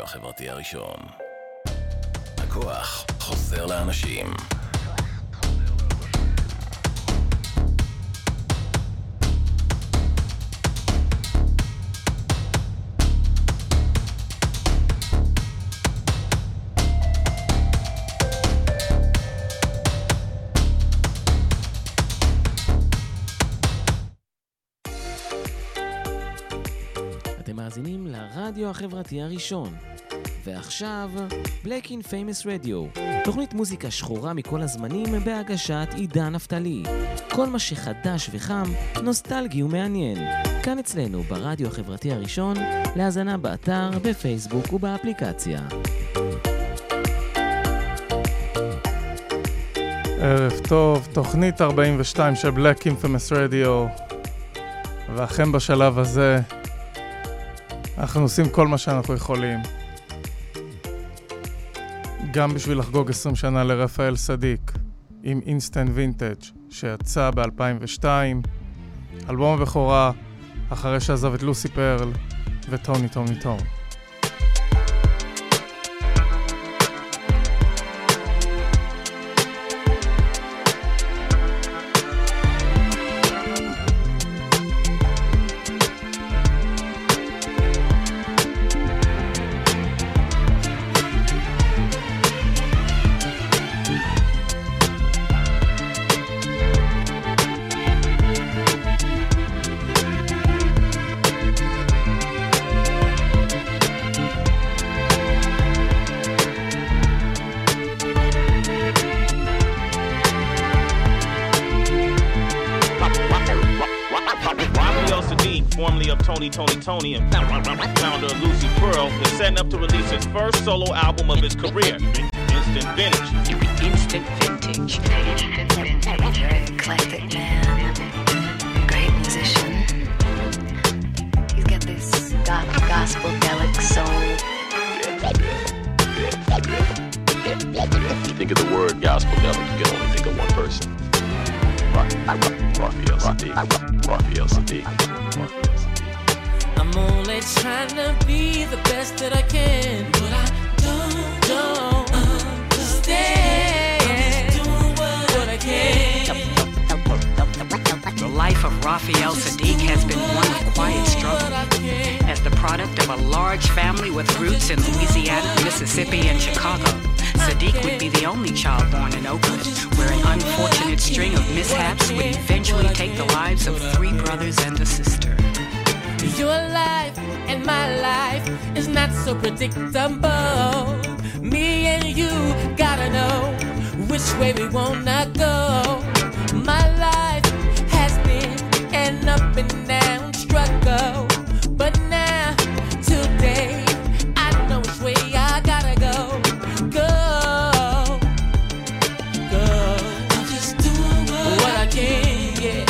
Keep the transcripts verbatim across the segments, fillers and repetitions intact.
הרדיו החברתי הראשון. הכוח חוזר לאנשים. מאזינים לרדיו החברתי הראשון. ועכשיו, Black in Famous Radio, תוכנית מוזיקה שחורה מכל הזמנים בהגשת עידן נפתלי. כל מה שחדש וחם, נוסטלגי ומעניין. כאן אצלנו ברדיו החברתי הראשון, להאזנה באתר, בפייסבוק ובאפליקציה. ערב טוב, תוכנית ארבעים ושתיים של Black in Famous Radio. ואכן בשלב הזה אנחנו עושים כל מה שאנחנו יכולים, גם בשביל לחגוג עשרים שנה לרפאל סדיק עם אינסטנט וינטג' שיצא ב-אלפיים ושתיים, אלבום הבכורה אחרי שעזב את לוסי פרל וטוני טוני טון. Tony and founder of Lucy Pearl is setting up to release his first solo album of his career, Instant Vintage. Instant Vintage. Instant Vintage. Very eclectic man. Great musician. He's got this gospel-delic soul. You think of the word gospel-delic, you can only think of one person. Raphael Sadiq. Raphael Sadiq. I'm only trying to be the best that I can, but I don't, don't understand. I'm just doing what, what I can. The life of Raphael Sadiq has been one of quiet struggle. As the product of a large family with roots in Louisiana, Mississippi, and Chicago, Sadiq would be the only child born in Oakland, where an unfortunate string of mishaps would eventually take the lives of three brothers and a sister. Your life and my life is not so predictable. Me and you gotta know which way we wanna go. My life has been an up and down struggle, but now, today, I know which way I gotta go. Go, go. I'm just doing what, what I can, yeah.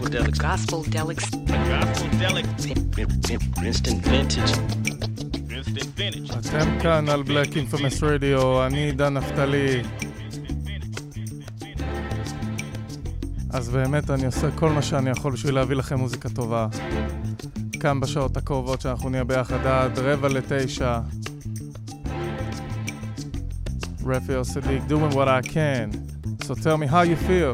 Gospel-delic. Gospel-delic. Instant Vintage. instant vintage. אתם כאן על Black Infamous Radio, אני עידן נפתלי. אז באמת אני עושה כל מה שאני יכול בשביל להביא לכם מוזיקה טובה. כאן בשעות הקרובות שאנחנו נהיה ביחד עד רבע לתשע. Raphael Sadiq, doing what I can. So tell me how you feel.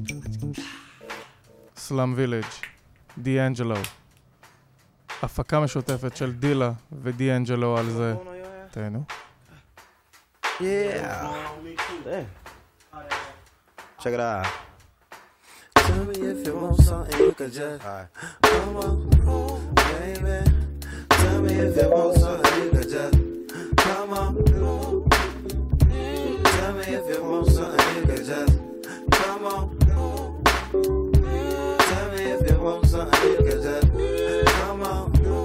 Slum Village, D'Angelo. הפקה משותפת של דילה ודיאנג'לו על זה. תהנו. Yeah. Check it out. Tell me if you want something you can just come on, baby. Tell me if you want something you can just come on. Tell me if you want something you can just come on. Tell me if you want something you can just come on.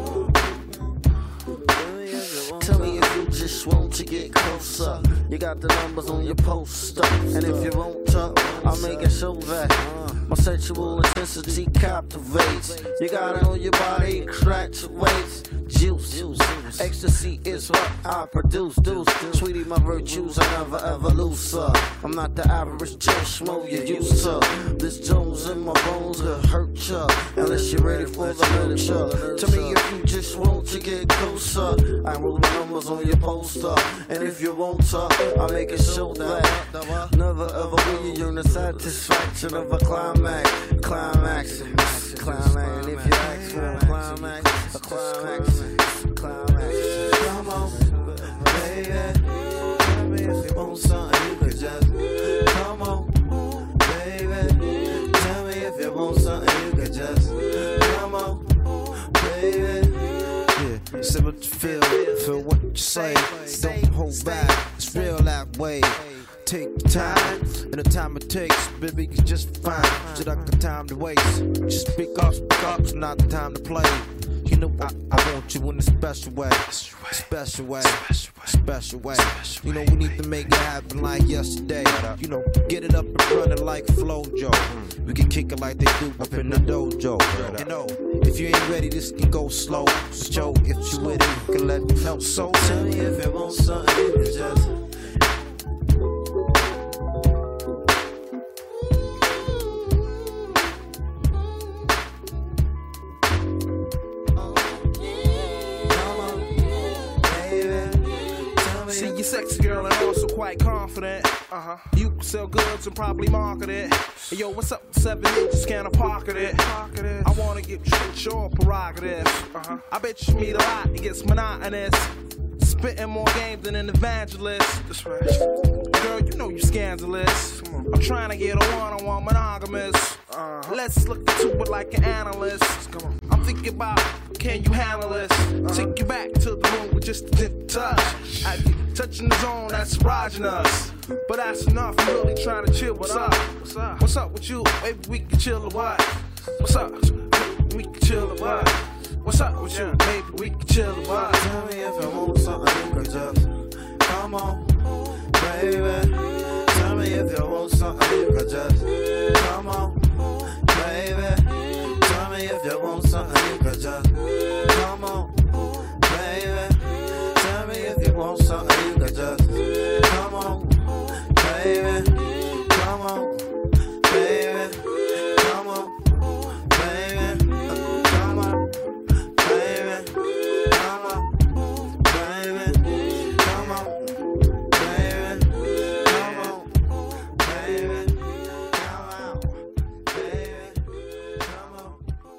Tell me if you just want to get closer. You got the numbers on your poster. And if you won't talk, I'll make it show that my sexual intensity captivates. You got it on your body, extractuates. Juice, ecstasy is what I produce. Deuce, sweetie, my virtues I never ever lose, sir. I'm not the average Joe Schmo you used to. This Jones in my bones will hurt ya, unless you're ready for the nurture. To me, if you just want to get closer, I roll the numbers on your poster. And if you won't talk, I'll make it show that never ever will you earn the satisfaction of a climax. Climax, climax. And if you ask for a climax, a climax, climax. Come on, baby. Tell me if you want something you can just come on, baby. Tell me if you want something you can just come on, baby. Yeah, say what you feel, feel what you say. Don't hold back, it's real that way. Take your time, and the time it takes, baby, you just fine. Just like the time to waste. Just speak up, speak up, it's not the time to play. You know I, I want you in a special way, special way, special way. You know we need to make it happen like yesterday. You know, get it up and running like Flojo. We can kick it like they do up in the dojo. You know, if you ain't ready, this can go slow. Joe, if you with it, you can let me know. So tell me if you want something, you can just. Sexy girl and also quite confident. Uh-huh. You can sell goods and probably market it. Hey, yo, what's up? Seven inches, can I pocket it? Pocket it. I wanna get your prerogative. Uh-huh. I bet you meet a lot, it gets monotonous. Spitting more game than an evangelist. That's right. Girl, you know you scandalous. Come on. I'm trying to get a one-on-one monogamous. Uh-huh. Let's look into it like an analyst. Come on. I'm thinking about, can you handle this? Uh-huh. Take you back to the room with just a dip touch. I get touching the zone, that's erogenous. But that's enough, I'm really trying to chill. What's up? What's up? What's up with you? Maybe we can chill or what? What's up? We can chill or what? What's up with you? Maybe we can chill or what? Tell me if you want something you can just come on, baby. Tell me if you want something you can just come on, baby. Tell me if you want something you can just come on, baby. Tell me if you want something you can just come on, baby. Come on, baby. Come on, baby. Come on, baby. Come on, baby. Come on, baby. Come on, baby. Come on, baby. Come on,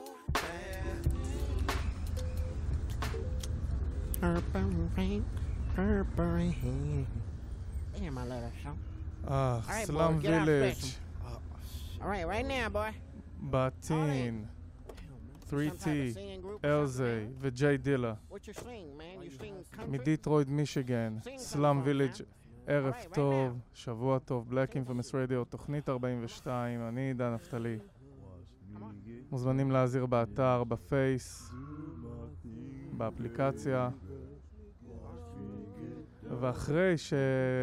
baby. Purple rain. Damn, my little song. אה, right, סלאם boy, get out וילג' fast. All right, right now, boy. בתין, three T, אלזי וג'יי דילה. What you sing, man? You sing country? מדיטרויד מישיגן, סלאם וילג' ערב טוב, שבוע טוב, Black Infamous Radio, תוכנית ארבעים ושתיים, אני עידן נפתלי. מוזמנים להזיר באתר, בפייס, באפליקציה. ואחרי ש...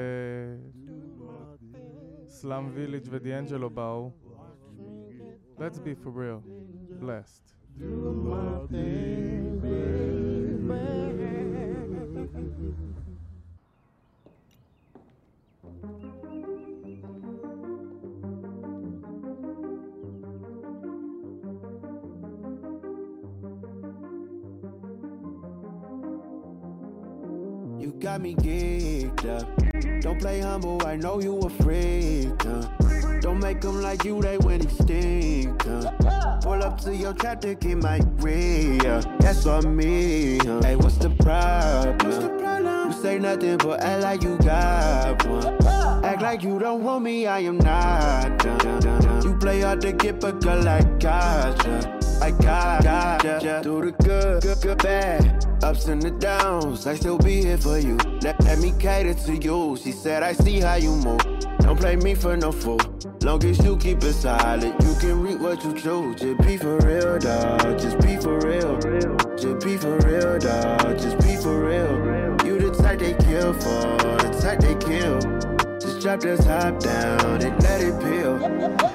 סלאם וילג' ודיאנג'לו באו, let's be for real, blessed. You got me geeked up. Don't play humble, I know you a freak, huh? Don't make them like you, they went extinct, huh? Pull up to your trap to get my real. That's on me, huh? Hey, what's the problem? What's the problem? You say nothing but act like you got one. Act like you don't want me, I am not done, done, done, done. You play hard to get, but girl, I gotcha. I got, gotcha. Do the good, good, good, bad. Ups and the downs, I still be here for you. Let, let me cater to you. She said, I see how you move. Don't play me for no fool. Long as you keep it solid, you can reap what you choose. Just be for real, dawg. Just be for real. Just be for real, dawg. Just be for real. You the type they kill for, the type they kill. Just drop the top down and let it peel.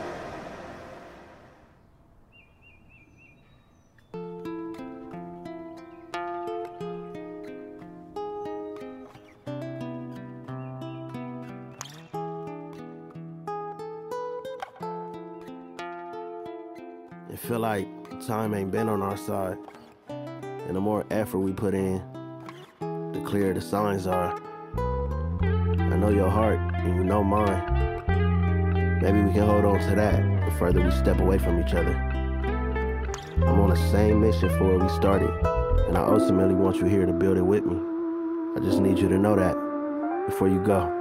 Feel like time ain't been on our side, and the more effort we put in, the clearer the signs are. I know your heart and you know mine. Maybe we can hold on to that the further we step away from each other. I'm on the same mission for where we started, and I ultimately want you here to build it with me. I just need you to know that before you go.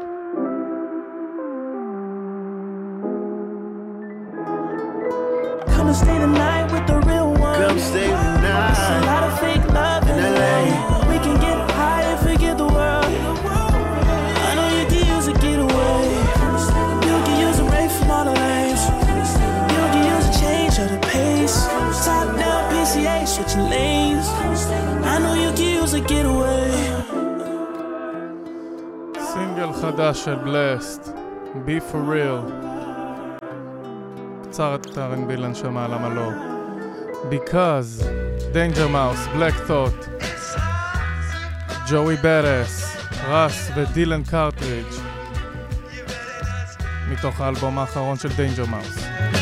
Come stay the night with the real one. Come stay the night. It's a lot of fake love in L A. We can get high and forget the world. I know you can use a getaway. You can use a break from all the lanes. You can use a change of the pace. Top down P C A, switching lanes. I know you can use a getaway. סינגל חדש של בלסט, Be for real. קצר את אר אנד בי לנשמה, למה לא? Because, Danger Mouse, Black Thought, ג'וי בדאס, רס ודילן קרטריג' מתוך האלבום האחרון של Danger Mouse.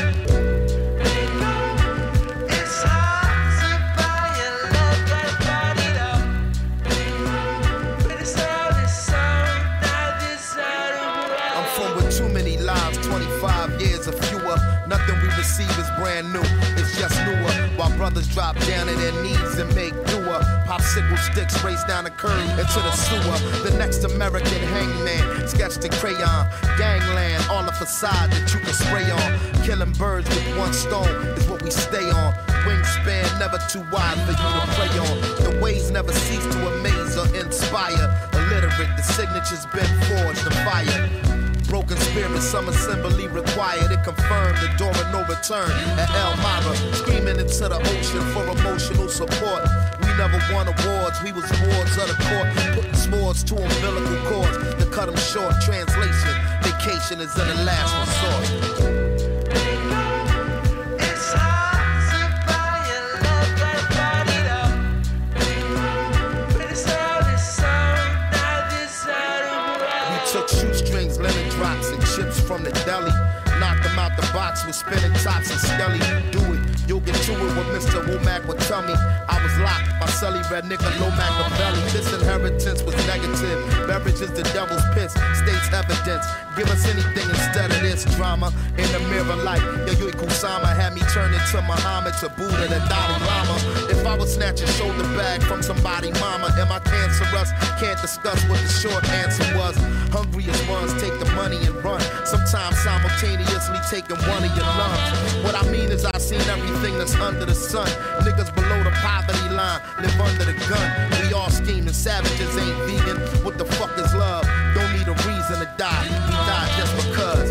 Brand new, it's just newer. While brothers drop down to their knees and make newer popsicle sticks race down the curb into the sewer. The next American hangman sketched in crayon. Gangland, all the facade that you can spray on. Killing birds with one stone is what we stay on. Wingspan never too wide for you to prey on. The ways never cease to amaze or inspire. Illiterate, the signature's been forged to fire. Broken spirit, some assembly required. It confirmed the door of no return at Elmira. Screaming into the ocean for emotional support. We never won awards, we was wards of the court. Putting swords to umbilical cords to cut them short. Translation, vacation is in the last resort. Drops and chips from the deli. Knock them out the box with spinning tops and skelly. Do it, you'll get to it what Mister Womack would tell me. I was locked, my celly red nigga low Machiavelli. This inheritance was negative. Beverage is the devil's piss, states evidence. Give us anything instead of this drama. In the mirror light, Yayoi Kusama had me turn into Muhammad to Buddha the Dalai Lama. If I was snatch a shoulder bag from somebody mama, am I cancerous? Can't discuss what the short answer was. Hungriest ones take the money and run. Sometimes simultaneously taking one of your lungs. What I mean is I seen everything that's under the sun. Niggas below the poverty line live under the gun. We all scheming, savages ain't vegan. What the fuck is love? Don't need a reason to die. We die just because.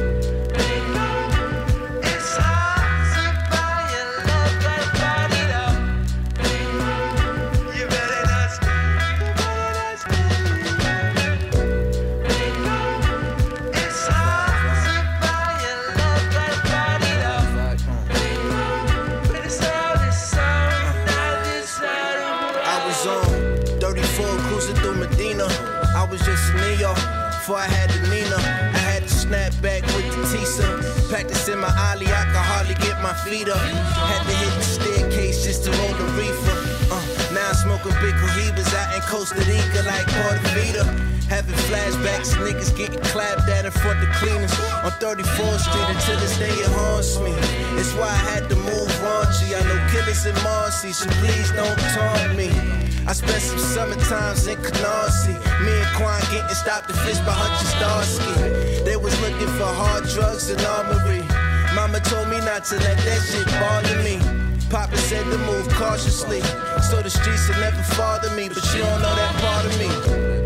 thirty-four cruising through Medina. was just a Neo. Before I had the Nina, I had to snap back with the Tisa. Practicing my ollie, I could hardly get my feet up. Had to hit the staircase just to roll the reefer. Uh, now I'm smoking big cohibas out in Costa Rica like Puerto Vita. Having flashbacks, niggas getting clapped at in front of cleaners on thirty-fourth Street. Until this day it haunts me. It's why I had to move raunchy. I know killers in Marcy, so please don't taunt me. I spent some summer times in Canarsie. Me and Quan getting stopped and fished by Hutch Starsky. They was looking for hard drugs and armory. Mama told me not to let that shit bother me. Papa said to move cautiously, so the streets will never bother me. But you don't know that part of me.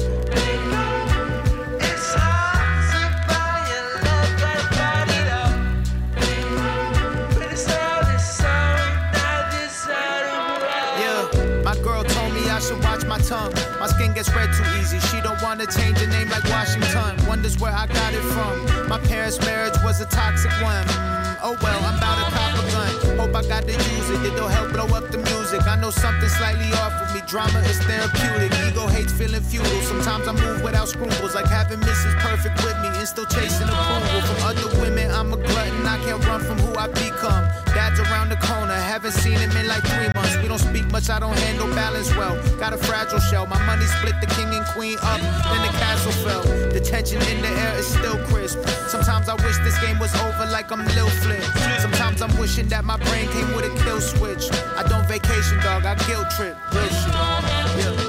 I should watch my tongue. My skin gets red too easy. She don't wanna change her name like Washington. Wonders where I got it from. My parents' marriage was a toxic one. Mm, oh well, I'm about to cop a gun. Hope I got to use it. It'll help blow up the music. I know something slightly off with me. Drama is therapeutic. Ego hates feeling futile. Sometimes I move without scruples, like having Missus Perfect with me and still chasing approval from other women. I'm a glutton. I can't run from who I've become. Dad's around the corner. Haven't seen him in like three months. We don't speak much. I don't handle balance well. Got a fragile shell. My money split the king and queen up. Then the castle fell. The tension in the air is still crisp. Sometimes I wish this game was over like I'm Lil Flip. Sometimes I'm wishing that my brain came with a kill switch. I don't vacation, dog. I guilt trip. Real shit. Yeah.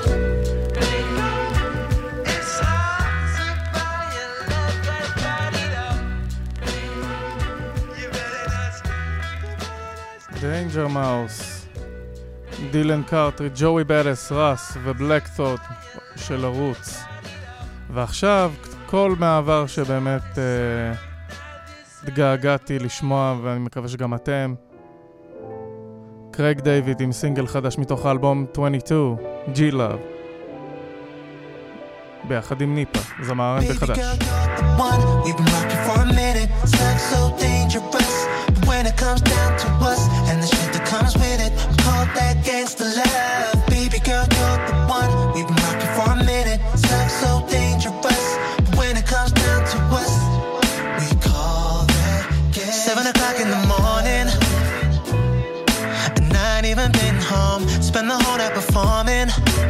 Danger Mouse, דילן קארטרי, ג'וי בדס, רס ובלק ת'וט של ערוץ. ועכשיו כל מעבר שבאמת אה, התגעגעתי לשמוע, ואני מקווה שגם אתם. קרייג דיוויד עם סינגל חדש מתוך האלבום עשרים ושתיים, G-Love, ביחד עם ניפה, זמר אר אנד בי חדש. When it comes down to us and the shit that comes with it, call that gangsta love. Baby girl, you're the one. We've been rocking for a minute. Sex so dangerous. But when it comes down to us, we call that gangsta. Seven o'clock in the morning, and I ain't even been home. Spend the whole night performing.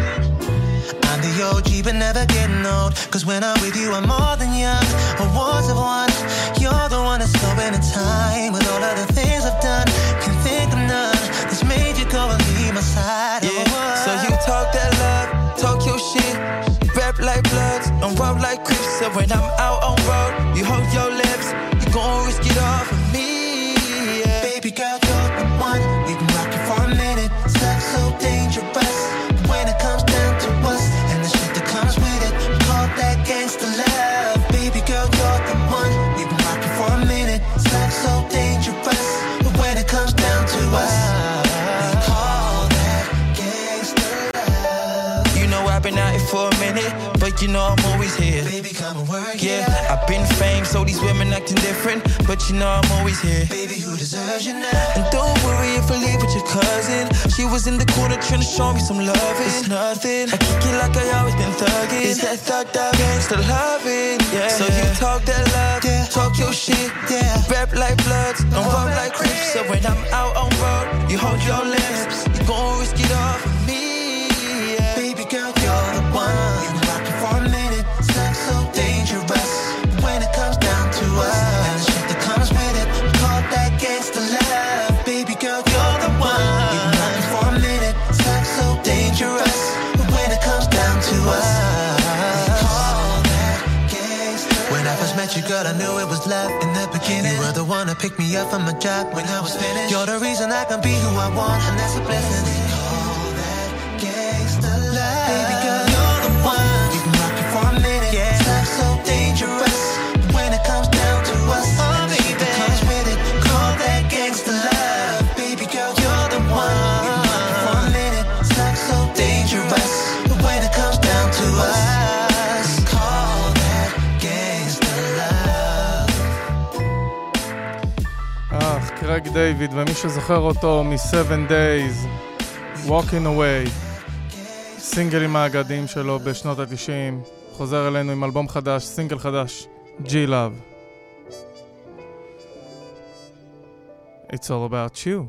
I'm the O G but never getting old. Cause when I'm with you I'm more than young. Awards of one. You're the one that's slowing in time. With all of the things I've done, can think of none that's made you go and leave my side. Yeah, oh, so you talk that love, talk your shit, rap like Bloods, and roll like Crips. So when I'm out on road, you hold your lips, you gon' risk it all for me, yeah. Baby girl, you're the one. We've been rocking for a minute. Sex so dangerous. When it comes down to us and the shit that comes with it, call that gangsta love. Baby girl, you're the one. We've been rocking for a minute. Sex so dangerous. But when it comes down to us, we call that gangsta love. You know I've been out here for a minute, but you know I'm always here. Baby, come and work, yeah. yeah. I've been famed, so these women acting different, but you know I'm always here. Baby, who deserves you now? And don't worry if I leave with your cousin. She was in the corner trying to show me some loving. It's nothing. I kick it like I always been thugging. It's that thugged up gangsta loving, yeah. So you talk that love, yeah. Talk your shit, yeah. Rap like Bloods, don't roll like Crips. So when I'm out on road, you hold your lips, you gon' risk it all for me, yeah. Baby girl, you're the one. We've been rocking for a minute. Sex so dangerous. When it comes down to us and the shit that comes with it, call that gangsta love. Baby girl, you're the one. We've been rocking for a minute. Sex so dangerous. When it comes down to us, we call that gangsta love. When I first met you, girl, I knew it was love in the beginning. You were the one to pick me up from my job when I was finished. You're the reason I can be who I want, and that's a blessing. We call that gangsta love. Baby girl, you're the one. We've been rocking for a minute. Yeah. Sex so dangerous. When it comes down to us, oh, and the shit that comes with it, call that gangsta love. Baby girl, you're the one. We've been rocking for a minute. Sex so dangerous. When it comes down to us, we call that gangsta love. אך, קרייג דיוויד, ומי שזוכר אותו מ-Seven Days, Walking Away, סינגלים האגדיים שלו בשנות ה-תשעים, חוזר אלינו עם אלבום חדש, סינגל חדש, G-Love. It's all about you.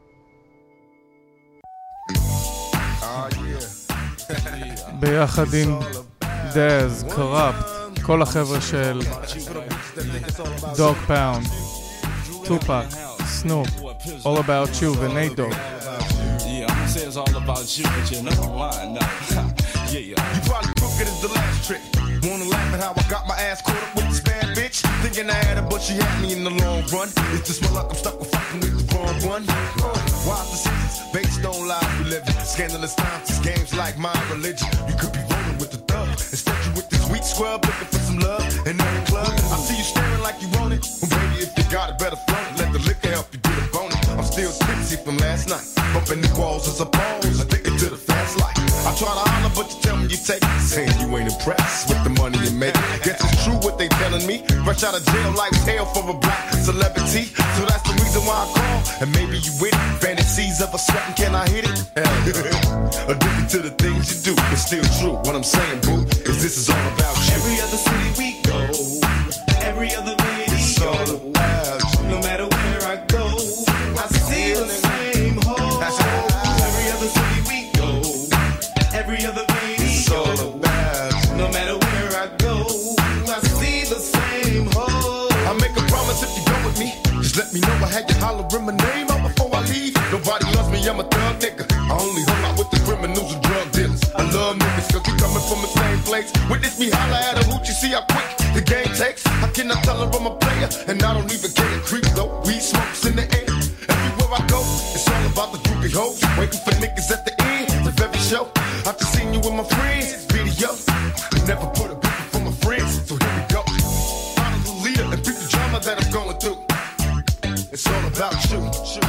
ביחד עם דז, קראפט, כל החבר'ה של דוג פאונד, טופק, סנופ, All About You ונייט דוג. Yeah, I'm gonna say it's all about you, but you're not lying now. Yeah, you probably took it as the last trick. Wanna laugh at how I got my ass caught up with this bad bitch? Thinking I had her, but she had me in the long run. It's just my luck, I'm stuck with fucking with the wrong one. Uh, wise decisions, based on lies we live in. Scandalous times, this game's like my religion. You could be rolling with the thug. Instead you with this weak scrub, looking for some love. And in the club, I see you staring like you want it. Well, baby, if you got it, better float it. Let the liquor help you get a bone. I'm still tipsy from last night. Bumping the walls as a pose, addicted to the fast life. I try to holler, but you tell me you take it. Saying you ain't impressed with the money you make. Guess it's true what they telling me. Fresh out of jail, life's hell for a black celebrity. So that's the reason why I call. And maybe you with it. Fantasies of a sweating, can I hit it? Addicted to the things you do. It's still true. What I'm saying, boo, is this is all about you. Every other city we go, every other video, it's all about you. No matter where I go, I see the same hole. Every other city we go, every other video, it's all about you. No matter where I go, I see the same hole. I make a promise if you go with me, just let me know I had you hollering my name out before I leave. Nobody loves me, I'm a thug nigga. I only hung out with the criminals and drug dealers. I love niggas cause we coming from the same place. Witness me holler at a hoot, you see how quick the game takes. How can I tell her I'm a player? And I don't even care to creep though. Weed smokes in the air. Everywhere I go, it's all about the groupie hoes. Waiting for niggas at the end of every show. I just seen you with my friends, video. I never put a picture for my friends, so here we go. Follow the leader and beat the drama that I'm going through. It's all about you.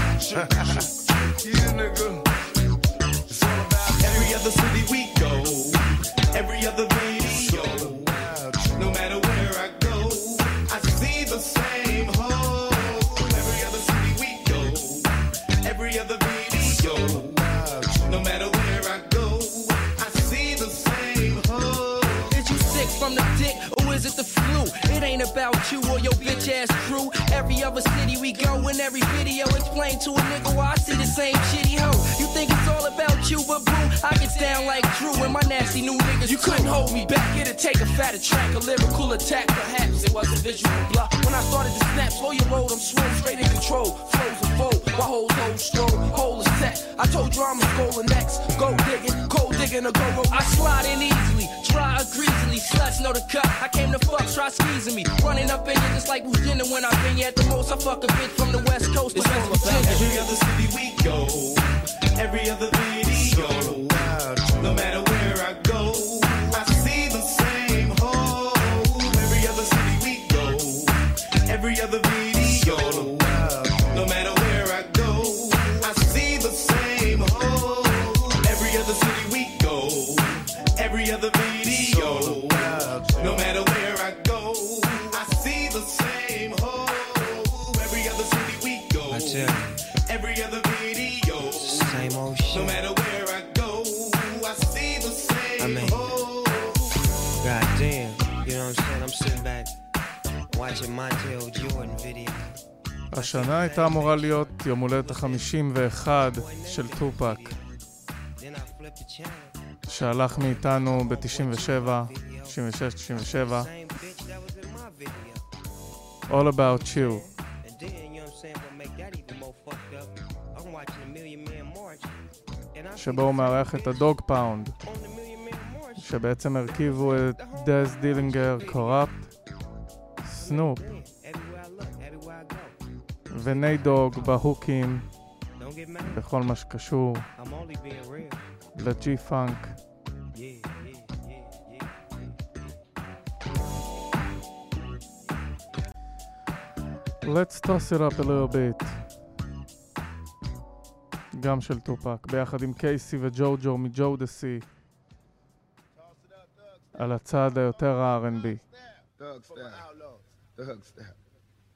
Yeah, nigga. It's all about every other city we go, every other video. No matter where I go, I see the same hole. Every other city we go, every other video. No matter where I go, I see the same hole. Is you sick from the dick or is it the flu? It ain't about you or your bitch ass crew. Every other city we go, in every video explain to a nigga why I see the same shitty hoe. You think it's all about you, but boo, I get down like Drew and my nasty new niggas. You couldn't hold me back, it'd take a fatter track, a lyrical attack. Perhaps it was a visual block. When I started to snap, slow your road, I'm swim straight in control. Flows a fold, my whole whole stroll, whole is set. I told you I'm a golden next. Go digging, cold digging, or go roll. I slide in easily, dry or greasily. Sluts know the cut. I came to fuck, try squeezing me. Running up in you just like who's dinner when I've been here at the most. I fuck a bitch from the west coast. It's all about every other city we go, every other video. No matter where I go, I see the same hole. Every other city we go, every other video. No matter where I go, I see the same hole. Every other city we go, every other video. No matter where I go, I see the same hole. Every other city we go, every other video. Same old shit. No matter where I go, I see the same I mean, hole. goddamn, you know what I'm saying? I'm sitting back watching Montel Jordan video. השנה הייתה אמורה להיות יום הולדת ה-חמישים ואחת של טופק, שהלך מאיתנו ב-תשעים ושבע, תשעים ושש, תשעים ושבע. All About You. שבו הוא מארח את הדוג פאונד, שבעצם הרכיבו את דז דילינגר, קראפט, סנופ ונייט דוג בהוקים בכל מה שקשור לג'י פאנק. Let's toss it up a little bit. גם של טופק, ביחד עם קייסי וג'וג'ו מג'ודסי, על הצד היותר ה-אר אנד בי.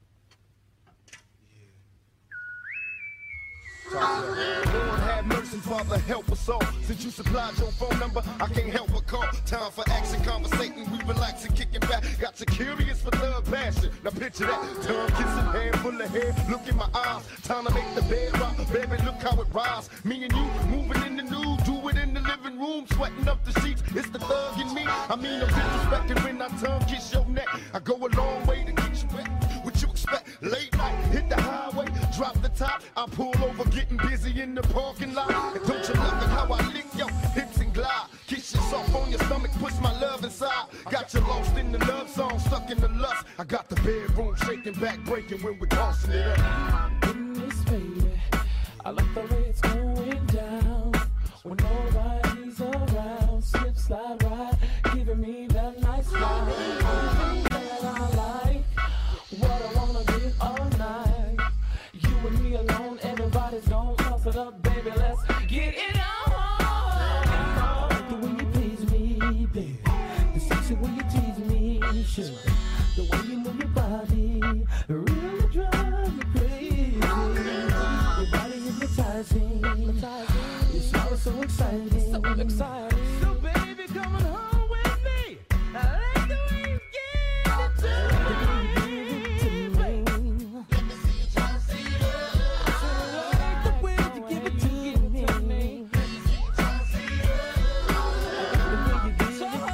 Lord have mercy, Father, help us all. Since you supplied your phone number, I can't help but call. Time for action, conversating, we relaxing, kicking back. Got you curious for love, passion. Now picture that, tongue kissing, hand full of hair. Look in my eyes, time to make the bed rock. Baby, look how it rise. Me and you moving in the nude, do it in the living room, sweating up the sheets. It's the thug in me. I mean, I'm disrespecting when I tongue kiss your neck. I go a long way to get you wet. What you expect? Late night, hit the highway, drop the top. I pull over, getting busy in the parking lot. And don't you love it how I lick your hips and glide? Kiss you soft on your stomach, push my love inside. Got you lost in the love song, stuck in the lust. I got the bedroom shaking, back breaking when we're tossing it up. In this baby, I like the way it's going down. When nobody's around, slip, slide, ride, giving me that nice ride. Everything that I like, what I wanna get all night. You and me alone, everybody's gonna toss it up, baby. Let's get it on. I like the way you please me, baby. The sexy way you tease me, sure. The way you move your body really drives me crazy. Your body hypnotizing. Your smile is so exciting. So exciting. So baby, come on home with me. I like the way you give it to me. Let me see you try to see it. I like the way you give it to me. Let me see you try to see it. I like the way you give it to me.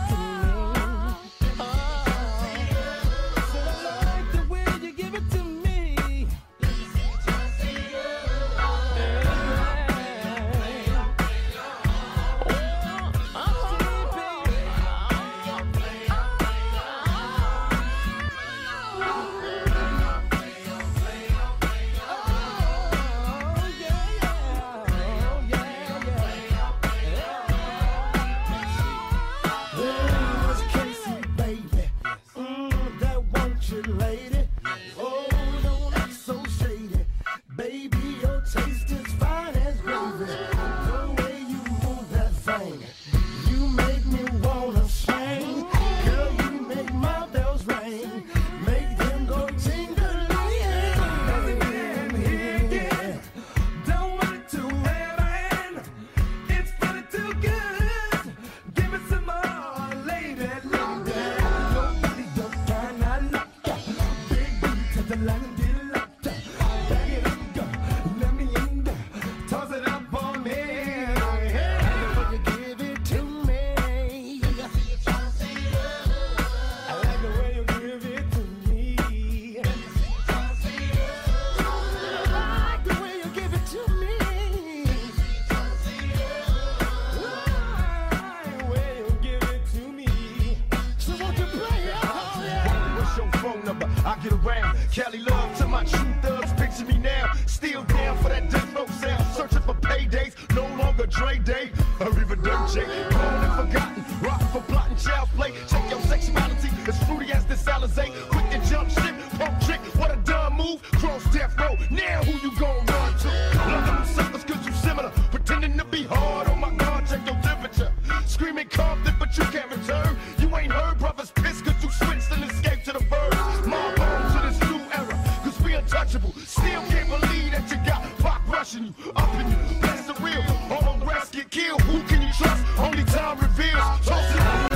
Cali love to my true thugs, picture me now. Still down for that death row sound. Searching for paydays, no longer Dre Day. Arriva Dirt J, gone and forgotten. Rock for plotting child's play. Check your sexuality, as fruity as this Alizé. Quick to jump ship, pump trick, what a dumb move. Cross death row, now who you gon' run to? Love them suckers cause you similar. Pretending to be hard, oh my God, check your temperature. Screaming Compton, but you can't return. You ain't heard brothers pissed cause you switched and escaped to the birds. My bones to this new era, cause we untouchable. Still can't believe that you got Pac rushing you, up in you. That's the real, all the rest get killed. Who can you trust? Only time reveals. Toss it all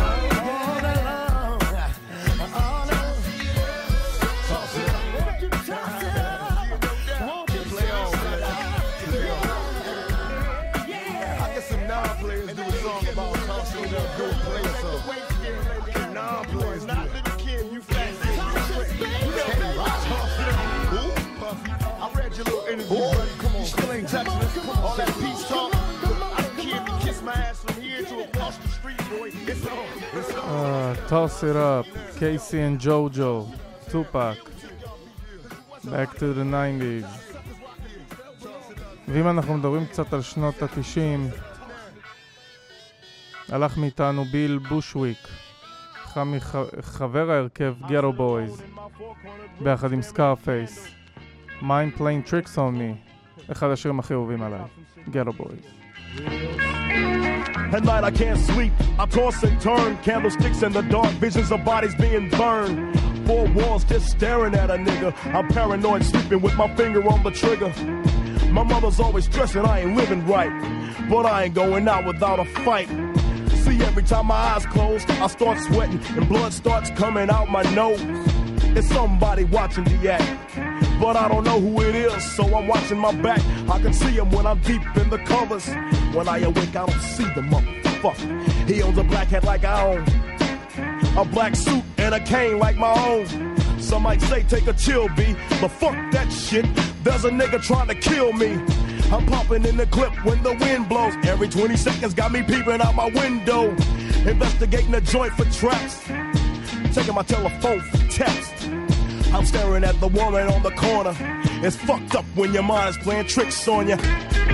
along, all along. Toss it up. Won't you toss it up? Won't you play on? I guess some non-players do a song about tossing it up, go play something. Non-players not little kid, you fat. I read your little interview, buddy. Come on, you still ain't touching us. All that peace talk. I can't kiss my ass from here to across the street, boy. It's on. It's on. Uh, toss it up. Casey and JoJo. Tupac. Back to the nineties. ואם אנחנו מדברים קצת על שנות ה-תשעים, הלך מאיתנו ביל בושוויק, חבר ההרכב גטו בויז, ביחד עם סקארפייס. Mind Playing Tricks on Me, אחד השירים הכי אהובים עליי, גטו בויז. At night I can't sleep, I toss and turn, candlesticks in the dark, visions of bodies being burned. Four walls just staring at a nigga, I'm paranoid sleeping with my finger on the trigger. My mother's always stressing I ain't living right, but I ain't going out without a fight. See, every time my eyes close, I start sweating and blood starts coming out my nose. It's somebody watching the act, but I don't know who it is, so I'm watching my back. I can see him when I'm deep in the covers. When I awake, I don't see the motherfucker. He owns a black hat like I own, a black suit and a cane like my own. Some might say take a chill, B, but fuck that shit. There's a nigga trying to kill me. I'm popping in the clip when the wind blows. Every twenty seconds got me peeping out my window, investigating the joint for traps, checking my telephone for text. I'm staring at the woman on the corner. It's fucked up when your mind is playing tricks on you.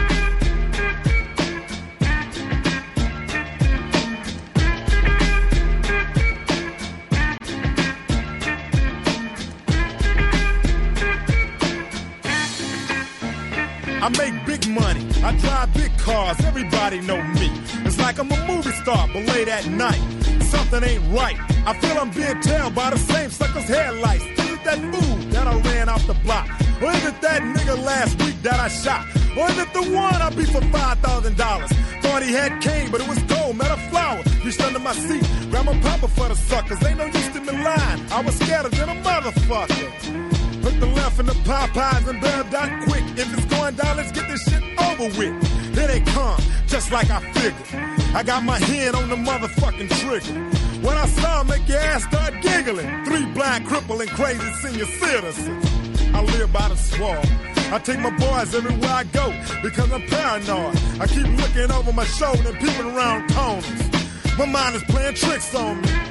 I make big money, I drive big cars, everybody know me. It's like I'm a movie star, but late at night, something ain't right. I feel I'm being tailed by the same sucker's headlights. Is it that fool that I ran off the block? Or is it that nigga last week that I shot? Or is it the one I beat for five thousand dollars? Thought he had cane, but it was gold, met a flower. Reached under my seat, grabbed my papa for the suckers. Ain't no use to me lying, I was scared than a motherfucker. Hook the left in the Popeyes and bailed out quick. If it's going down, let's get this shit over with. Here they come, just like I figured. I got my hand on the motherfucking trigger. When I saw him, make your ass start giggling. Three blind, crippled, and crazy senior citizens. I live by the swamp. I take my boys everywhere I go because I'm paranoid. I keep looking over my shoulder and peeping around corners. My mind is playing tricks on me.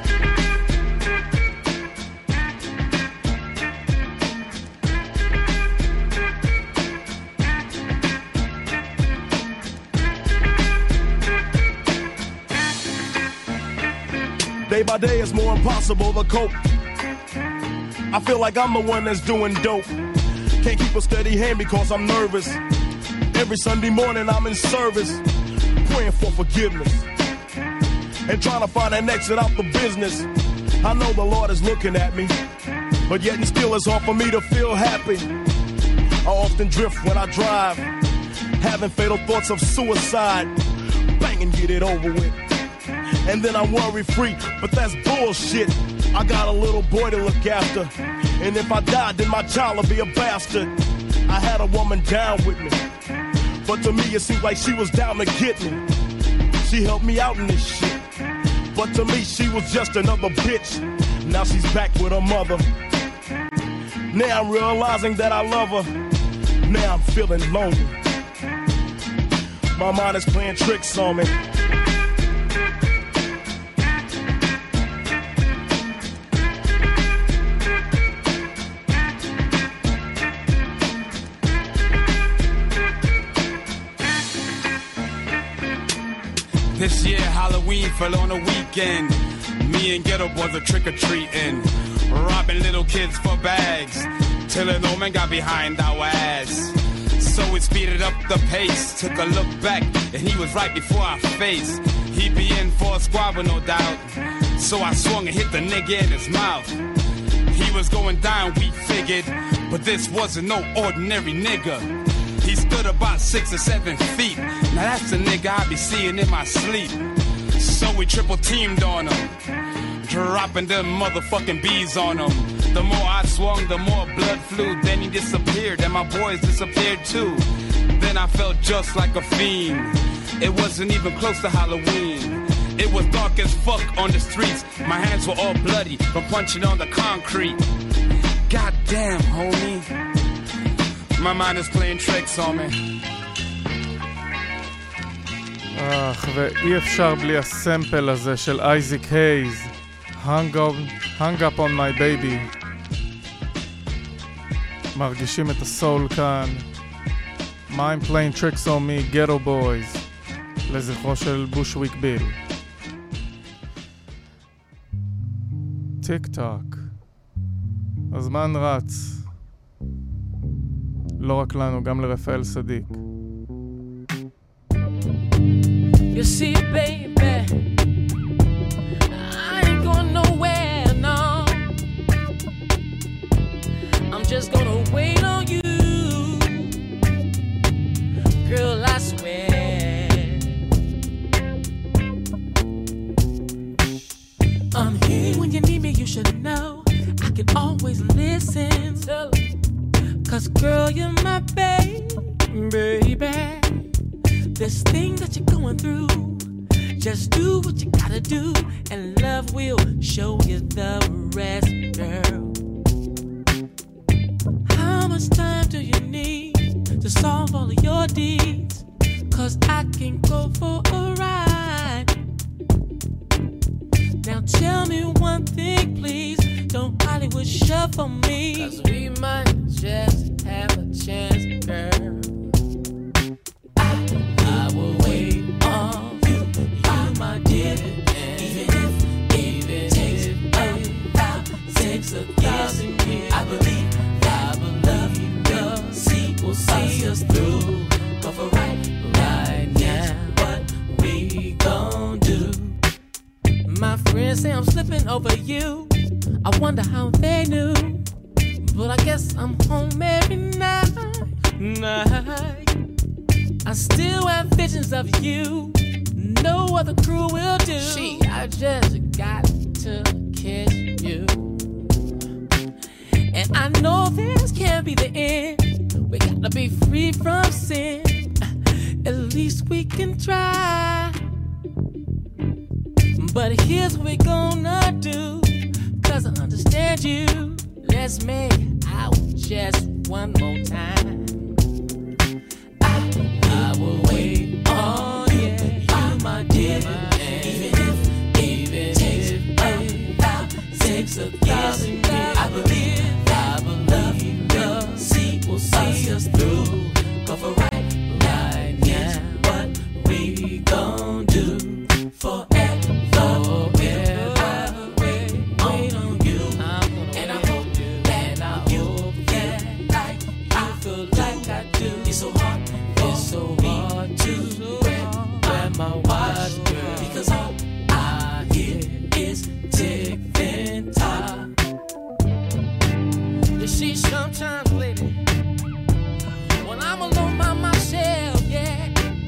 Day by day it's more impossible to cope. I feel like I'm the one that's doing dope. Can't keep a steady hand because I'm nervous. Every Sunday morning I'm in service, praying for forgiveness and trying to find an exit out the business. I know the Lord is looking at me, but yet and still it's hard for me to feel happy. I often drift when I drive, having fatal thoughts of suicide. Bang and get it over with, and then I'm worry free, but that's bullshit. I got a little boy to look after, and if I die, then my child will be a bastard. I had a woman down with me, but to me it seemed like she was down to get me. She helped me out in this shit, but to me she was just another bitch. Now she's back with her mother. Now I'm realizing that I love her. Now I'm feeling lonely. My mind is playing tricks on me. This year Halloween fell on a weekend. Me and Ghetto Boys are trick-or-treating, robbing little kids for bags, till an old man got behind our ass. So we speeded up the pace, took a look back, and he was right before our face. He'd be in for a squabble, no doubt, so I swung and hit the nigga in his mouth. He was going down, we figured, but this wasn't no ordinary nigga. He stood about six or seven feet. Now that's the nigga I be seeing in my sleep. So we triple teamed on him, dropping them motherfucking bees on him. The more I swung, the more blood flew. Then he disappeared, and my boys disappeared too. Then I felt just like a fiend. It wasn't even close to Halloween. It was dark as fuck on the streets. My hands were all bloody from punching on the concrete. Goddamn, homie. My mind is playing tricks on me. אך, ואי אפשר בלי הסמפל הזה של אייזיק הייז, Hung up, hung up on my baby. מרגישים את הסול כאן. Mind playing tricks on me, Ghetto Boys, לזכרו של בושוויק ביל. טיק טוק, הזמן רץ, לא רק לנו, גם לרפאל סדיק. You see, baby, I ain't going nowhere, no. I'm just gonna wait on you. 'Cause girl, you're my baby, baby. This thing that you're going through, just do what you gotta do, and love will show you the rest, girl. How much time do you need to solve all of your deeds? 'Cause I can go for a ride. Now tell me one thing, please. Don't Hollywood shuffle me, 'cause we might just have a chance, girl. I, I will wait on you, you my dear. And even if, even if takes about takes a thousand years, I believe, I will love you, love. See, we'll see us through. But for right, right now, what we gon' do? My friends say I'm slipping over you. I wonder how they knew. But I guess I'm home every night, night. I still have visions of you. No other crew will do. She, I just got to kiss you. And I know this can't be the end. We gotta be free from sin. At least we can try. But here's what we gonna do, 'cause I understand you. Let's make out just one more time. I, I will wait on you, you my dear. And even if, even takes about takes a thousand years, I believe, I will love you, love. See, we'll see us through. But for right, right now, what we gon' do forever? My watch, girl, because all I hear is ticking time. You see, sometimes, lady, when I'm alone by myself, yeah,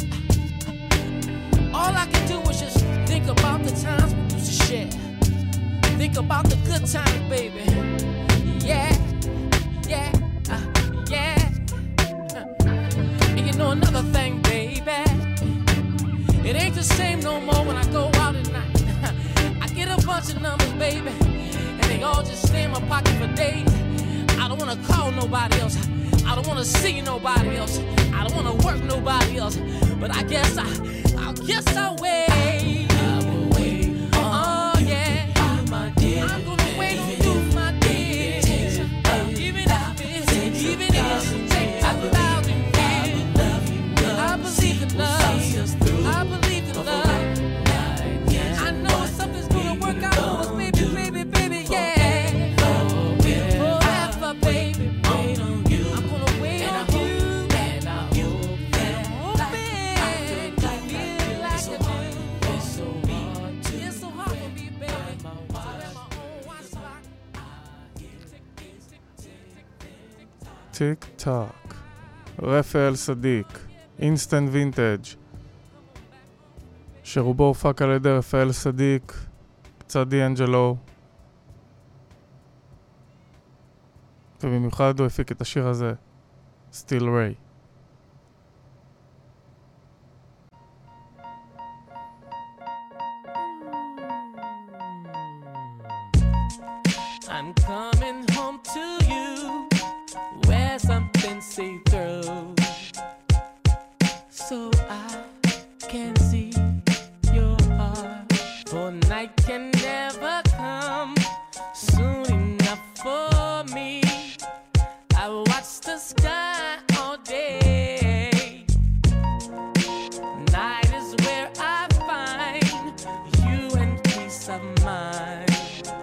all I can do is just think about the times we used to share. Think about the good times, baby. Yeah, yeah, uh, yeah. And you know another thing, baby. It ain't the same no more when I go out at night. I get a bunch of numbers, baby, and they all just stay in my pocket for days. I don't wanna call nobody else. I don't wanna see nobody else. I don't wanna work nobody else. But I guess I, I guess I'll wait. I will wait. Oh yeah, you my dear. I'm gonna wait on you, my dear. Even if it, even if it takes a thousand years, I believe in love. I believe in love. I know something's gonna work out for us, baby, baby, baby, yeah. Forever, baby, wait on you. I'm gonna wait on you. And I hope that I feel like I do. It's so hard to, it's so hard for me, baby. So let my own watch clock. טיק טוק, רפאל סדיק, אינסטנט וינטג', שרובו הופק על ידי רפאל סדיק, קצת דיאנג'לו, ובמיוחד הוא הפיק את השיר הזה, Still Ray. I'm coming home to you, where something see through, so I can see your heart. For night can never come soon enough for me. I watch the sky all day. Night is where I find you and peace of mind.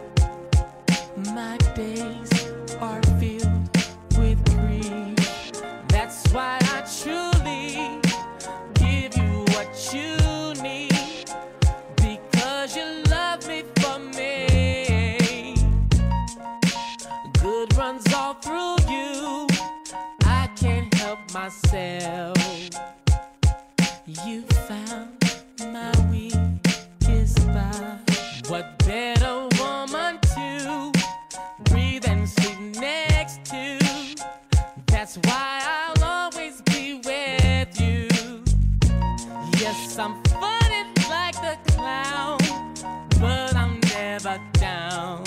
My days are filled with grief. That's why I truly give you what you need, because you love me for me. Good runs all through you. I can't help myself. You found my weakest spot. What better woman to breathe and sleep next to That's why I'll always be with you. Yes, I'm funny like the clown, but I'm never down.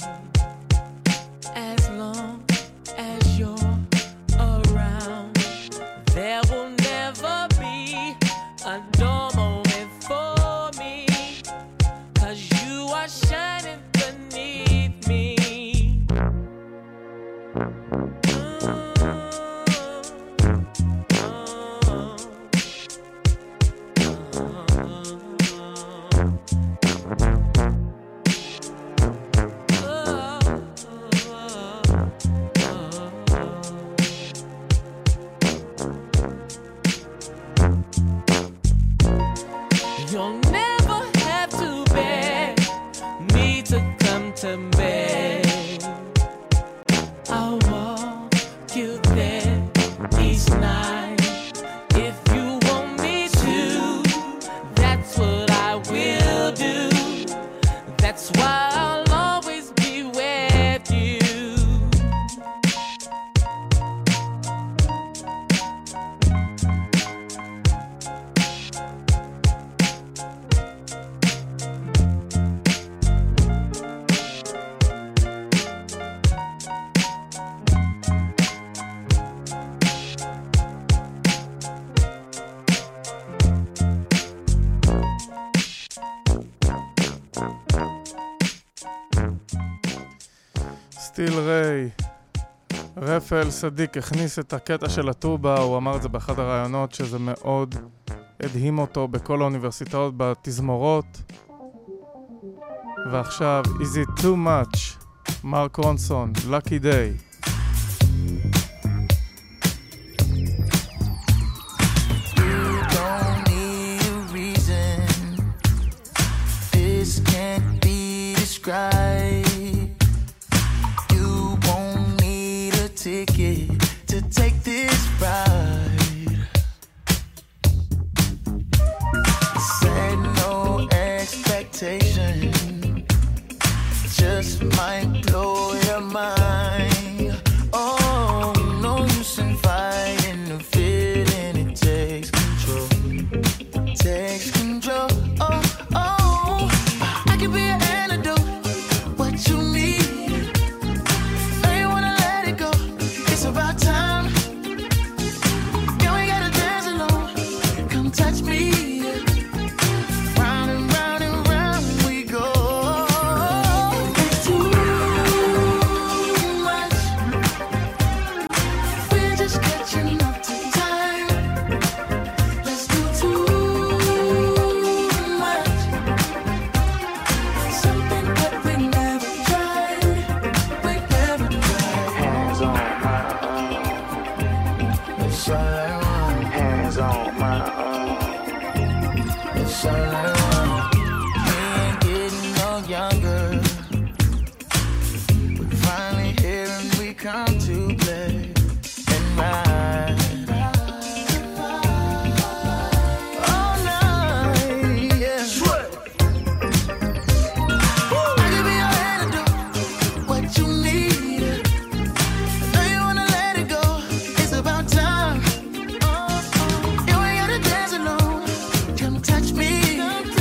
As long as you're around, there will never be a dull moment for me, 'cause you are shining beneath me. You'll never have to beg me to come to bed. I'll walk you there each night. If you want me to, that's what I will do. That's why I'll always be with you. סטיל ריי, רפאל סדיק הכניס את הקטע של הטובה, הוא אמר את זה באחד הרעיונות שזה מאוד הדהים אותו בכל האוניברסיטאות בתזמורות. ועכשיו, Is it too much? מרק רונסון, Lucky Day. You won't need a ticket to take this ride. Set no expectation, just might blow your mind. Oh, no use in fighting the feeling, it takes control, takes control. Oh, oh, I can be an antidote. What you need, no, you wanna let it go. It's about time. You ain't gotta dance alone. Come touch me. Round and round and round we go. It's too much. We're just catching up to time. Let's do too much. Something that we never tried. We never tried. Hands on my arm. It's all I want. Hands on my arm. It's all I want. We ain't getting no younger. We're finally here and we come to play and ride. All night, yeah. I can be your antidote. What you need, I know you wanna let it go. It's about time. You ain't gotta dance alone. Come touch me.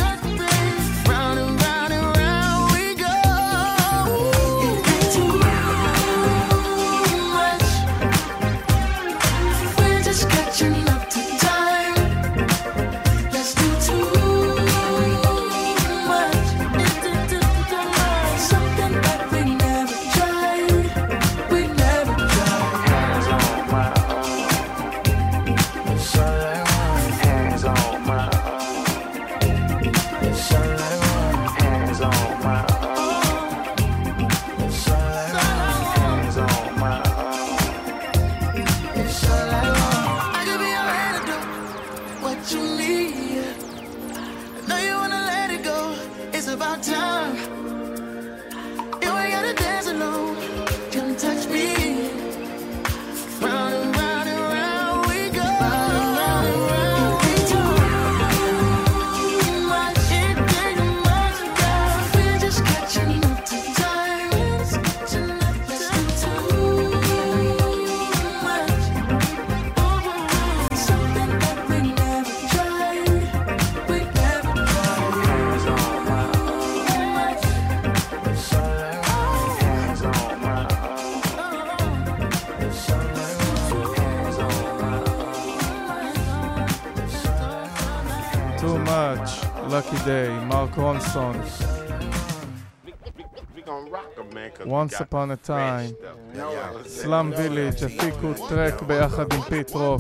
much. Lucky Day, Mark Ronson. Once upon a time. Slum Village, הפיקו טרק ביחד עם פיט רוק.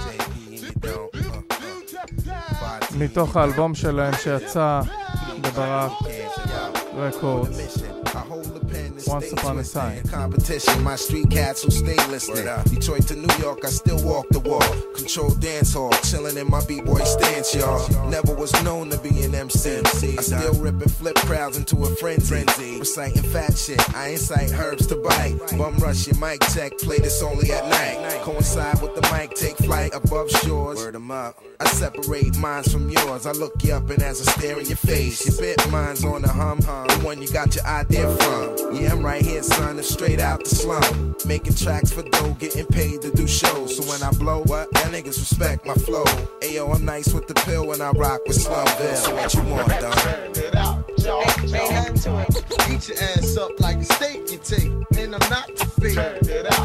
מתוך האלבום שלהם שיצא בברק רקורדס. Once upon a time. Competition, my street cats who stay listening. Detroit to New York, I still walk the walk. Control dance hall, chilling in my b-boy stance, y'all. Never was known to be an M C. I still rip and flip crowds into a frenzy. Reciting fat shit, I incite herbs to bite. Bum rush your mic check, play this only at night. Coincide with the mic, take flight above shores. Word 'em up. I separate minds from yours. I look you up and as I stare in your face, your bit mine's on the hum, the one you got your idea from. Yeah, I'm right here, son, it's straight out the slum. Making tracks for dough, getting paid to do shows. So when I blow, what? That niggas respect my flow. Ayo, I'm nice with the pill when I rock with Slumville. So what you want, dog? Turn it out, y'all. Ain't nothing to it. Eat your ass up like a steak you take. And I'm not the fake. Turn it out.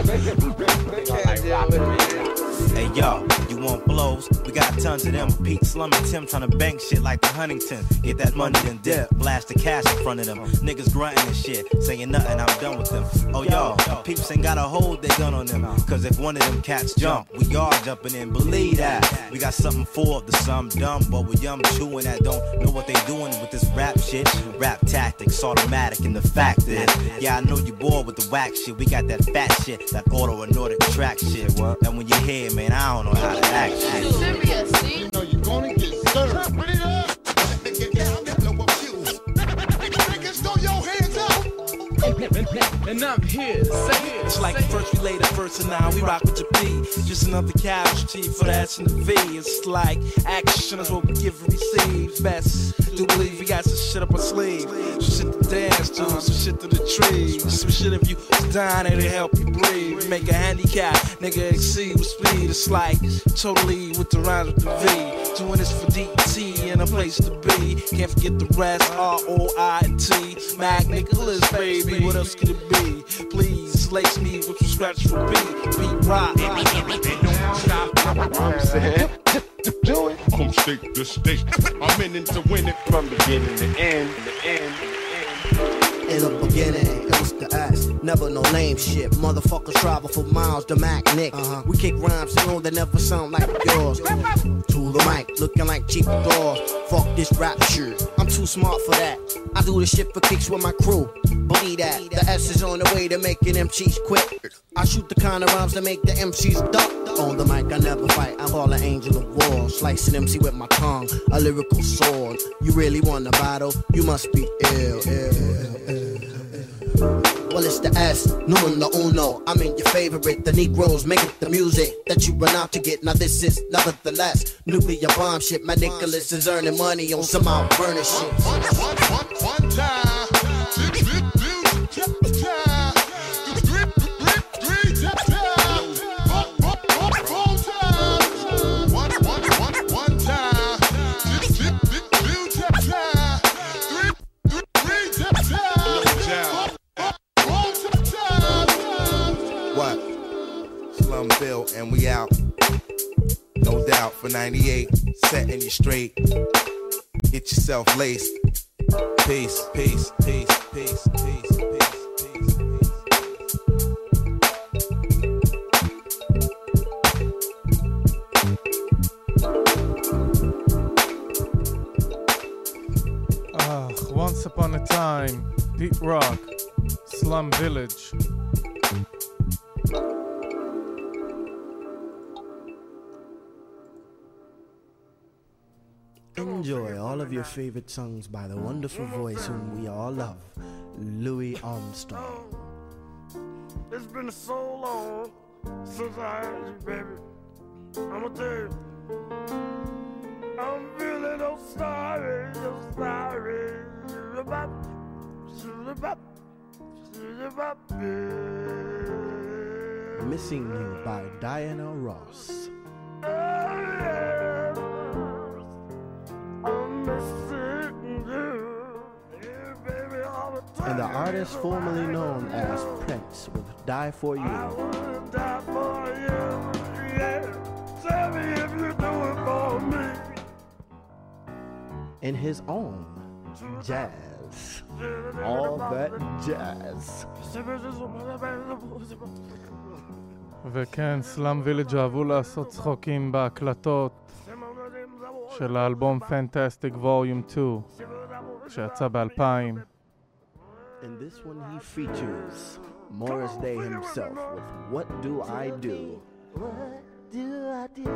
Hey, yo, you want blows? We got tons of them. Pete Slum and Tim trying to bank shit like the Huntington. Get that money then dip. Blast the cash in front of them. Niggas grunting and shit. Saying nothing, I'm done with them. Oh, yo, peeps ain't gotta hold their gun on them. Cause if one of them cats jump, we are jumping in. Believe that. We got something for the some dumb, but we young chewing that don't know what they doing with this rap shit. Rap tactics, automatic, and the fact is, yeah, I know you bored with the whack shit. We got that fat shit, that auto and Nordic track shit. And when you hear, man, I don't know how to act shit. Serious, see? You know you're gonna get served. Put it up. Niggas, throw your hands up. And I'm here, say it. It's like first we laid the first and now we rock with your P. Just another casualty for the S and the V. It's like action is what we give and receive. Best do believe we got some shit up our sleeve. Some shit to dance to, some shit to the trees. Some shit if you dying it'll help you breathe. Make a handicap, nigga exceed with speed. It's like totally with the rhymes with the V. Doing this for D T and a place to be. Can't forget the rest, R O I T. Mac Nicholas, baby, what else could it be? Please lace me with some scratch for beat. Beat rock. I'm saying, do it. From state to state, I'm in it to win it from beginning to end. The end. In the beginning, it was the ass. Never no lame shit. Motherfuckers travel for miles to Mac Nick. Uh-huh. We kick rhymes you know, that never sound like yours. To the mic, looking like cheap doors. Fuck this rap shit. I'm too smart for that. I do this shit for kicks with my crew. Believe that. The S is on the way to making them cheats quit. I shoot the kind of rhymes that make the M Cs duck. On the mic, I never fight. I'm all an angel of war. Slicing M C with my tongue, a lyrical sword. You really want to battle? You must be ill, ill, ill. Well, it's the S, numero uno. I'm in your favorite. The Negroes making the music that you run out to get. Now this is nevertheless nuclear bomb shit. My Nicholas is earning money on some out burner shit. One, one, one, one time. Slumville and we out. No doubt for ninety-eight, setting you straight. Get yourself laced. Peace, peace, peace, peace, peace, peace, peace, peace. Ah, Once Upon a Time, Deep Rock, Slum Village. Enjoy all of your favorite songs by the wonderful voice whom we all love, Louis Armstrong. It's been so long since I had you, baby. I'ma tell you, I'm feeling so sorry, so sorry. Missing You by Diana Ross. And the artist formerly known as Prince with Die For You. I wanna die for you, yeah. Tell me if you do it for me. in his own jazz. All that jazz. וכן, סלאם וילג' אהבו לעשות צחוקים בהקלטות של האלבום Fantastic Volume two שיצא ב-אלפיים. In this one he features Morris Day himself with What Do I Do? What do I do?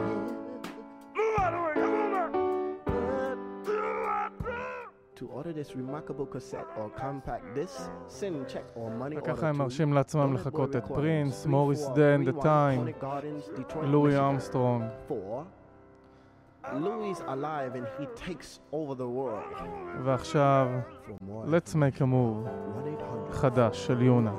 To order this remarkable cassette or compact disc, send check or money order וככה הם to מרשים לעצמם לחכות את פרינס, מוריס דיי and the Time, לואי ארמסטרונג. Louis alive and he takes over the world. ועכשיו, let's make a move חדש של יונה.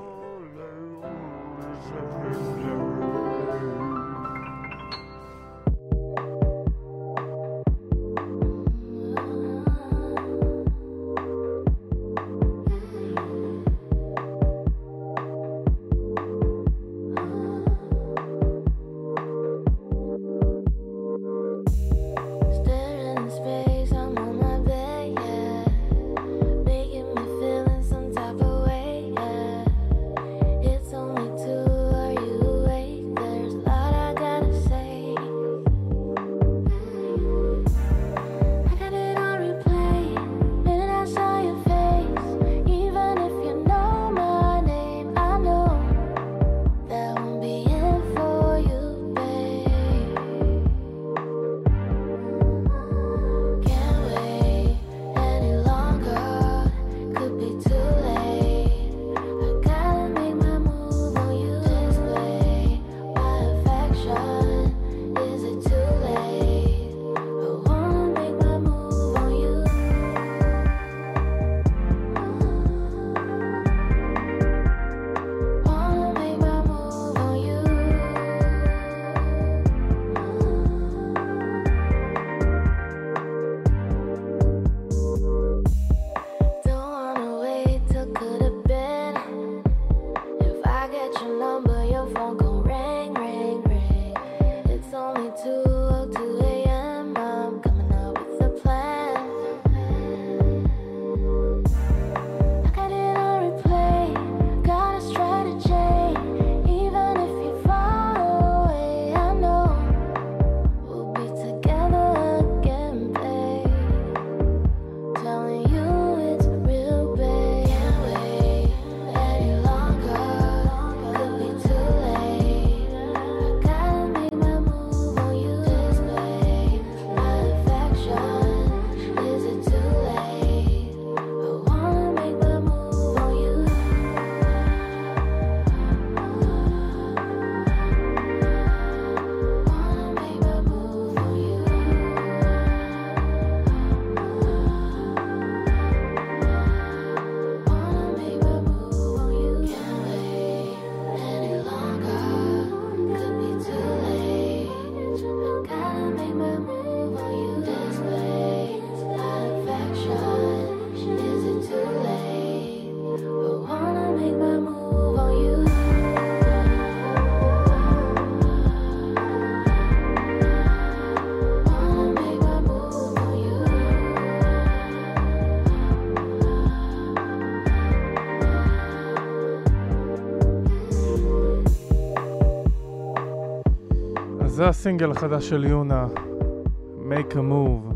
זה הסינגל החדש של יונה, Make a Move.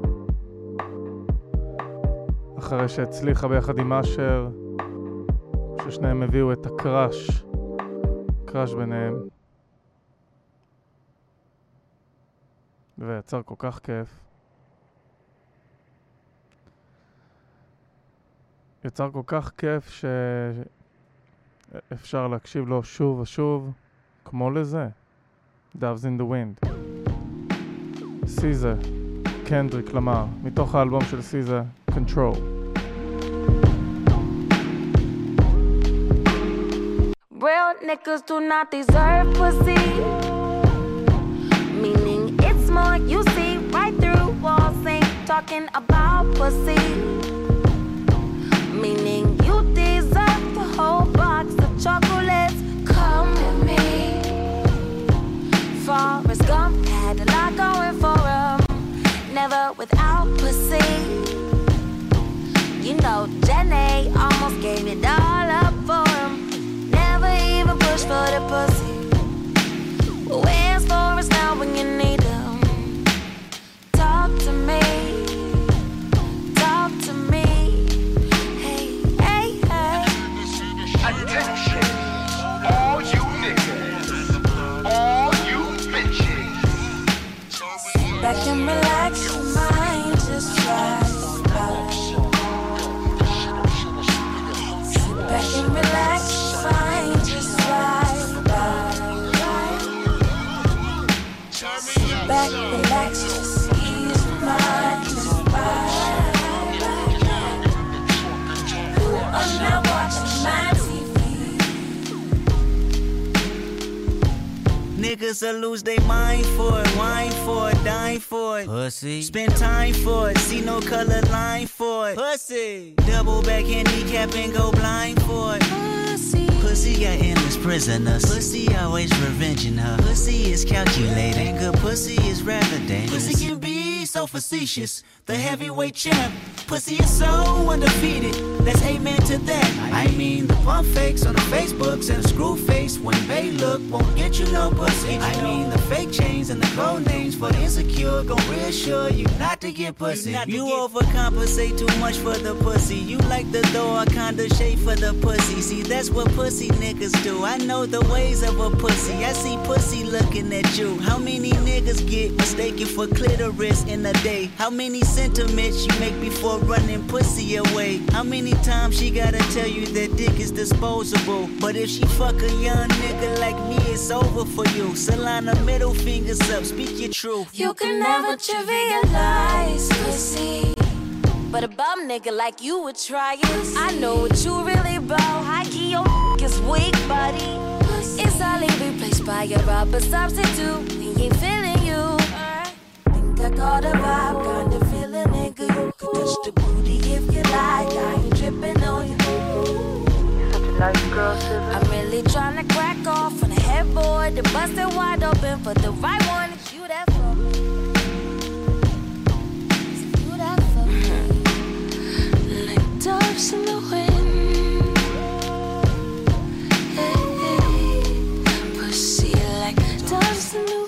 אחרי שהצליחה ביחד עם אשר, ששניהם הביאו את הקראש, קראש ביניהם. ויצר כל כך כיף. יצר כל כך כיף שאפשר להקשיב לו שוב ושוב, כמו לזה. Doves in the Wind. סיזה, קנדריק למר, מתוך האלבום של סיזה, Control. Real niggas do not deserve pussy. Meaning it's more you see right through walls, ain't talking about pussy. Meaning you deserve the whole box of chocolates. Come with me. Forrest Gump had a lot going for him. together without pussy. You know, Jenny almost gave it all up for him. Never even pushed for the pussy. But where's Forrest now when you need him? Talk to me. Talk to me. Hey, hey, hey. Attention, all you niggas, all you bitches. Sit back and relax your mind, just try. Back and relax, fine, just ride by. Sit back, relax, just ease your mind and ride by. I'm not watching my T V. Niggas will lose their mind for it, wine for it, dine for it. Pussy. Spend time for it, see no color line for it. Pussy. Double back handicap and go blind for it. Pussy. Pussy got endless prisoners. Pussy always revenging her. Pussy is calculating. Good pussy is rather dangerous. Pussy can be so facetious. The heavyweight champ. Pussy is so undefeated. Let's amen to that. I mean the pump fakes on the Facebooks and the screw face when they look won't get you no pussy. I mean the fake chains and the code names for the insecure gon' reassure you not to get pussy. You, you get overcompensate too much for the pussy. You like the door kinda shape for the pussy. See that's what pussy niggas do. I know the ways of a pussy. I see pussy looking at you. How many niggas get mistaken for clitoris in a day? How many sentiments you make before running pussy away? How many times she gotta tell you that dick is disposable? But if she fuck a young nigga like me, it's over for you. Solana, middle fingers up, speak your truth. You can never trivialize pussy, but a bum nigga like you would try it. I know what you really about. High key, your is weak, buddy. It's only replaced by a rubber substitute. We ain't feeling you. Think I got a vibe, kinda feeling nigga. You could touch the booty if you like. I ain't tripping on you. Such a nice girl, I'm really trying to crack off on the headboard. The bust it wide open for the right one. It's you that for me. It's you that for me. Like doves in the wind. Hey, hey. Pussy like doves in the wind.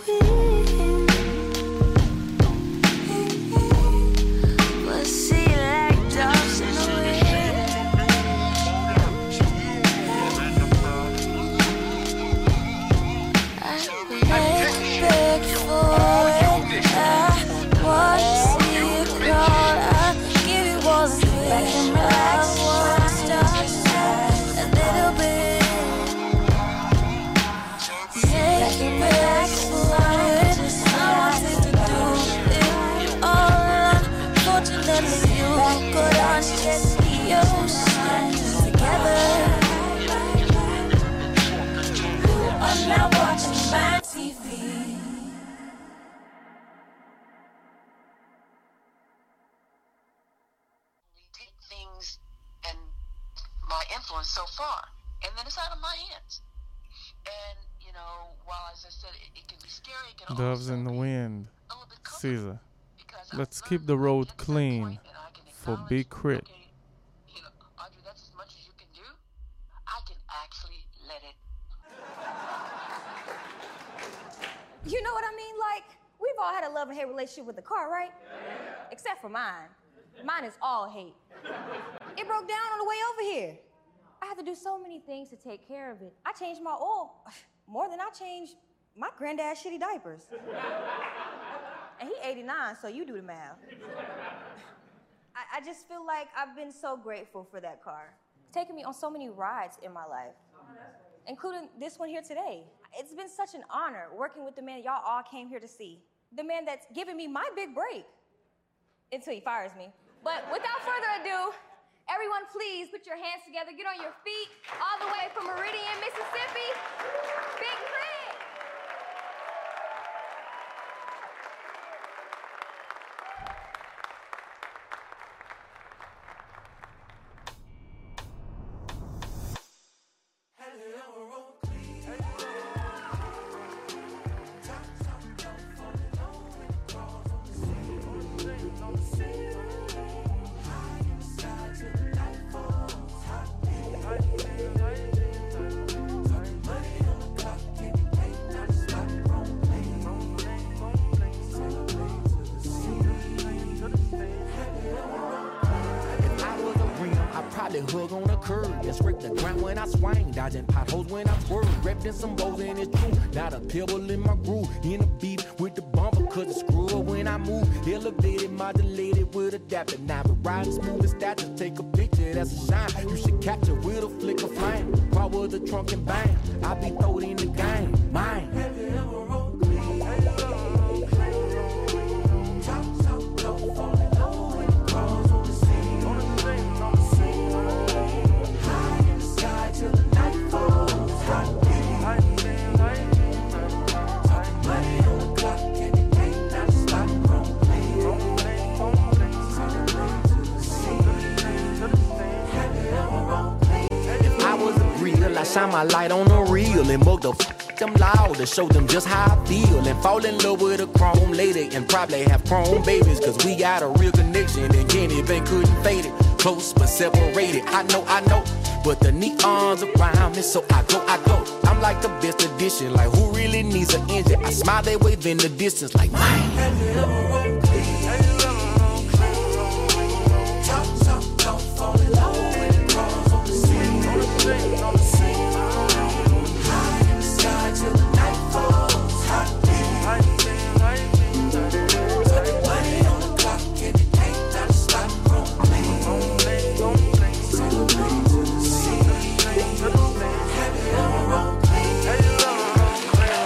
So far, and then it's out of my hands. And you know, while as I said, it, it can be scary. It can Doves in the wind. Caesar. Let's keep the road clean for Big Crit. Okay, you know, Audrey, that's as much as you can do. I can actually let it. You know what I mean? Like, we've all had a love and hate relationship with the car, right? Yeah. Except for mine. Mine is all hate. It broke down on the way over here. I had to do so many things to take care of it. I changed my oil more than I changed my granddad's shitty diapers. And he eighty-nine, so you do the math. I, I just feel like I've been so grateful for that car. It's taken me on so many rides in my life, including this one here today. It's been such an honor working with the man y'all all came here to see. The man that's giving me my big break until he fires me. But without further ado, everyone, please put your hands together, get on your feet, all the way from Meridian, Mississippi, Big Crit. hug on the curb. And scrape the ground when I swing. Dodging potholes when I swerve. Wrapped in some bows and it's true. Not a pebble in my groove. In a beef with the bumper, cause it's screw up when I move. Elevated, modulated with adapter. Now but riding smooth as that. Just take a picture, that's a shine. You should capture with a flick of flame. Power the trunk and bang. I be throwed in the game. Mine. Have you ever rolled me? Top, top, top, falling low and crawls on the scene. On the scene, on the scene. High in the sky till the night falls. Hot beat. High beat, high beat. Talking money on the clock and it ain't not stop. Rolling, rolling, rolling. Celebrate to the scene. Have you ever rolled me? If I was a real, I shine my light on the real and mug the f them loud to show them just how I feel and fall in love with a chrome lady and probably have chrome babies cause we got a real connection and Kenny Bank couldn't fade it. Close but separated, I know, I know, but the neons around me, so I go, I go. I'm like the best edition, like who really needs an engine? I smile, they wave in the distance like mine. Have you ever rolled clean? Have you ever rolled clean? Top, top, top, falling low when it crawls on the scene. On the scene, on the scene. Till the night falls, hot beat, hot beat, hot beat. Talking money on the clock and it ain't not stop. Rolling, rolling, rolling. Celebrate to the scene. Have you ever rolled clean? Have you ever rolled clean?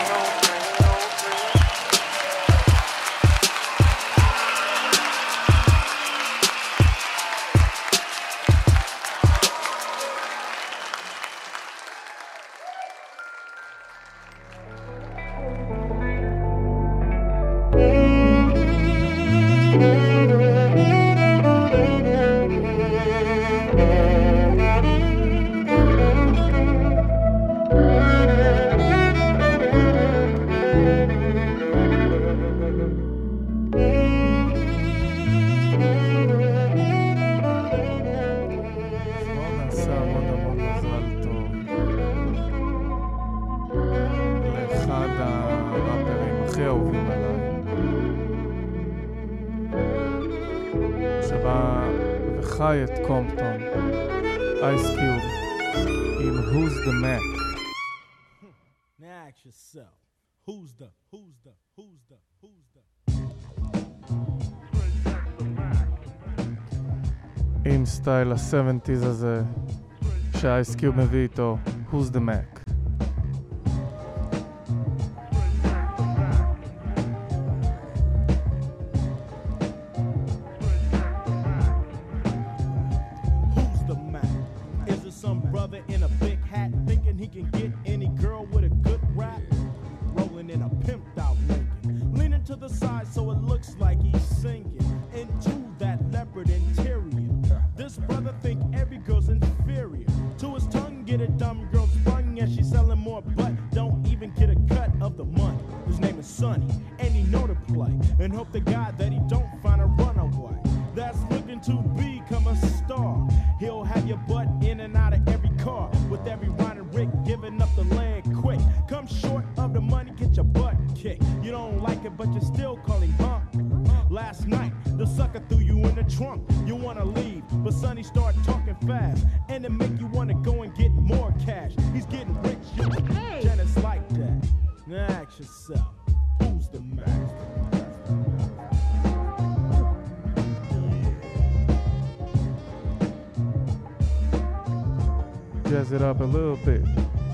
חי את קומפטון, אייס קיוב, עם Who's the Mac. Now ask yourself, who's the, who's the, who's the, who's the? עם סטייל ה-שבעים הזה, שהאייס קיוב מביא איתו, Who's the Mac. Jazz it up a little bit.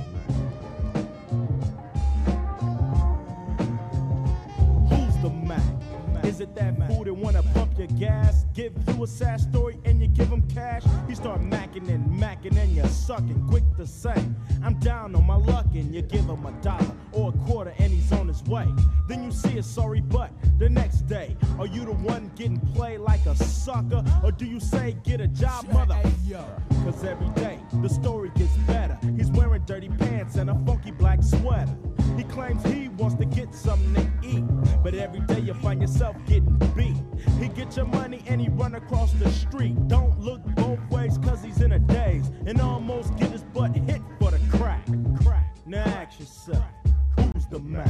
Who's the Mac? Is it that fool that wanna pump your gas? Give you a sad story and you give him cash? You start macking and macking and you're sucking. Quick to say, I'm down on my luck and you give him a dollar or a quarter and he's on his way. Then you see a sorry butt the next day. Are you the one getting played like a sucker? Or do you say get a job, mother? Cause every day the story gets better. He's wearing dirty pants and a funky black sweater. He claims he wants to get something to eat, but every day you find yourself getting beat. He get your money and he run across the street. Don't look both ways cause he's in a daze and almost get his butt hit for the crack. Crack. Now ask yourself, who's the Mac?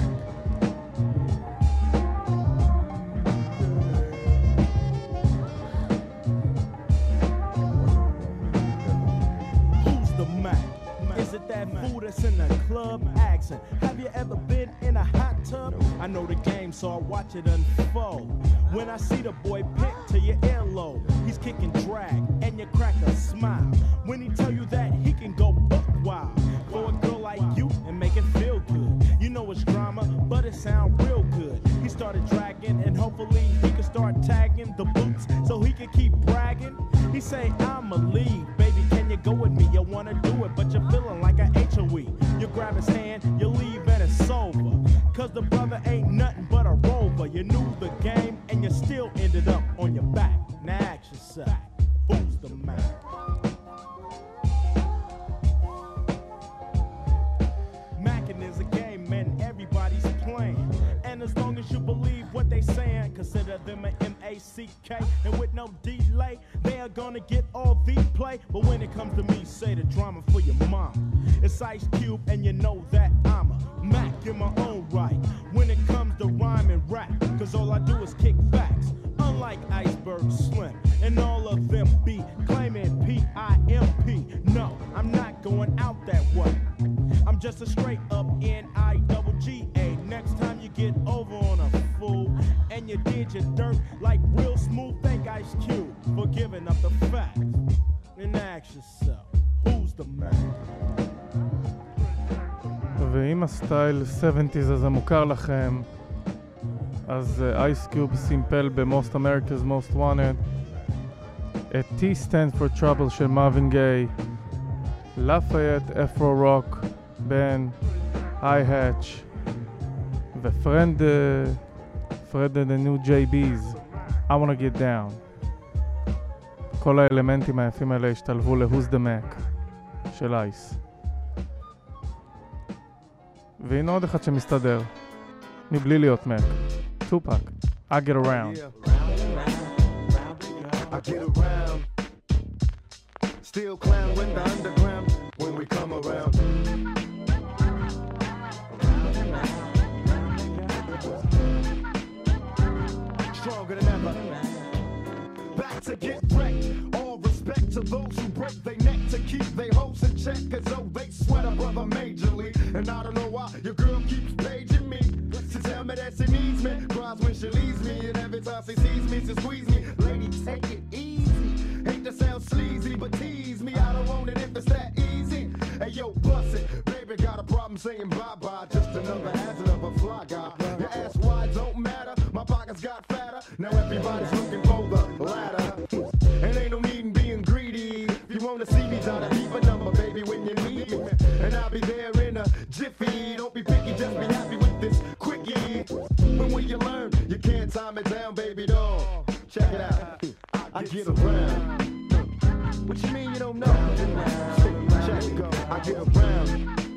Jackson. Have you ever been in a hot tub? I know the game, so I watch it unfold. When I see the boy pick to your earlobe, he's kicking drag, and you crack a smile. When he tell you that he can go buck wild for a girl like you and make it feel good. You know it's drama, but it sound real good. He started dragging, and hopefully he can start tagging the boots so he can keep bragging. He say, I'ma leave, baby, can you go with me? You wanna do it, but you're feeling like a H O E. You grab his hand, you leave, and it's over. Cause the brother ain't nothing but a rover. You knew the game, and you still ended up on your back. Now ask yourself, who's the man? Mackin' is a game, and everybody's playing. And as long as you believe what they saying, consider them an M A C K. And with no delay, they are gonna get all the play. But when it comes to me, say the drama for your mom. It's Ice Cube, and you know that I'm a Mac in my own right. When it comes to rhyme and rap, cause all I do is kick facts. Unlike Iceberg Slim, and all of them be claiming P I M P. No, I'm not going out that way. I'm just a straight up N I double G A. Next time you get over on a fool, and you did your dirt like real smooth, thank Ice Cube for giving up the facts. And ask yourself, who's the man? ואם הסטייל שבעים הזה מוכר לכם, אז Ice Cube סימפל ב-Most America's Most Wanted את T Stands for Trouble של מרווין גיי, לפייט, אפרו רוק, בן, I-Hatch ופרנד פרד the new J B's I Wanna Get Down. כל האלמנטים היפים האלה השתלבו ל-Who's the Mac של אייס. והנה עוד אחד שמסתדר מבלי להיות מק, טופק, I Get Around. I get around, still clown with the underground when we come around. Stronger than ever, back to get wrecked. All respect to those who break their neck to keep their hopes in check, cause though they sweat a brother majorly. And I don't know why your girl keeps paging me to tell me that she needs me, cries when she leaves me, and every time she sees me she squeeze me. Lady, take it easy, hate to sound sleazy, but tease me, I don't want it if it's that easy. Hey yo, bust it, baby got a problem saying bye-bye, just another hazard of a fly guy. Your ass wide don't matter, my pockets got fatter, now everybody's looking for the ladder. And ain't no need in being greedy, if you wanna see me, try to keep a number, baby, when you need me. And I'll be there in a jiffy, don't be picky, just be happy with this quickie. When will you learn? You can't time it down, baby doll. Check it out, I get around. What you mean you don't know? Check it go, I get around.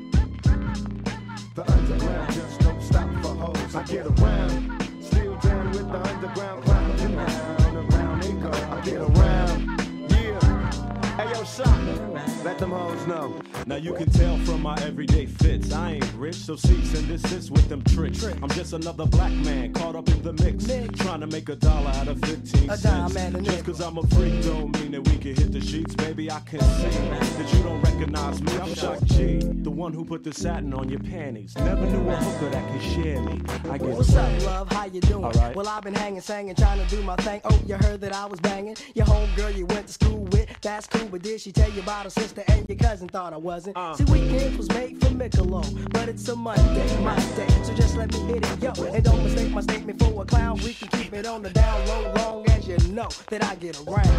The underground just don't stop for hoes. I get around, still down with the underground clown. Around, around they go, I get around. Yeah, hey yo, shot, let them hoes know. Now you can tell from my everyday fits, I ain't rich, so cease and desist with them tricks. I'm just another black man caught up in the mix, trying to make a dollar out of fifteen a cents. dime and a Just cause I'm a freak don't mean that we can hit the sheets. Baby, I can see that you don't recognize me. I'm Shock G, the one who put the satin on your panties. Never knew a hooker that could share me. I get What's up, love? How you doing? All right. Well, I've been hanging, singing, trying to do my thing. Oh, you heard that I was banging your homegirl you went to school with. That's cool, but did she tell you about her sister and your cousin? Thought I wasn't. Uh. See, weekends was made for Michelob, but it's a Monday, my day. So just let me hit it, yo. And don't mistake my statement for a clown. We can keep it on the down low, long as you know that I get around.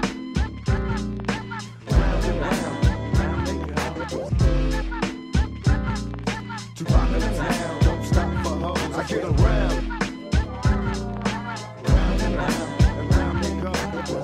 Round and round, round they go. Too popular now, don't stop for hoes. I get around. Round and round, and round they go.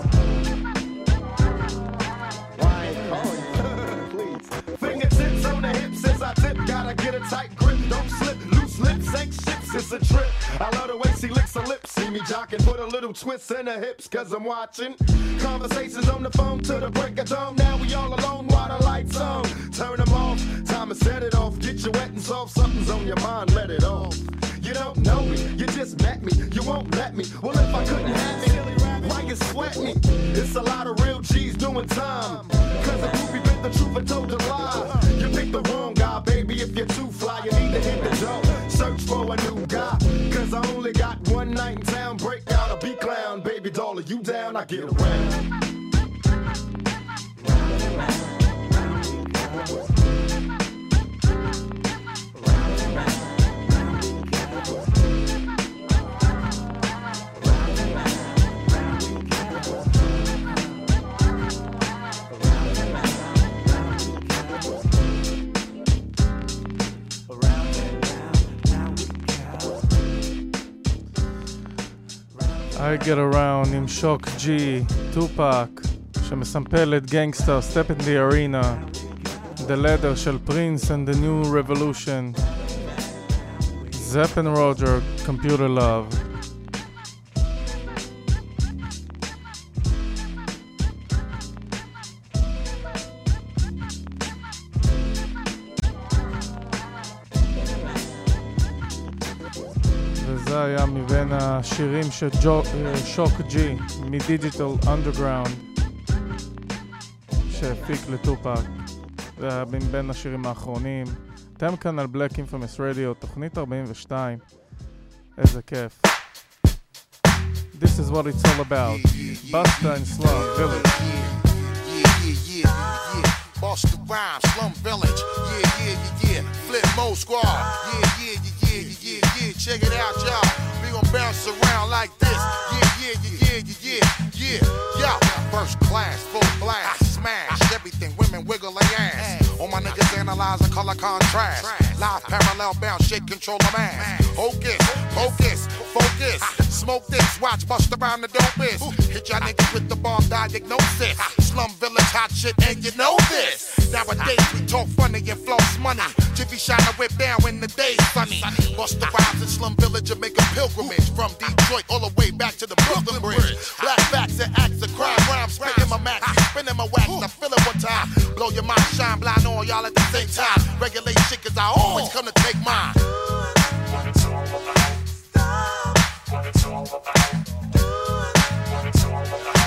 Why ain't calling? Please. Fingertips on the hips as I tip. Gotta get a tight grip, don't slip. Loose lips ain't ships, it's a trip. I love the way she licks her lips. See me jocking, put a little twist in her hips, cause I'm watching. Conversations on the phone to the break of dawn. Now we all alone while the lights on. Turn them off, time to set it off. Get you wet and soft, something's on your mind, let it off. You don't know me, you just met me, you won't let me. Well, if I couldn't have me, why you sweat me? It's a lot of real G's doing time. Cause the groupie bit the truth and told a lie. You picked the wrong guy, baby, if you're too fly. You need one night in town, break out a B-clown. Baby doll, are you down? I get around. I Get Around עם שוק ג'י, טופק, שמסמפל את גנגסטר, Step in the Arena, The Leather של Prince and the New Revolution, Zapp and Roger, Computer Love. וזה היה מבין השירים של שוק ג'י מדיגיטל אנדרגראונד שהפיק לטופק. זה היה מבין השירים האחרונים. אתם כאן על Black Infamous Radio, תוכנית ארבעים ושתיים. איזה כיף. This is what it's all about. Busta and Slum Village. Yeah, yeah, yeah, yeah. Busta Rhymes, Slum Village. Yeah, yeah, yeah, yeah. Flip Mode Squad. Yeah, yeah, yeah, yeah, yeah, yeah. Check it out, y'all. We gon' bounce around like this. Yeah, yeah, yeah, yeah, yeah, yeah, yeah. Yo, first class, full blast, smash everything. Women wiggle their ass. All my niggas analyzing color contrast. Live parallel bounce, shake, control the mass. Hocus, focus, focus. Smoke this, watch bust around the dopest. Hit y'all niggas with the bomb diagnosis. Slum Village hot shit, and you know this. Nowadays we talk funny and floss money. Jiffy shine a whip down when the day's sunny. Bust the rhymes in Slum Village and make a pilgrimage from Detroit all the way back to the Brooklyn Bridge. Black facts and acts of crime, rhymes, spitting my max, spinning my wax. I feel it one time. Blow your mind, shine blind on y'all at the same time. Regulate shit, cause I always come to take mine. What it's all about. What it's all about. What it's all about.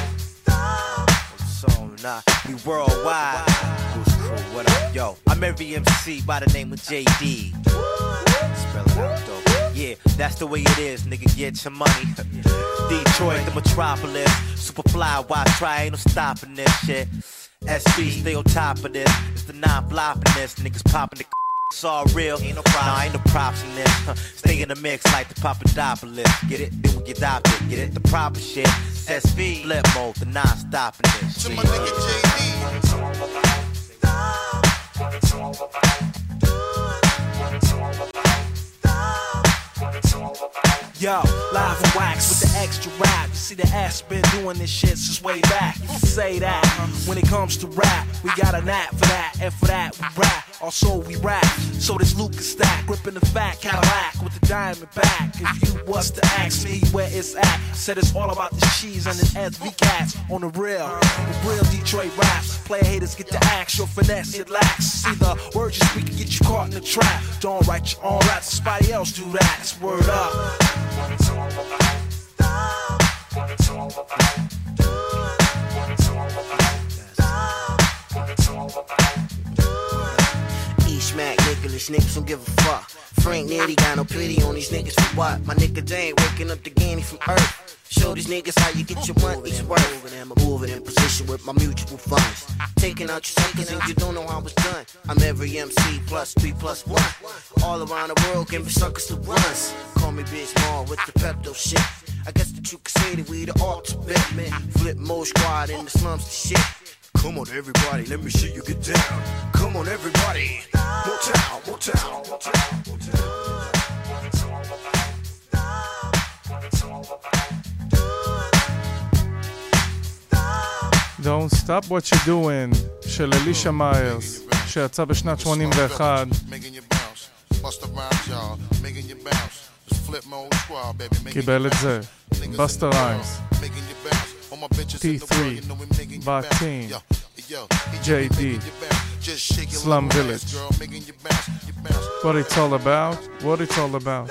So nah, we worldwide. Who's crew? What up, yo? I'm every M C by the name of J D. Spell it out, though. Yeah, that's the way it is, nigga. Get your money. Detroit, the metropolis. Superfly, why try? Ain't no stopping this shit. S B, stay on top of this. It's the non-flopping this. Niggas popping the. It's all real. Ain't no problem. Nah, ain't no props in this. Stay in the mix like the Papadopoulos. Get it? Then we get adopted. Get it? The proper shit. S V, flip mode, the non-stopping this. To my nigga J D. What it's all about. What it's all about. What it's all about. What it's all about. Yo, live and wax with the extra rap. You see the ass been doing this shit since way back. You can say that. When it comes to rap, we got a knack for that. And for that, we rap. Also, we rap. So this Lucas stack, gripping the fat Cadillac with the diamond back. If you was to ask me where it's at, said it's all about the cheese and the S V cats on the real. The real Detroit raps. Player haters get the axe, your finesse it lacks. See the words you speak can get you caught in the trap. Don't write your own raps, somebody else do that. It's word up. What it's all about. What it's all about. What it's all about. What it's all about. Smack Nicholas, niggas don't give a fuck. Frank Nitty got no pity on these niggas for what? My nigga Dane waking up the Ganny from Earth. Show these niggas how you get your money's worth. Moving in position with my mutual funds. Taking out your suckers and you don't know how it's done. I'm every M C plus three plus one. All around the world giving suckers the runs. Call me Big Small with the Pepto shit. I guess that you could say that we the ultimate. Flip Mode Squad in the slums to shit. Come on everybody, let me see you get down. Come on everybody. Motown, Motown, Motown, Motown. Don't Stop What You Doing של אלישה מיירס שיצא בשנת שמונים ואחת. קיבל את זה בסטה ריימס T three Batim J D Slum Village. What it's all about, what it's all about.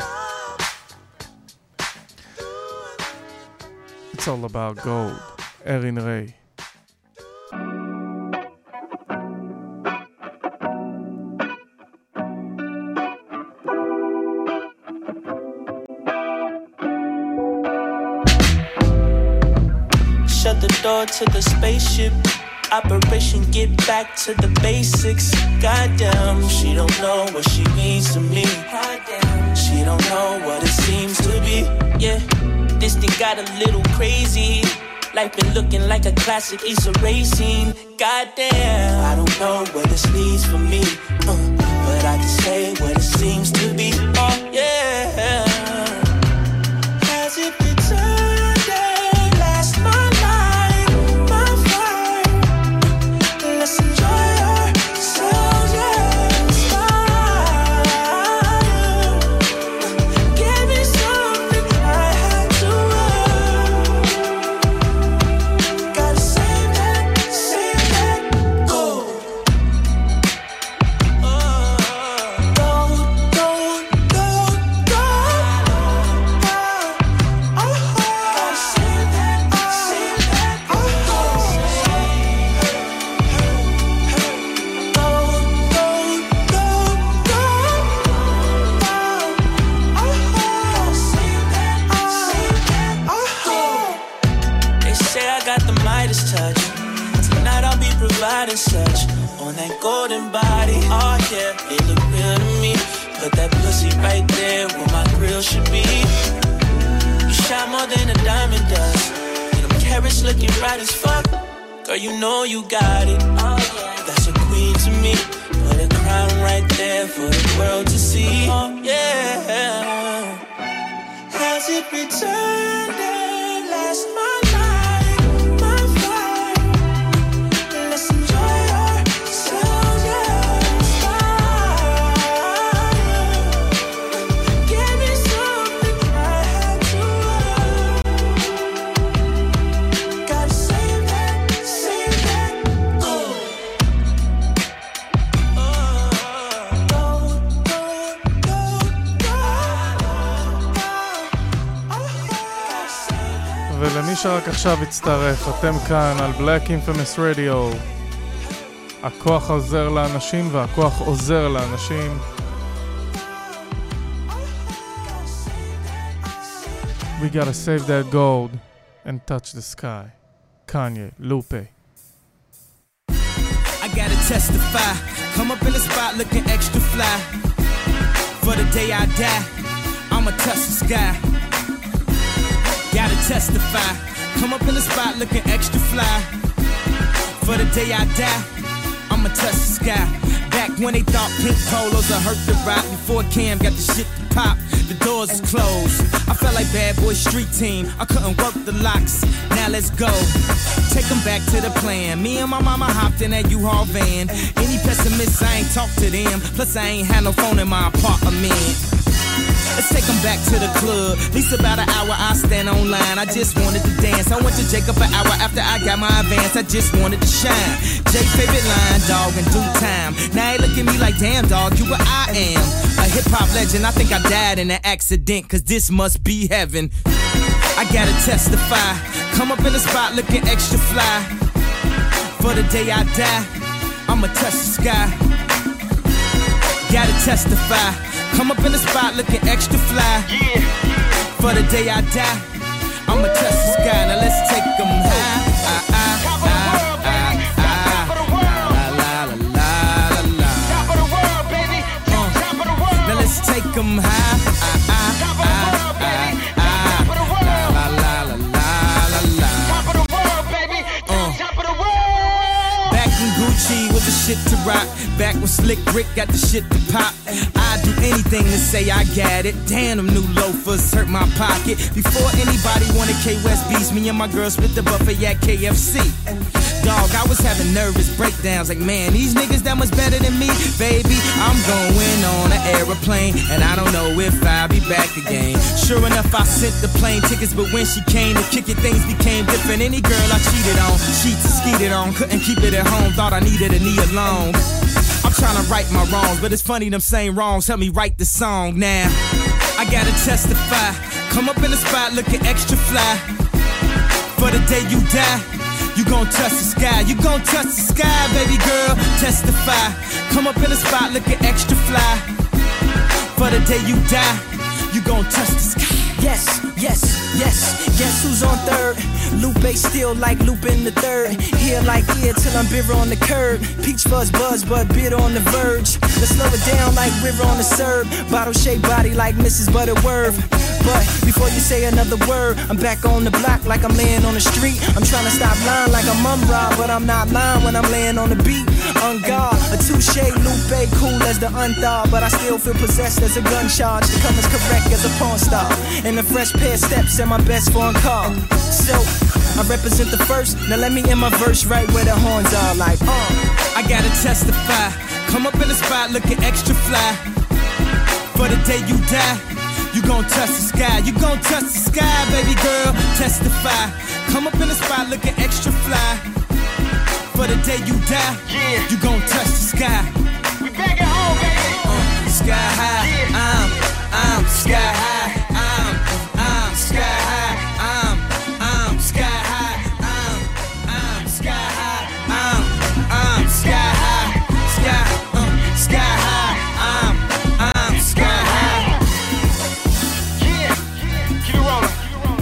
It's all about gold. Erin Ray. shut the door to the spaceship. Operation get back to the basics. Goddamn, she don't know what she means to me. She don't know what it seems to be. Yeah, this thing got a little crazy. Life been looking like a classic Issa Rae scene. Goddamn, I don't know where this leads for me, uh, but I can say what it seems to be. Oh yeah. Has it been Sunday? Last my life, my fire. Let's enjoy ourselves, yeah. Inspire. Give me something I had to earn. Gotta save that, save that gold. Providing such on that golden body, oh yeah, it look real to me. Put that pussy right there where my grill should be. You shine more than a diamond does. And them carrots looking right as fuck. Girl, you know you got it. Oh yeah, that's a queen to me. Put a crown right there for the world to see. Oh yeah. Has it returned and last my ולמי שרק עכשיו הצטרף, אתם כאן על Black Infamous Radio. הכוח עוזר לאנשים והכוח עוזר לאנשים. We gotta save that gold and touch the sky. Kanye, Lupe. I gotta testify. Come up in the spot looking extra fly. For the day I die, I'ma touch the sky. Gotta testify. Come up in the spot looking extra fly. For the day I die, I'ma touch the sky. Back when they thought pink polos would hurt the rock. Before Cam got the shit to pop, the doors is closed. I felt like Bad Boy Street Team. I couldn't work the locks. Now let's go. Take them back to the plan. Me and my mama hopped in that U-Haul van. Any pessimists, I ain't talk to them. Plus I ain't had no phone in my apartment. Let's take them back to the club. At least about an hour I stand online. I just wanted to dance. I went to Jacob an hour after I got my advance. I just wanted to shine. Jake favorite line, dog, in due time. Now he look at me like, damn, dog, you what I am. A hip-hop legend. I think I died in an accident, cause this must be heaven. I gotta testify. Come up in the spot looking extra fly. For the day I die, I'ma touch the sky. Gotta testify. Come up in the spot looking extra fly. Yeah. For the day I die, I'ma touch the sky. Now let's take them high. Ah, ah, ah, ah, ah. La, la, la, la, la, la. Top of the world, baby. Uh. Top of the world. Now let's take them high. Ah, ah, top of the world, baby. Top of the world. La, la, la, la, la, la. Top of the world, baby. Uh. Top of the world. Back in Gucci with the shit to rock. Back when Slick Rick got the shit to pop. I'd do anything to say I got it. Damn, them new loafers hurt my pocket. Before anybody wanted K-West beats, me and my girl split the buffet at K F C. Dog, I was having nervous breakdowns. Like, man, these niggas that much better than me. Baby, I'm going on an aeroplane, and I don't know if I'll be back again. Sure enough, I sent the plane tickets, but when she came to kick it, things became different. Any girl I cheated on, cheats and skeeted on, couldn't keep it at home, thought I needed a knee alone. I'm trying to right my wrongs, but it's funny them same wrongs help me write the song now. I gotta testify. Come up in the spot looking extra fly. For the day you die, you gon' touch the sky. You gon' touch the sky, baby girl. Testify. Come up in the spot looking extra fly. For the day you die, you gon' touch the sky. Yes, yes, yes. Guess who's on third? Lupe still like Lupe in the third. Here like here till I'm bitter on the curb. Peach fuzz buzz but bitter on the verge. Let's slow it down like river on the serve. Bottle shaped body like Missus Butterworth. But before you say another word, I'm back on the block like I'm laying on the street. I'm trying to stop lying like I'm Mum-Ra, but I'm not lying when I'm laying on the beat. On guard, a touche, Lupe, cool as the unthaw, but I still feel possessed as a gun charge. To come as correct as a porn star, and a fresh pair of steps and my best foreign car. So I represent the first. Now let me end my verse right where the horns are. Like, uh, I gotta testify. Come up in the spot looking extra fly. For the day you die, you gon' touch the sky. You gon' touch the sky, baby girl. Testify. Come up in the spot looking extra fly. For the day you die, yeah, you gon' touch the sky. We back at home, baby. Uh, sky high, yeah. I'm, I'm sky high. I'm, I'm sky high. I'm, I'm sky high. I'm, I'm sky high. I'm, I'm sky high. Sky, uh, sky high. I'm, I'm sky high. Yeah, keep it rolling.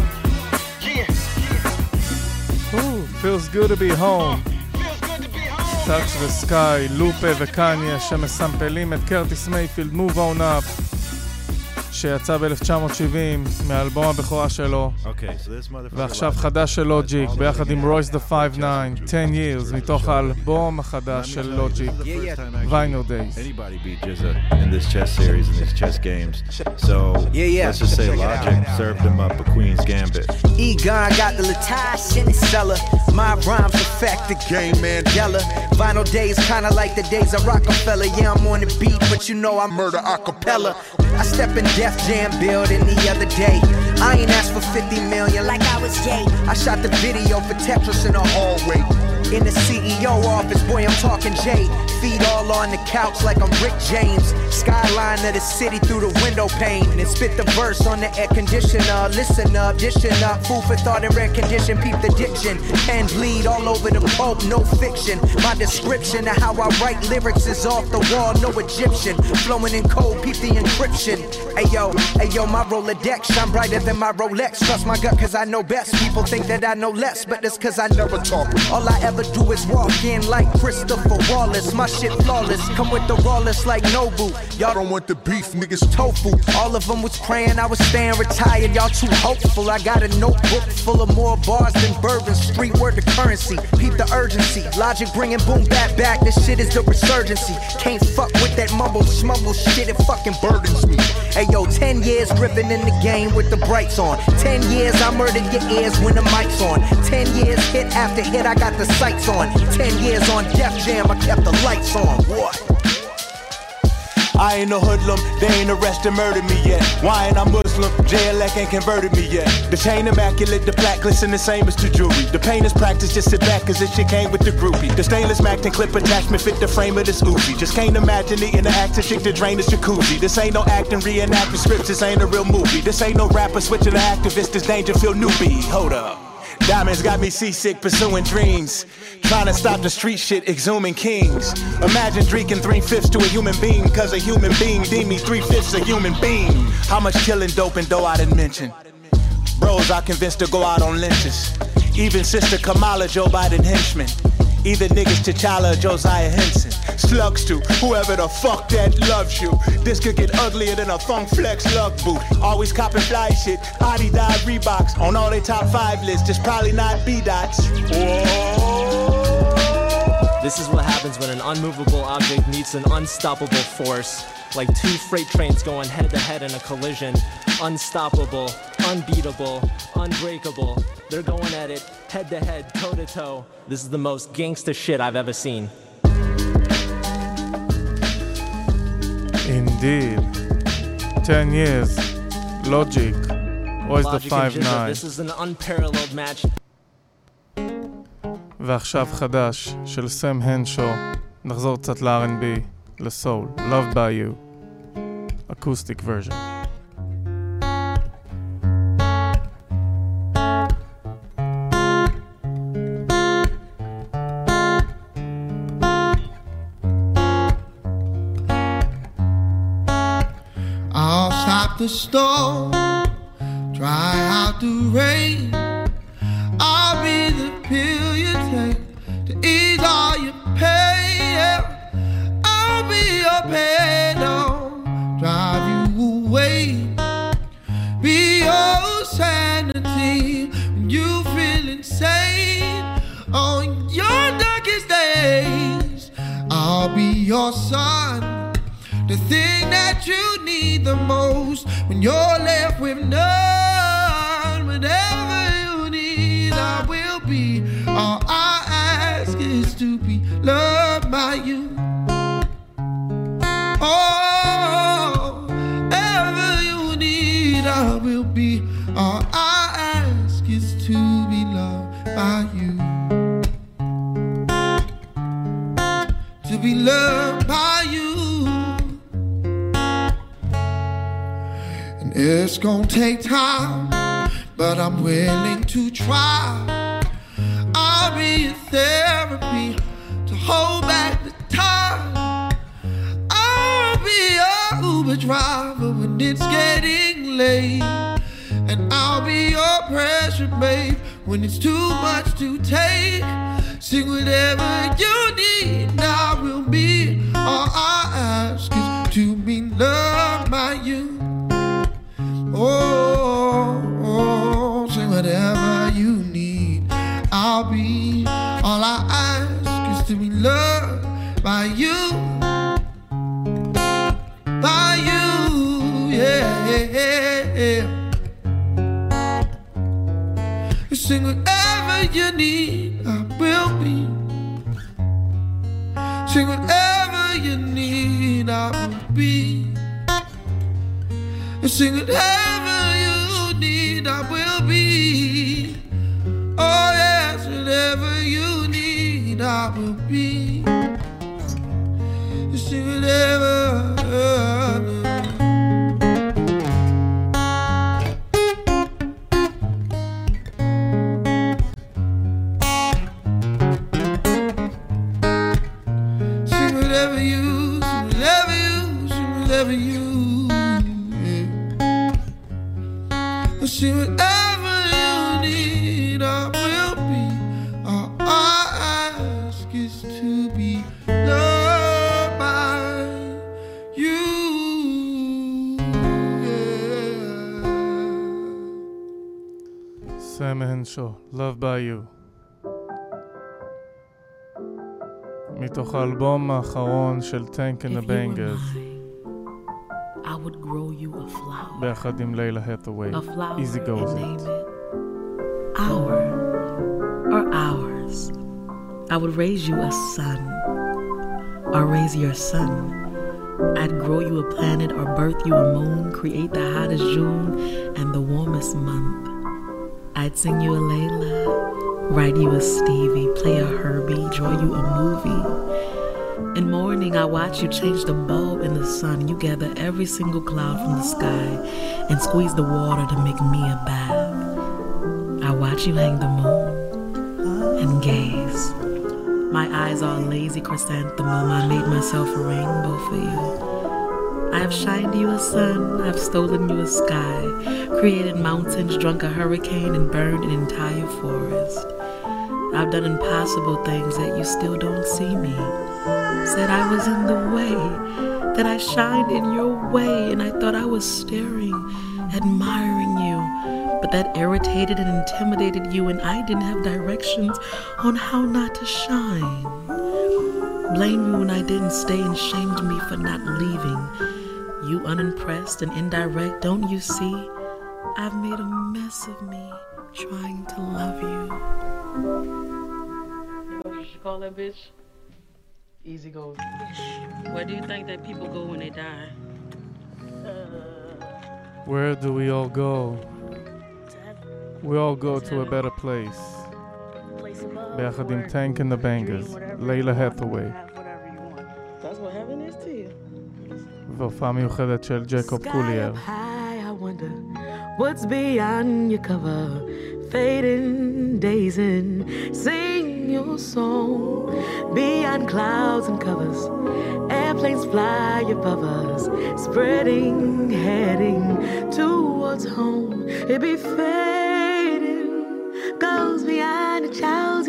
Yeah. Ooh, feels good to be home. Touch the Sky, לופה וקניה שמסמפלים את קרטיס מייפילד Move On Up שיצא ב-אלף תשע מאות שבעים מאלבום הבכורה שלו. ועכשיו חדש של לוג'יק ביחד עם רויס דה פייב ניין, ten years מתוך האלבום החדש של לוג'יק, Vinyl Days. Anybody beat Jizza in this chess series, in these chess games. So yeah, yeah. let's just say Logic served him up a Queen's Gambit. Egon got the Latasha in the cellar. My rhymes affect the game, Mandela. Vinyl Days kinda like the days of Rockefeller. Yeah, I'm on the beat, but you know I murder acapella. I step in Def Jam building the other day. I ain't asked for fifty million like I was Jay. I shot the video for Tetris in the hallway. In the C E O office, boy, I'm talking Jay. Feet all on the couch like I'm Rick James. Skyline of the city through the window pane. And spit the verse on the air conditioner. Listen up, dishing up, food for thought and rare condition. Peep the diction, pen bleed all over the pulp, no fiction. My description of how I write lyrics is off the wall, no Egyptian. Flowing in code, peep the encryption. Ayo, ayo, my Rolodex shine brighter than my Rolex. Trust my gut cause I know best. People think that I know less, but that's cause I never talk. All I ever do is walk in like Christopher Wallace. My shit flawless, come with the rawless like Nobu. Y'all don't want the beef, niggas tofu. All of them was praying I was staying retired. Y'all too hopeful. I got a notebook full of more bars than bourbon. Street word to currency, peep the urgency. Logic bringing boom back back. This shit is the resurgency. Can't fuck with that mumble smumble shit. It fucking burdens me. Hey yo, ten years gripping in the game with the brights on. Ten years I murdered your ears when the mic's on. Ten years hit after hit I got the sights on. Ten years on Def Jam I kept the lights on. What? I ain't no hoodlum, they ain't arrested, murdered me yet. Why ain't I Muslim? J L A ain't converted me yet. The chain immaculate, the plaque glisten the same as the jewelry. The pain is practice, just sit back cause this shit came with the groupie. The stainless Mac and clip attachment fit the frame of this Uzi. Just can't imagine the interactive chick to drain this jacuzzi. This ain't no acting, reenacting scripts, this ain't a real movie. This ain't no rapper switching to activist, this Dangerfield newbie. Hold up. Diamonds got me seasick, pursuing dreams. Trying to stop the street shit, exhuming kings. Imagine drinking three-fifths to a human being, cause a human being deemed me three-fifths a human being. How much killing, dope, and dough I didn't mention. Bros I convinced to go out on lynches. Even Sister Kamala, Joe Biden henchman. Either niggas T'Challa or Josiah Henson. Slugs to whoever the fuck that loves you. This could get uglier than a Funk Flex lug boot. Always copping fly shit. Adidas Reeboks on all they top five lists. Just probably not B-Dots. This is what happens when an unmovable object meets an unstoppable force. Like two freight trains going head to head in a collision. Unstoppable, unbeatable, unbreakable. They're going at it head to head, toe to toe. This is the most gangsta shit I've ever seen. Indeed. ten years. Logic. Royce the five nine. This is an unparalleled match. ועכשיו חדש של סם הנשו. נחזור קצת ל-אר אנד בי, לסול. Loved by You. Acoustic version. I'll stop the storm, dry out the rain. I'll be the pill you take to ease all your pain. Yeah. I'll be your pedal, drive you away. Be your sanity when you feel insane. On your darkest days, I'll be your sun, the thing that you need the most when you're left with none. Whatever you need, I will be. All I ask is to be loved by you. Oh, whatever you need, I will be. All I ask is to be loved by you. To be loved by you. And it's gonna take time, but I'm willing to try. I'll be your therapy to hold back the time. I'll be your Uber driver when it's getting late. And I'll be your pressure babe when it's too much to take. Sing whatever you need, I will be. All I ask is to be loved by you. Oh, oh, sing whatever you need, I'll be. All I ask is to be loved by you. By you, yeah, yeah, yeah. Sing whatever you need, I will be. Sing whatever you need, I will be. Sing whatever you need, I will be. Oh yes, whatever you need, I will be. Sing whatever. See whatever you need, I will be. All I ask is to be loved by you. Sam Henshaw, Love by You. מתוך האלבום האחרון של Tank and the Bangers. I would grow you a flower. ביחד עם לילה הטווי. A flower. Easy goes and it. name it our or ours. I would raise you a son or raise your son. I'd grow you a planet or birth you a moon, create the hottest June and the warmest month. I'd sing you a Layla, write you a Stevie, play a Herbie, draw you a movie. In morning, I watch you change the bulb in the sun. You gather every single cloud from the sky and squeeze the water to make me a bath. I watch you hang the moon and gaze. My eyes are lazy chrysanthemum. I made myself a rainbow for you. I have shined you a sun. I've stolen you a sky, created mountains, drunk a hurricane, and burned an entire forest. I've done impossible things that you still don't see me. Said I was in the way, that I shined in your way, and I thought I was staring, admiring you. But that irritated and intimidated you, and I didn't have directions on how not to shine. Blamed me when I didn't stay and shamed me for not leaving. You unimpressed and indirect, don't you see? I've made a mess of me trying to love you. You know what you should call that bitch? Easy goes. Where do you think that people go when they die? Where do we all go? We all go to a better place. ביחד עם Tank and the Bangers, לילה הטווי. That's what heaven is to you. והופעה מיוחדת של ג'קוב קולייר. What's beyond your cover? fading days and sing your song. Beyond clouds and covers, airplanes fly above us, spreading, heading towards home. It be fading, goes beyond a child's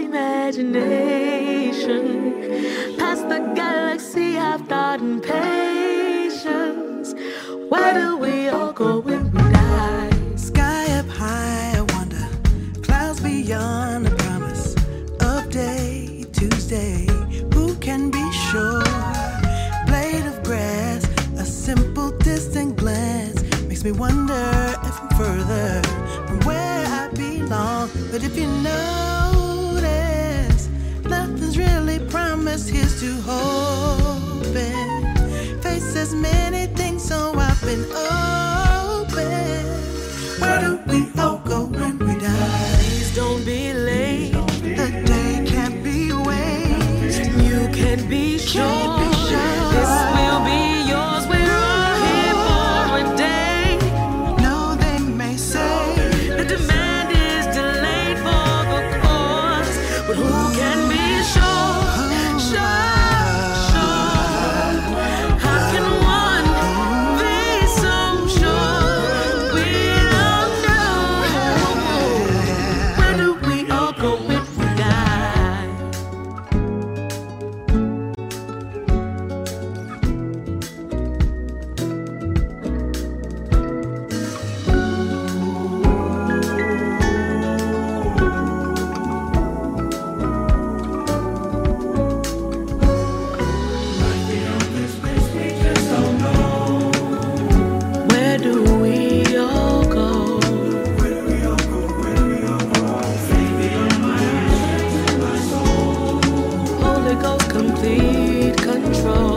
imagination, past the galaxy of thought and patience. Where do we all go when we die? Sky up high, I wonder, clouds beyond the promise of day, Tuesday. Who can be sure? Blade of grass, a simple distant glance makes me wonder if I'm further from where I belong. But if you notice, nothing's really promised. Here's to hoping. Face as many things, so I've been open. Where do we all go when we die? Please don't be late. The day can't be wasted. You can be sure this will be yours. We're all here for a day. No, they may say the demand is delayed for the cause, but who can be sure? Sure, sure. How can one be so sure? We don't know. Where do we all go when we die? Where do we all go? Holy Ghost, complete control.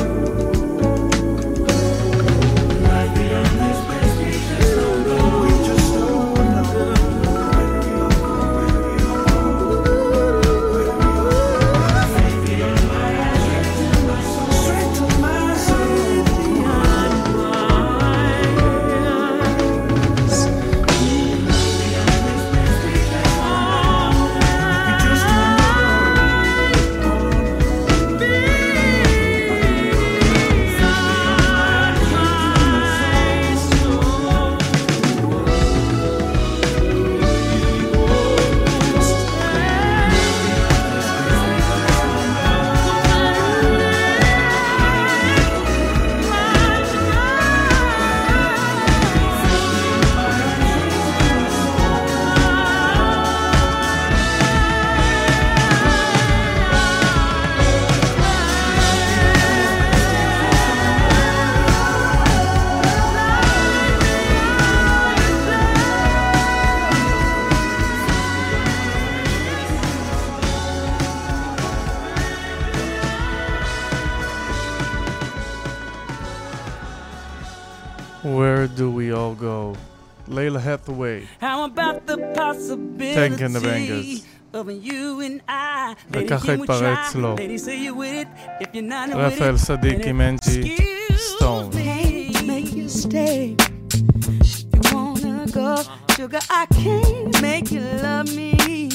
Where do we all go? Layla Hathaway. How about the Tank and the possibility Bangers. of you and I? וככה התפרץ לו. Lady, say you with it. If you're not with רפאל it, סדיק עם אנג'י סטון. Can't make you stay. If you wanna go, sugar, I can't make you love me.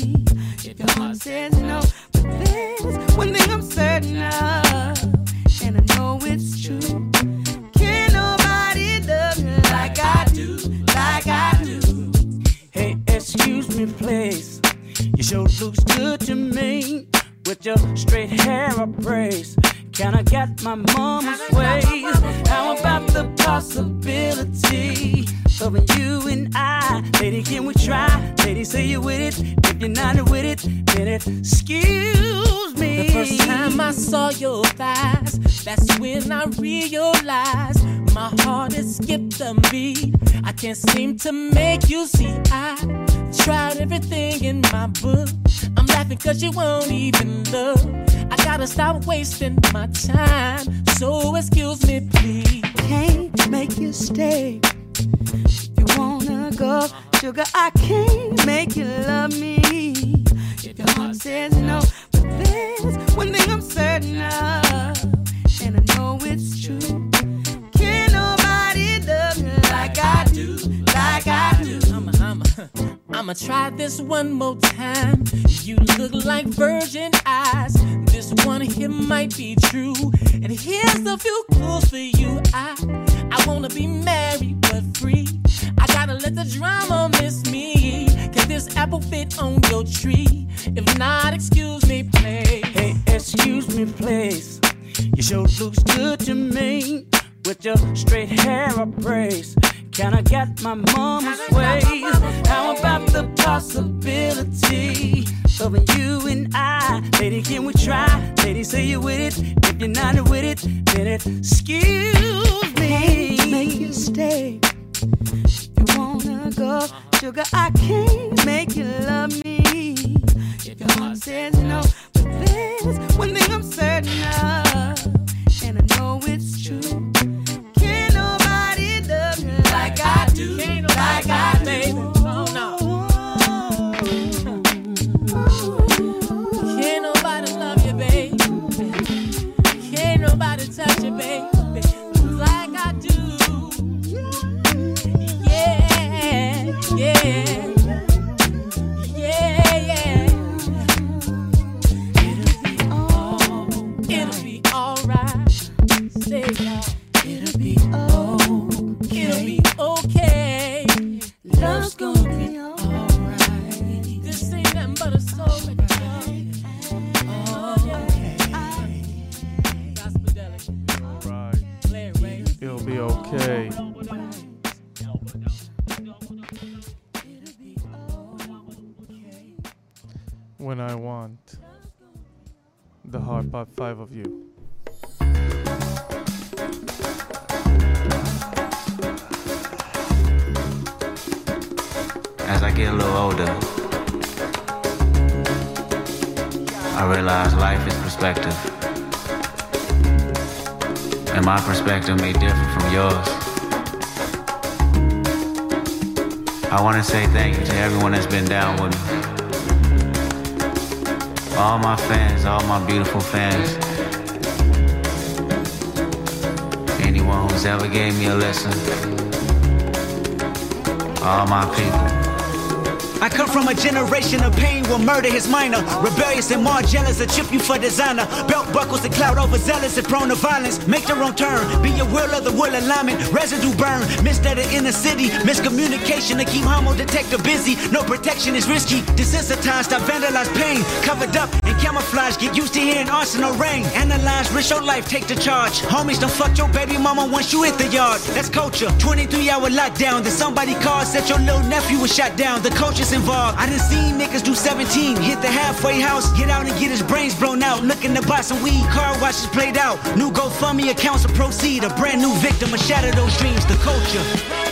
If your heart says no, but there's one thing I'm certain of, and I know it's true. Can't nobody love me like I do, like I do. Hey, excuse me, please. You sure looks good to me with your straight hair appraised. Can I get my mama's ways? How about the possibility of you and I? Lady, can we try? Lady, say you with it. If you're not with it, then excuse me. The first time I saw your thighs, that's when I realized my heart has skipped a beat. I can't seem to make you see. I tried everything in my book. I'm laughing cause you won't even look. I gotta stop wasting my time, so excuse me please. Can't make you stay. If you wanna go, sugar, I can't make you love me. If your heart says no, but there's one thing I'm certain of, and I know it's true. Can't nobody love me like I do, like I do. I'm a, I'm a, I'ma try this one more time. You look like virgin eyes. This one here might be true. And here's a few clues for you. I, I wanna be married but free. I gotta let the drama miss me. Can this apple fit on your tree? If not, excuse me, please. Hey, excuse me, please. Your show looks good to me. With your straight hair upraised. Can I get my mama's ways? How about the possibility of you and I? Lady, can we try? Lady, say you with it. If you're not with it, then excuse me. Make you stay. You wanna go, sugar, I can't make you love me. If your heart says no, but there's one thing I'm certain of, and I know it's true. Can't nobody love you like I do, like I do. Baby. Oh, no. Can't nobody love you, baby. Can't nobody touch you, baby. Like I do. Yeah, yeah. Yeah, yeah. It'll be alright. Say y'all. It'll be okay. It'll be okay. Love's gonna be alright. This ain't nothing but a soul record. It'll be okay. When I want the hard part five of you. As I get a little older, I realize life is perspective. And my perspective may differ from yours. I want to say thank you to everyone that's been down with me. All my fans, all my beautiful fans. Anyone who's ever gave me a listen. All my people. I come from a generation of pain where murder is minor. Rebellious and more jealous, a chip you for designer. Belt buckles and cloud overzealous and prone to violence. Make your own turn, be your will of the will alignment. Residue burn, missed at the inner city. Miscommunication to keep homo detector busy. No protection is risky. Desensitized, I vandalize pain. Covered up and camouflage, get used to hearing arsenal rain. Analyze, risk your life, take the charge. Homies don't fuck your baby mama once you hit the yard. That's culture, twenty-three hour lockdown. Then somebody called, said your little nephew was shot down. The culture's involved. I done seen niggas do seventeen, hit the halfway house, get out and get his brains blown out. Looking to buy some weed, car washes played out. New GoFundMe accounts to proceed. A brand new victim, a shatter those dreams. The culture.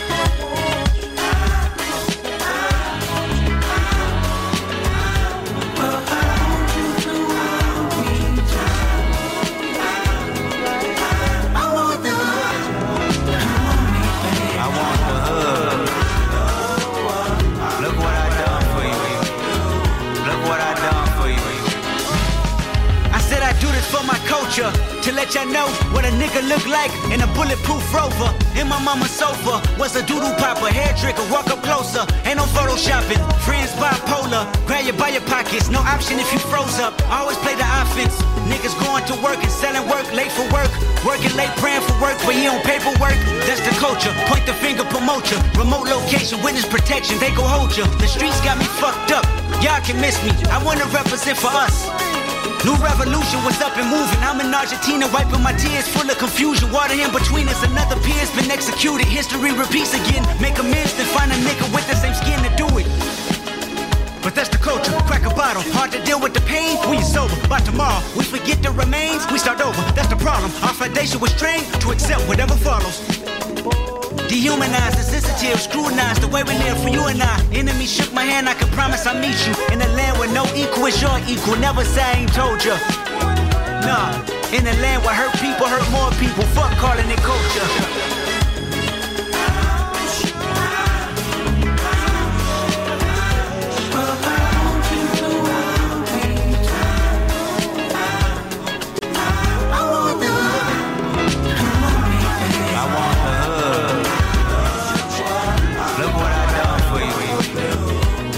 To let y'all know what a nigga look like in a bulletproof Rover. In my mama's sofa was a doodle popper, hair trigger, walk up closer. Ain't no photoshopping, friends bipolar. Grab you by your pockets, no option if you froze up. Always play the offense. Niggas going to work and selling work, late for work. Working late, praying for work, but he on paperwork. That's the culture, point the finger, promote ya. Remote location, witness protection, they go hold ya. The streets got me fucked up, y'all can miss me. I wanna represent for us. New revolution was up and moving. I'm in Argentina wiping my tears full of confusion. Water in between us, another peer's been executed. History repeats again. Make amends, then find a nigga with the same skin to do it. But that's the culture, crack a bottle. Hard to deal with the pain when you're sober. By tomorrow, we forget the remains, we start over. That's the problem. Our foundation was trained to accept whatever follows. Dehumanized, insensitive, scrutinized the way we live for you and I. Enemy shook my hand, I can promise I'll meet you in a land where no equal is your equal. Never say I ain't told ya. Nah, in a land where hurt people hurt more people. Fuck calling it culture.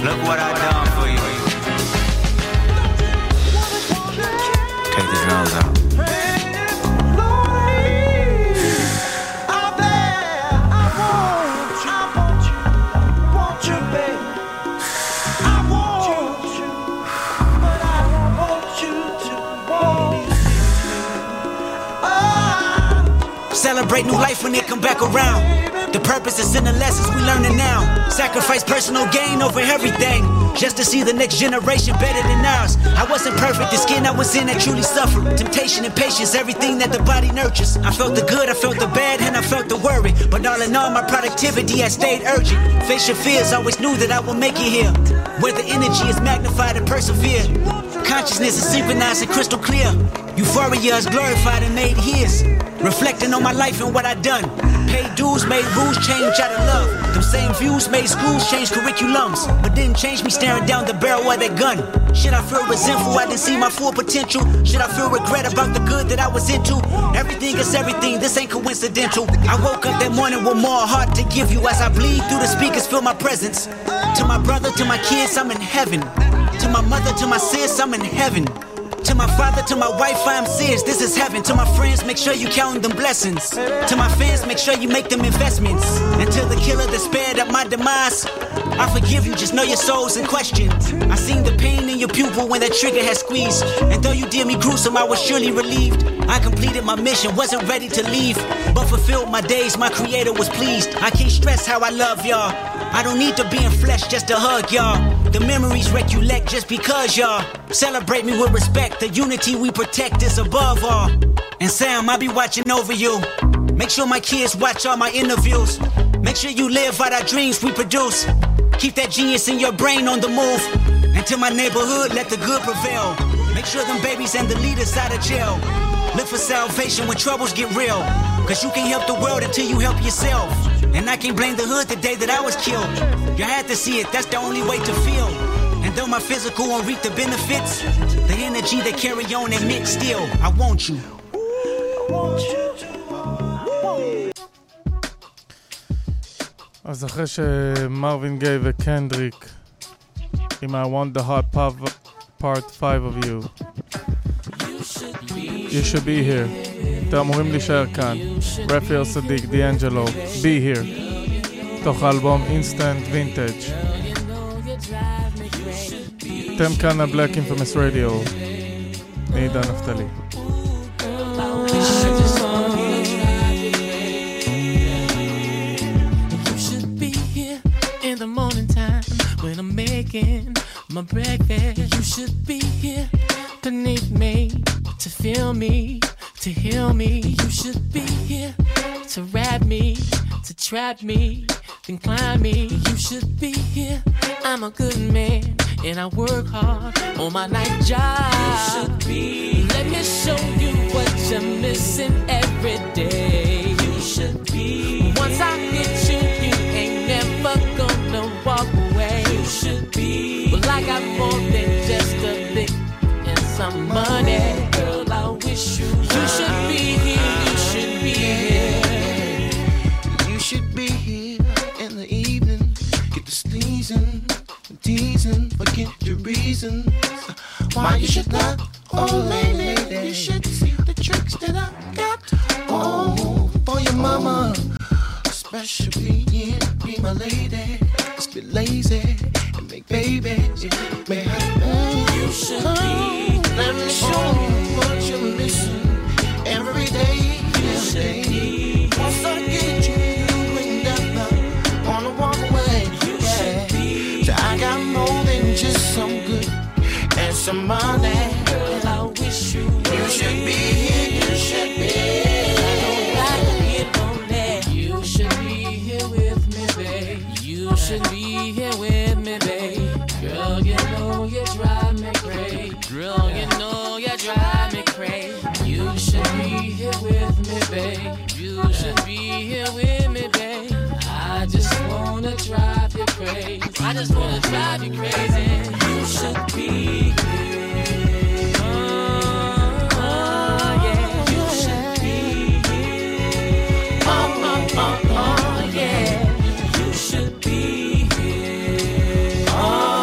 Look what I done for you. Take the drums out. Celebrate new life when it come back around. The purpose is in the lessons we learning now. Sacrifice personal gain over everything, just to see the next generation better than ours. I wasn't perfect, the skin I was in that truly suffered. Temptation and patience, everything that the body nurtures. I felt the good, I felt the bad, and I felt the worry. But all in all, my productivity has stayed urgent. Face your fears, always knew that I would make it here. Where the energy is magnified and persevere. Consciousness is synchronized and crystal clear. Euphoria is glorified and made his. Reflecting on my life and what I done. Paid dues, made rules, change out of love. Them same views made schools change curriculums, but didn't change me staring down the barrel of that gun. Should I feel resentful I didn't see my full potential? Should I feel regret about the good that I was into? Everything is everything, this ain't coincidental. I woke up that morning with more heart to give you. As I bleed through the speakers, feel my presence. To my brother, to my kids, I'm in heaven. To my mother, to my sis, I'm in heaven. To my father, to my wife, I'm serious, this is heaven. To my friends, make sure you count them blessings. To my fans, make sure you make them investments. And to the killer that spared up my demise, I forgive you, just know your soul's in question. I seen the pain in your pupil when that trigger had squeezed. And though you did me gruesome, I was surely relieved. I completed my mission, wasn't ready to leave, but fulfilled my days, my creator was pleased. I can't stress how I love y'all. I don't need to be in flesh just to hug y'all. The memories recollect just because y'all celebrate me with respect. The unity we protect is above all. And Sam, I'll be watching over you. Make sure my kids watch all my interviews. Make sure you live out our dreams we produce. Keep that genius in your brain on the move. And to my neighborhood, let the good prevail. Make sure them babies and the leaders out of jail. Look for salvation when troubles get real. Cause you can't help the world until you help yourself. And I can't blame the hood the day that I was killed. You had to see it, that's the only way to feel. And though my physical won't reap the benefits, the energy they carry on admit still, I want you. אז אחרי שמרווין גיי וקנדריק עם I want the hot part five of you, you should be here. אתם אמורים להישאר כאן. רפאל סדיק, דיאנג'לו, be here. תוך האלבום Instant Vintage. אתם כאן ה-Black Infamous Radio. מעידן נפתלי. In the morning time when I'm making my breakfast, you should be here beneath me to feel me, to heal me. You should be here to wrap me, to trap me, then climb me. You should be here. I'm a good man and I work hard on my night job. You should be. Let me show you what you're missing every day. You should be. Once I hit you, you ain't never gonna walk away. You should be. Well, I got more than just a lick and some money. Girl, I wish you. You should be here. You should be here. You should be here in the evening. Get the sneezing, teasing, forget your reasons why you should not. Oh, lady, you should see the tricks that I got. Oh, for your mama, especially yeah, be my lady. Just be lazy and make babies. May I, you should be. Let me show you what you're missing every day. You should be. Once I get you, you ain't never wanna walk away. You should be. So I got more than just some good and some money. Girl, I wish you. You should be here. You should be. You should be here with me, babe. You should be here with me, babe. Girl, you know you drive me crazy. Girl, you know you drive me crazy. You should be here with me, babe. You should be here with me, babe. I just wanna drive you crazy. I just wanna drive you crazy. You should be here. Oh, oh yeah. You should be here. Oh, oh, oh, oh, yeah. You should be here. Oh.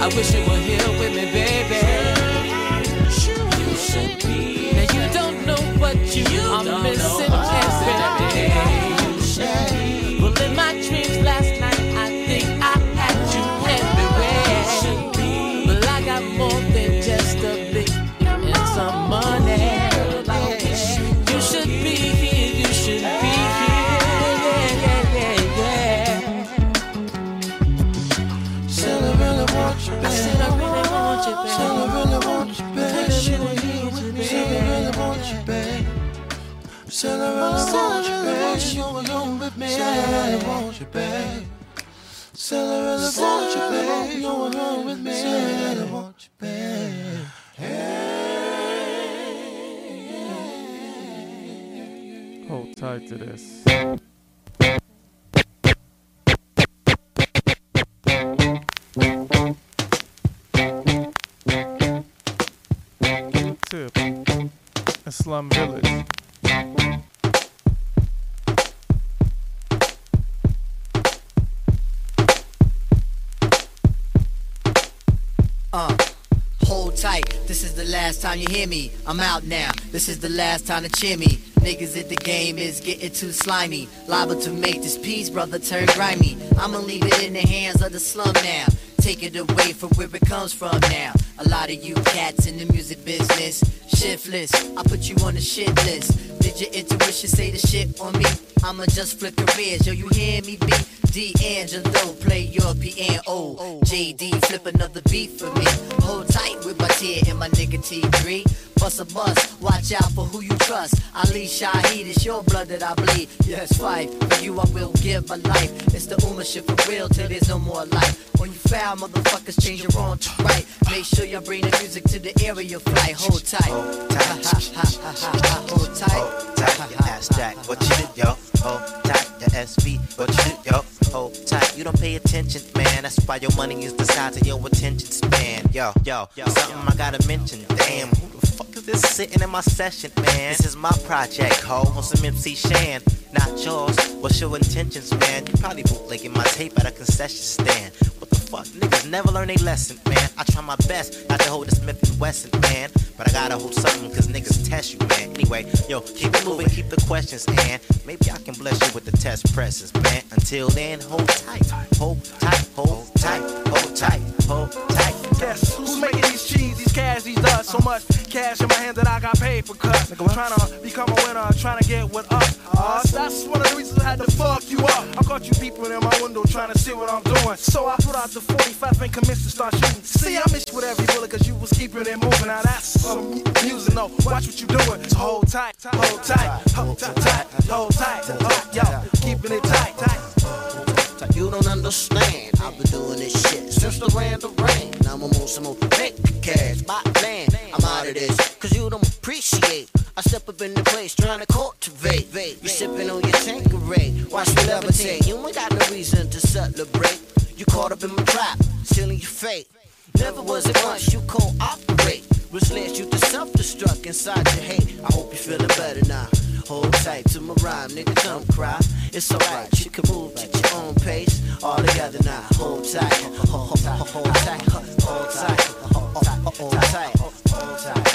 I wish you were here with me, baby. You should be. Now you don't know what you, you are missing every day. Well, in my dreams last night, I think I had you everywhere. But I got more than just a big and some money. You should be here, you should be here. Yeah, yeah, yeah, yeah. Said I really want you, babe. I said I really want you, babe. Said I really want you, babe. Said I really want you, babe. Said I really want you, babe. Said I really want you, babe. You alone with me. Said I really want you, babe. Said I really want you, babe. You alone with me. Said I really want you, babe. Hold tight to this. Tip. A slum village. Uh, hold tight, this is the last time you hear me. I'm out now, this is the last time to cheer me. Niggas at the game is getting too slimy. Liable to make this piece, brother, turn grimy. I'ma leave it in the hands of the slum now. Take it away from where it comes from now. A lot of you cats in the music business, shiftless, I put you on the shit list. Did your intuition say the shit on me? I'ma just flip careers, yo, you hear me be? D'Angelo, play your piano. J D, flip another beat for me. Hold tight with my tear and my nigga T three. Bust a bust, watch out for who you trust. Ali Shaheed, it's your blood that I bleed. Yes, fight, for you I will give my life. It's the Uma shit for real till there's no more life. When you foul, motherfuckers change your wrong to right. Make sure you bring the music to the area flight. Hold tight. Hold tight. Hold tight. Hold tight, your ass jack. What you do, yo? Hold tight, your S V. What you do, yo? Hold tight. You don't pay attention, man. That's why your money is the size of your attention span. Yo, yo, yo. Something I gotta mention. Damn, who the fuck is this sitting in my session, man? This is my project, ho. On some M C Shan. Not yours. What's your intentions, man? You probably bootlegging my tape at a concession stand. What the fuck? Niggas never learn a lesson, man. I try my best not to hold a Smith and Wesson, man. But I gotta hold something cause niggas test you, man. Anyway, yo, keep it moving, keep the questions, and maybe I can bless you with the test presses, man. Until then, hold tight, hold tight, hold tight, hold tight, hold tight. Guess who's making these cheese, these cash, these dust? So much cash in my hand that I got paid for cuts. Trying to become a winner, trying to get with us. Uh, that's one of the reasons I had to fuck you up. I caught you peeping in my window trying to see what I'm doing. So I put out the forty-five and commenced to start shooting. See, I missed you with every bullet cause you was keeping it moving. Now that's some music, no, watch what you doing. So hold tight, hold tight, hold tight, hold tight, hold, yo, keeping it tight, tight. You don't understand, I've been doing this shit since the land of rain. Now I'm on some more make cash, by land. I'm out of this, cause you don't appreciate. I step up in the place trying to cultivate. You sipping on your Tanqueray, watch me levitate. You ain't got no reason to celebrate. You caught up in my trap, stealing your fate. Never was it once you cooperate. Which led you to self-destruct inside your hate. I hope you're feeling better now. Hold tight to my rhyme, nigga, don't cry. It's alright, you can move at your own pace. All together now, hold tight, hold, hold, hold, hold tight, hold tight, hold tight, hold tight, hold tight.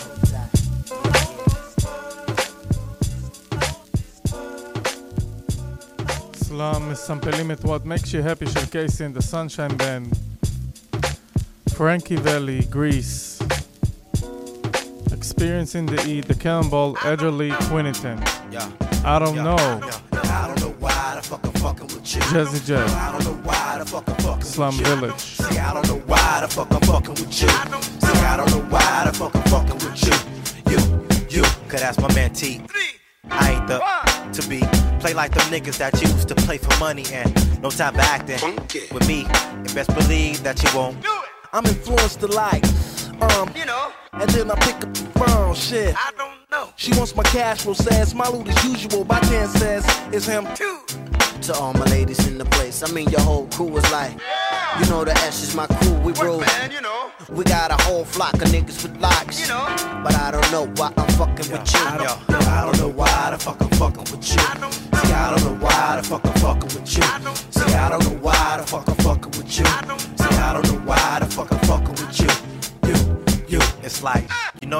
סלאם מסמפלים את What Makes You Happy של קייסי and the Sunshine Band. Frankie Valli, Grease. Experiencing the E, the Cannonball, Edgerly, Quinniton. Yeah. I don't yeah. know. Yeah. I don't know why the fuck I'm fucking with you. Jazzy Jeff. I don't know why the fuck I'm fucking Slum with you. Village. See, I don't know why the fuck I'm fucking with you. See, I don't know why the fuck I'm fucking with you. You, you, cause that's my man T. I ain't the to be. Play like them niggas that used to play for money and no time for acting. With me, you best believe that you won't. I'm influenced to like, um, you know, and then I pick up the phone, shit. I don't know. She wants my cash flow, says my loot as usual. By ten says it's him too. To all my ladies in the place, I mean your whole crew is like, you know the S is my crew, we roll. Man, you know. We got a whole flock of niggas with locks, you know. But I don't know why I'm fucking Yo, with you. I don't, yo, I don't know why the fuck I'm fucking with you. See, I don't know why the fuck I'm fucking with you. See, I don't know why the fuck I'm fucking with you. See, I don't know why the fuck I'm fucking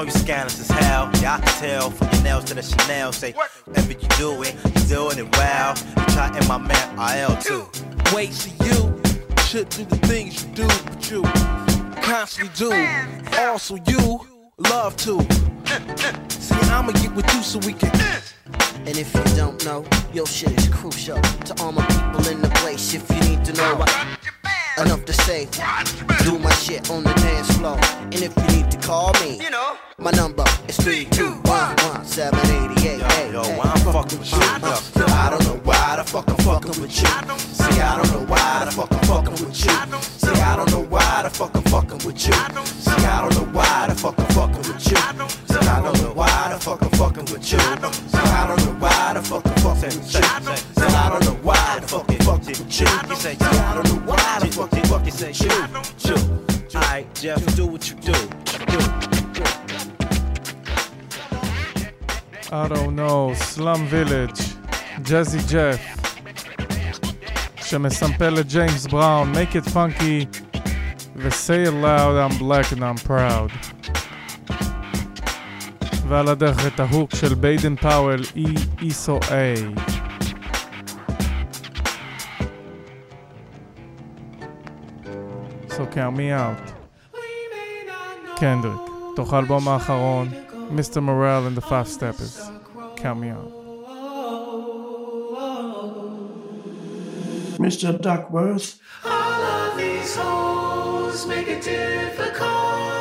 you scandalous as hell. Yeah, I can tell from your nails to the Chanel. Say, whatever you doing, you doing it well. You try in my man R L too. Wait, see you should do the things you do, but you constantly do. Also, you love to. See, I'ma get with you so we can. And if you don't know, your shit is crucial to all my people in the place. If you need to know what, enough to say, do my shit on the dance floor. And if you need to call me, you know, my number is three two one one seven eight eight. Yo, yo, why I'm fucking with you? Yo, I don't know why the fuck I'm fucking with you. See, I don't know why the fuck I'm fucking with you. See, I don't know why the fuck I'm fucking with you. See, I don't know why the fuck I'm fucking with you. See, I don't know why the fuck I'm fucking with you. See, I don't know why the fuck I'm fucking with you. See, I don't know why the fuck I'm fucking with you. You say, I don't know why the fuck I'm fucking with you. You, alright, Jeff, do what you do. Do. I don't know, Slum Village, Jazzy Jeff, שמסמפל את ג'יימס בראון, Make It Funky, ו-Say It Loud, I'm Black and I'm Proud. ועל הדרך את ההוק של ביידן פאוול, E S O A. So Count Me Out. קנדריק, תוך האלבום האחרון, Mister Morale and the Five Steppers. Count Me Out. Mister Duckworth. All of these hoes make it difficult.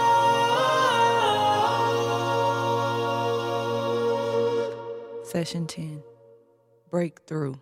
Session ten. Breakthrough.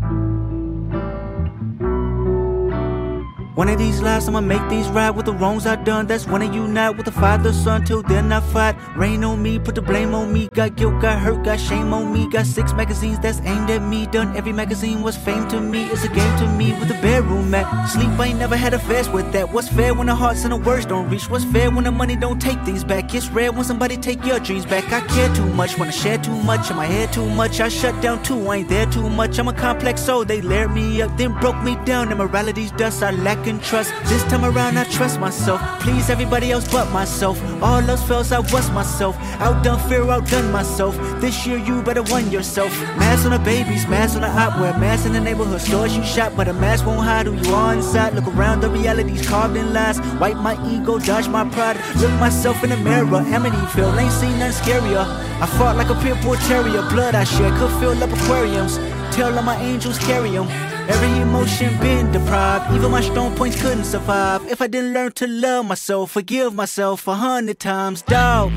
One of these lives I'ma make these right with the wrongs I done. That's when I unite with the father, son. Till then I fight. Rain on me, put the blame on me. Got guilt, got hurt, got shame on me. Got six magazines that's aimed at me. Done every magazine was fame to me. It's a game to me with the bedroom mat. Sleep, I ain't never had a fast with that. What's fair when the hearts and the words don't reach? What's fair when the money don't take things back? It's rare when somebody take your dreams back. I care too much when I share too much. In my head too much, I shut down too. I ain't there too much. I'm a complex soul. They layered me up, then broke me down. Immorality's dust, I lack in trust. This time around I trust myself. Please everybody else but myself. All else fails, I was myself. Outdone fear, outdone myself. This year you better won yourself. Mask on the babies, mask on the op. Wear masks in the neighborhood stores you shop. But a mask won't hide who you are inside. Look around, the reality's carved in lies. Wipe my ego, dodge my pride. Look myself in the mirror. Amityville, ain't seen nothing scarier. I fought like a pit bull terrier. Blood I shed could fill up aquariums. Tell all my angels carry them. Every emotion been deprived. Even my strong points couldn't survive. If I didn't learn to love myself, forgive myself a hundred times, dawg.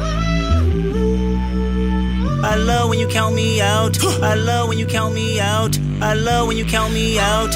I love when you count me out. I love when you count me out. I love when you count me out.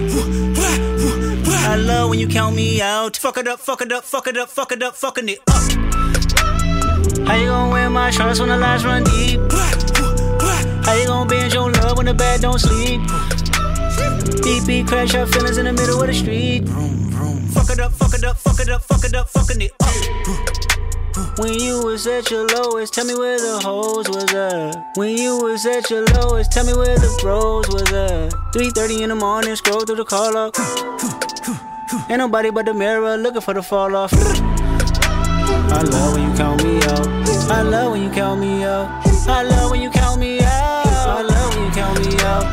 I love when you count me out. Fuck it up, fuck it up, fuck it up, fuck it up, fucking it up. How you gonna wear my shorts when the lights run deep? How you gonna binge your love when the bed don't sleep? Beep beep, crash our feelings in the middle of the street. Vroom, vroom. Fuck it up, fuck it up, fuck it up, fuck it up, fucking it up. When you was at your lowest, tell me where the hoes was at. When you was at your lowest, tell me where the bros was at. three thirty in the morning, scroll through the call up. Ain't nobody but the mirror looking for the fall off. I love when you count me out. I love when you count me out. I love when you count me out. I love when you count me out.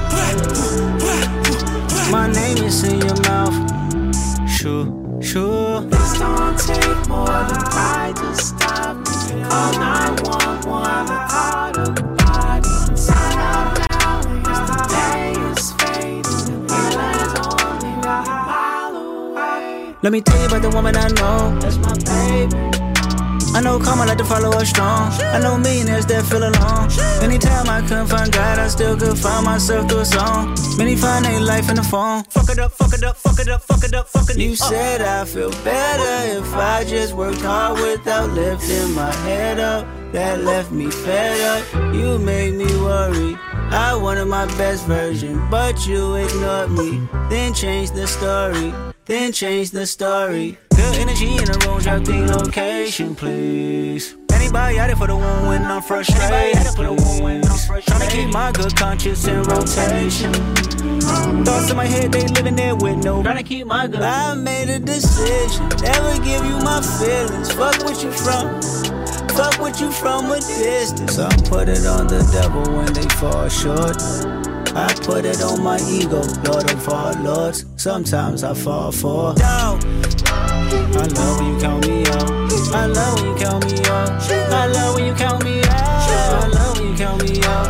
My name is in your mouth. Sure, sure. This don't take more than pride to stop me. Call nine one one, heart of body. Inside out now, as the day is fading. Healing only a mile away. Let me tell you about the woman I know. That's my baby. I know karma like to follow us strong. I know millionaires that feel alone. Anytime I couldn't find God, I still could find myself through a song. Many find their life in the phone. Fuck it up, fuck it up, fuck it up, fuck it up, fuck it up. You said I feel better if I just worked hard without lifting my head up. That left me fed up. You made me worry. I wanted my best version, but you ignored me. Then changed the story. Then change the story. Good energy in the room, drop the location, please. Anybody out there for the one when I'm frustrated? Trying to keep my good conscience in rotation. Thoughts in my head, they living there with no. Trying to keep my good. I made a decision, never give you my feelings. Fuck what you from. fuck with you from a distance. Some put it on the devil when they fall short. I put it on my ego, Lord of all lords. Sometimes I fall for dog. I love when you count me out. I love when you count me out. I love when you count me out. I love when you count me out.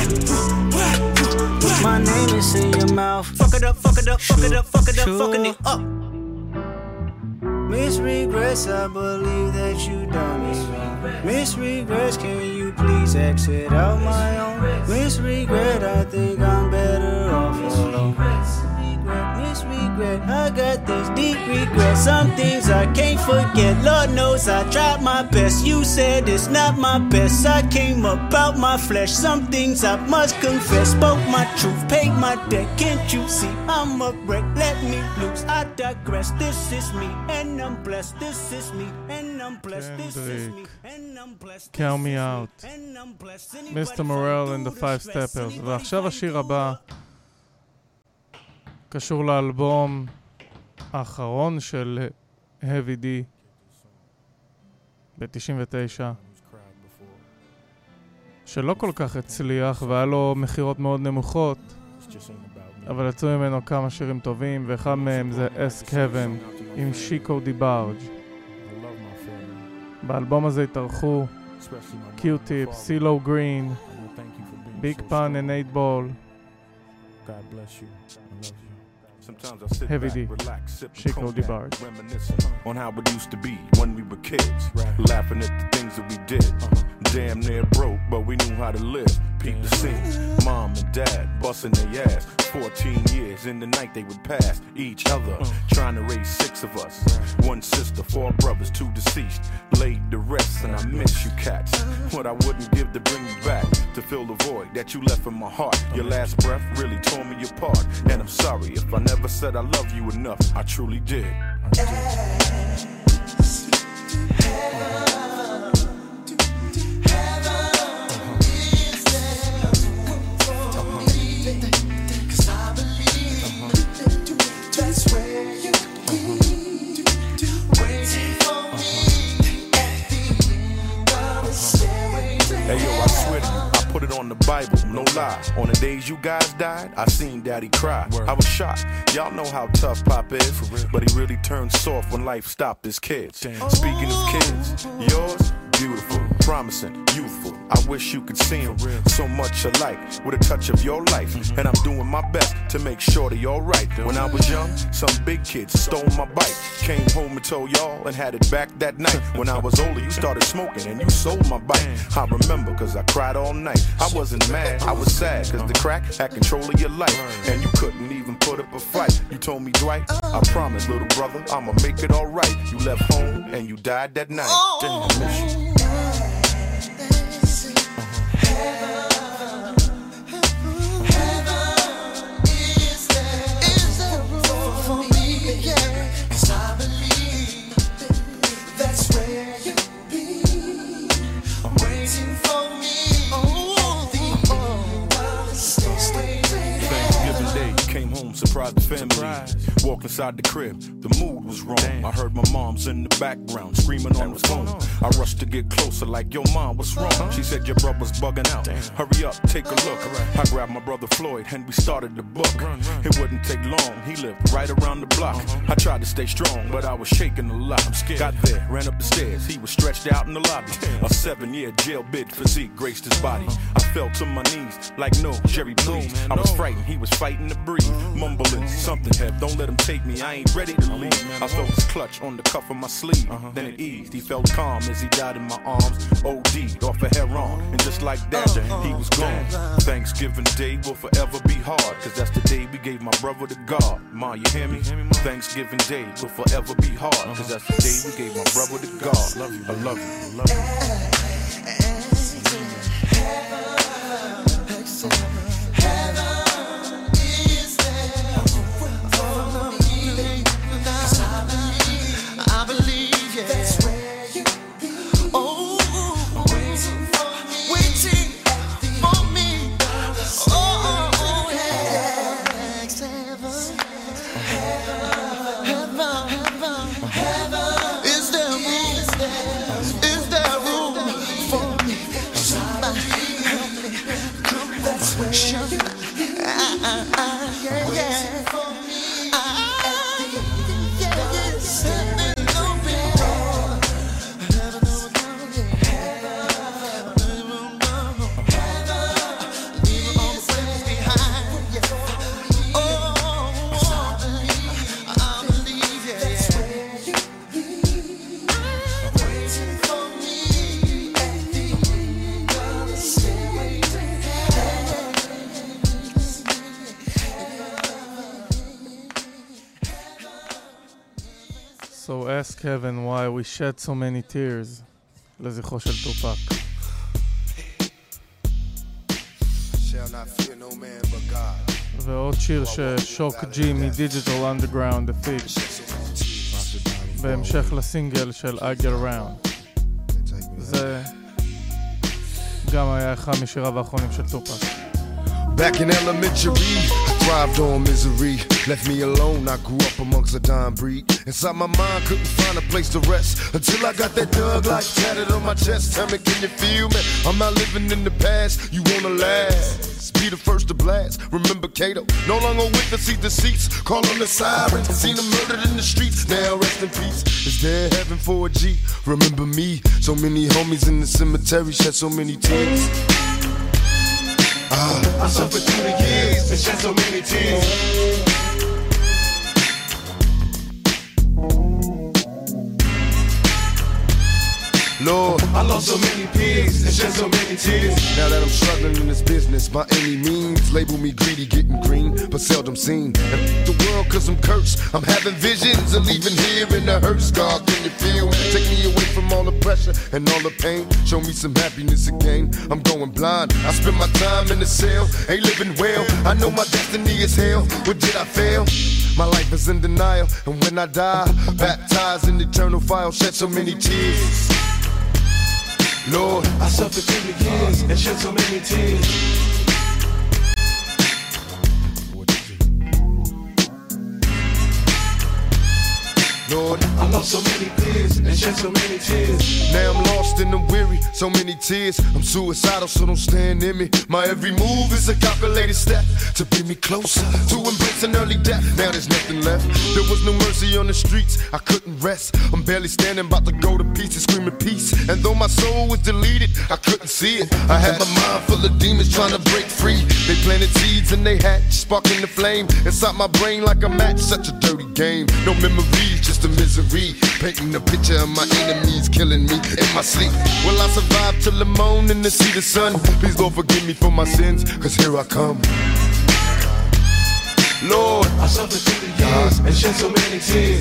My name is in your mouth. Fuck it up, fuck it up, fuck it up, fuck it up, fucking it up. Miss Regrets, I believe that you done me wrong. Miss Regrets, can you please exit out my own? Miss Regret, I think I'm better off alone. Miss Regret, I got this deep regret. Some things I can't forget. Lord knows I tried my best. You said it's not my best. I came about my flesh. Some things I must confess. Spoke my truth, paid my debt. Can't you see I'm a wreck? Let me loose. I digress. This is me, and I'm blessed. This is me, and I'm blessed. This is me, and I'm blessed. Count me out. מיסטר Morale and the Five Steppers. ועכשיו השיר הבא קשור לאלבום האחרון של Heavy D ב-תשעים ותשע, שלא כל כך הצליח והיה לו מחירות מאוד נמוכות, אבל יצאו ממנו כמה שירים טובים, ואחד מהם זה Ask Heaven עם שיקו דיבארג'. באלבום הזה התארחו Q-Tip, CeeLo Green, Big Pun and eight ball. God bless you. I love you. Sometimes I sit Heavy back, D. relax, sip Chico DeBarge. Reminiscing on how it used to be when we were kids, right. Laughing at the things that we did. Uh-huh. Damn near broke, but we knew how to live. Peep the scenes, mom and dad busting their ass. Fourteen years in the night they would pass each other, uh. trying to raise six of us. Right. One sister, four brothers, two deceased. Laid the rest, and I miss you cats. What I wouldn't give to bring you back, to fill the void that you left in my heart. Your last breath really tore me apart, and I'm sorry if I never said I love you enough. I truly did. I did. Hey yo, I swear to you, I put it on the Bible, no lie. On the days you guys died, I seen Daddy cry. Word. I was shocked. Y'all know how tough Pop is, but he really turned soft when life stopped his kids. Damn. Speaking of kids, yours, beautiful, promising, youthful. I wish you could see him so much alike with a touch of your life. Mm-hmm. And I'm doing my best to make sure they're alright. When I was young, some big kids stole my bike. Came home and told y'all and had it back that night. When I was older, you started smoking and you sold my bike. I remember cause I cried all night. I wasn't mad, I was sad cause the crack had control of your life. And you couldn't even put up a fight. You told me, Dwight, I promise, little brother, I'ma make it alright. You left home and you died that night. Damn, I miss you. Surprised the family. Surprise. Walk inside the crib, the mood was wrong. Damn. I heard my mom's in the background screaming on the phone. On? I rushed to get closer like, yo mom, what's wrong? Uh-huh. She said your brother's bugging out. Damn. Hurry up, take a look. Right. I grabbed my brother Floyd and we started the book. Run, run. It wouldn't take long, he lived right around the block. Uh-huh. I tried to stay strong, but I was shaking a lot. I'm scared. Got there, ran up the stairs, he was stretched out in the lobby. Damn. A seven-year jail bid physique graced his body. Uh-huh. I fell to my knees like, no, Jerry, please. No, man, I was no. frightened, he was fighting to breathe. Uh-huh. Mumbling, something have, don't let him take me, I ain't ready to leave. I felt his clutch on the cuff of my sleeve, uh-huh. then it eased. He felt calm as he died in my arms. O D'd off a heroin, and just like that, uh-huh. he was gone. Thanksgiving Day will forever be hard, cause that's the day we gave my brother to God. Ma, you hear me? Thanksgiving Day will forever be hard, cause that's the day we gave my brother to God. Love you, I love you, I love you. Is there room? Is there room? So ask heaven why we shed so many tears לזכרו של טופק. Shall not fear no man but God. ועוד שיר ששוק ג'י מדיג'יטל אנדרגראונד הפיק בהמשך לסינגל של I Get Around. זה גם היה אחד משיריו האחרונים של טופק. Back in elementary, I thrived on misery. Left me alone, I grew up amongst a dying breed. Inside my mind, couldn't find a place to rest until I got that thug life tatted on my chest. Tell me, can you feel me? I'm not living in the past, you wanna last. Be the first to blast. Remember Kato, no longer with the seat deceits. Call on the sirens, seen them murdered in the streets. Now rest in peace. Is there heaven for a G? Remember me, so many homies in the cemetery shed so many tears. Ah, I suffered through the years and shed so many tears. Lord, I lost so many peers and shed so many tears. Now that I'm struggling in this business by any means, label me greedy, getting green, but seldom seen. And the world cause I'm cursed, I'm having visions of leaving here in the hearse. God, can you feel me? Take me away from all the pressure and all the pain. Show me some happiness again. I'm going blind, I spend my time in the cell, ain't living well. I know my destiny is hell, but did I fail? My life is in denial, and when I die, baptized in eternal fire, shed so many tears. Lord, I suffered through the years and shed so many tears. Lord, I lost so many peers and shed so many tears. Now I'm lost and I'm weary, so many tears. I'm suicidal, so don't stand in me. My every move is a calculated step to bring me closer to embrace an early death. Now there's nothing left. There was no mercy on the streets, I couldn't rest. I'm barely standing, about to go to pieces, screaming peace. And though my soul was deleted, I couldn't see it. I had my mind full of demons trying to break free. They planted seeds and they hatched, sparking the flame inside my brain like a match. Such a dirty game, no memories, just a misery. Painting a picture of my enemies killing me in my sleep. Will I survive till the morning to see the sun? Please Lord forgive me for my sins, cause here I come. Lord, I suffered through the years and shed so many tears.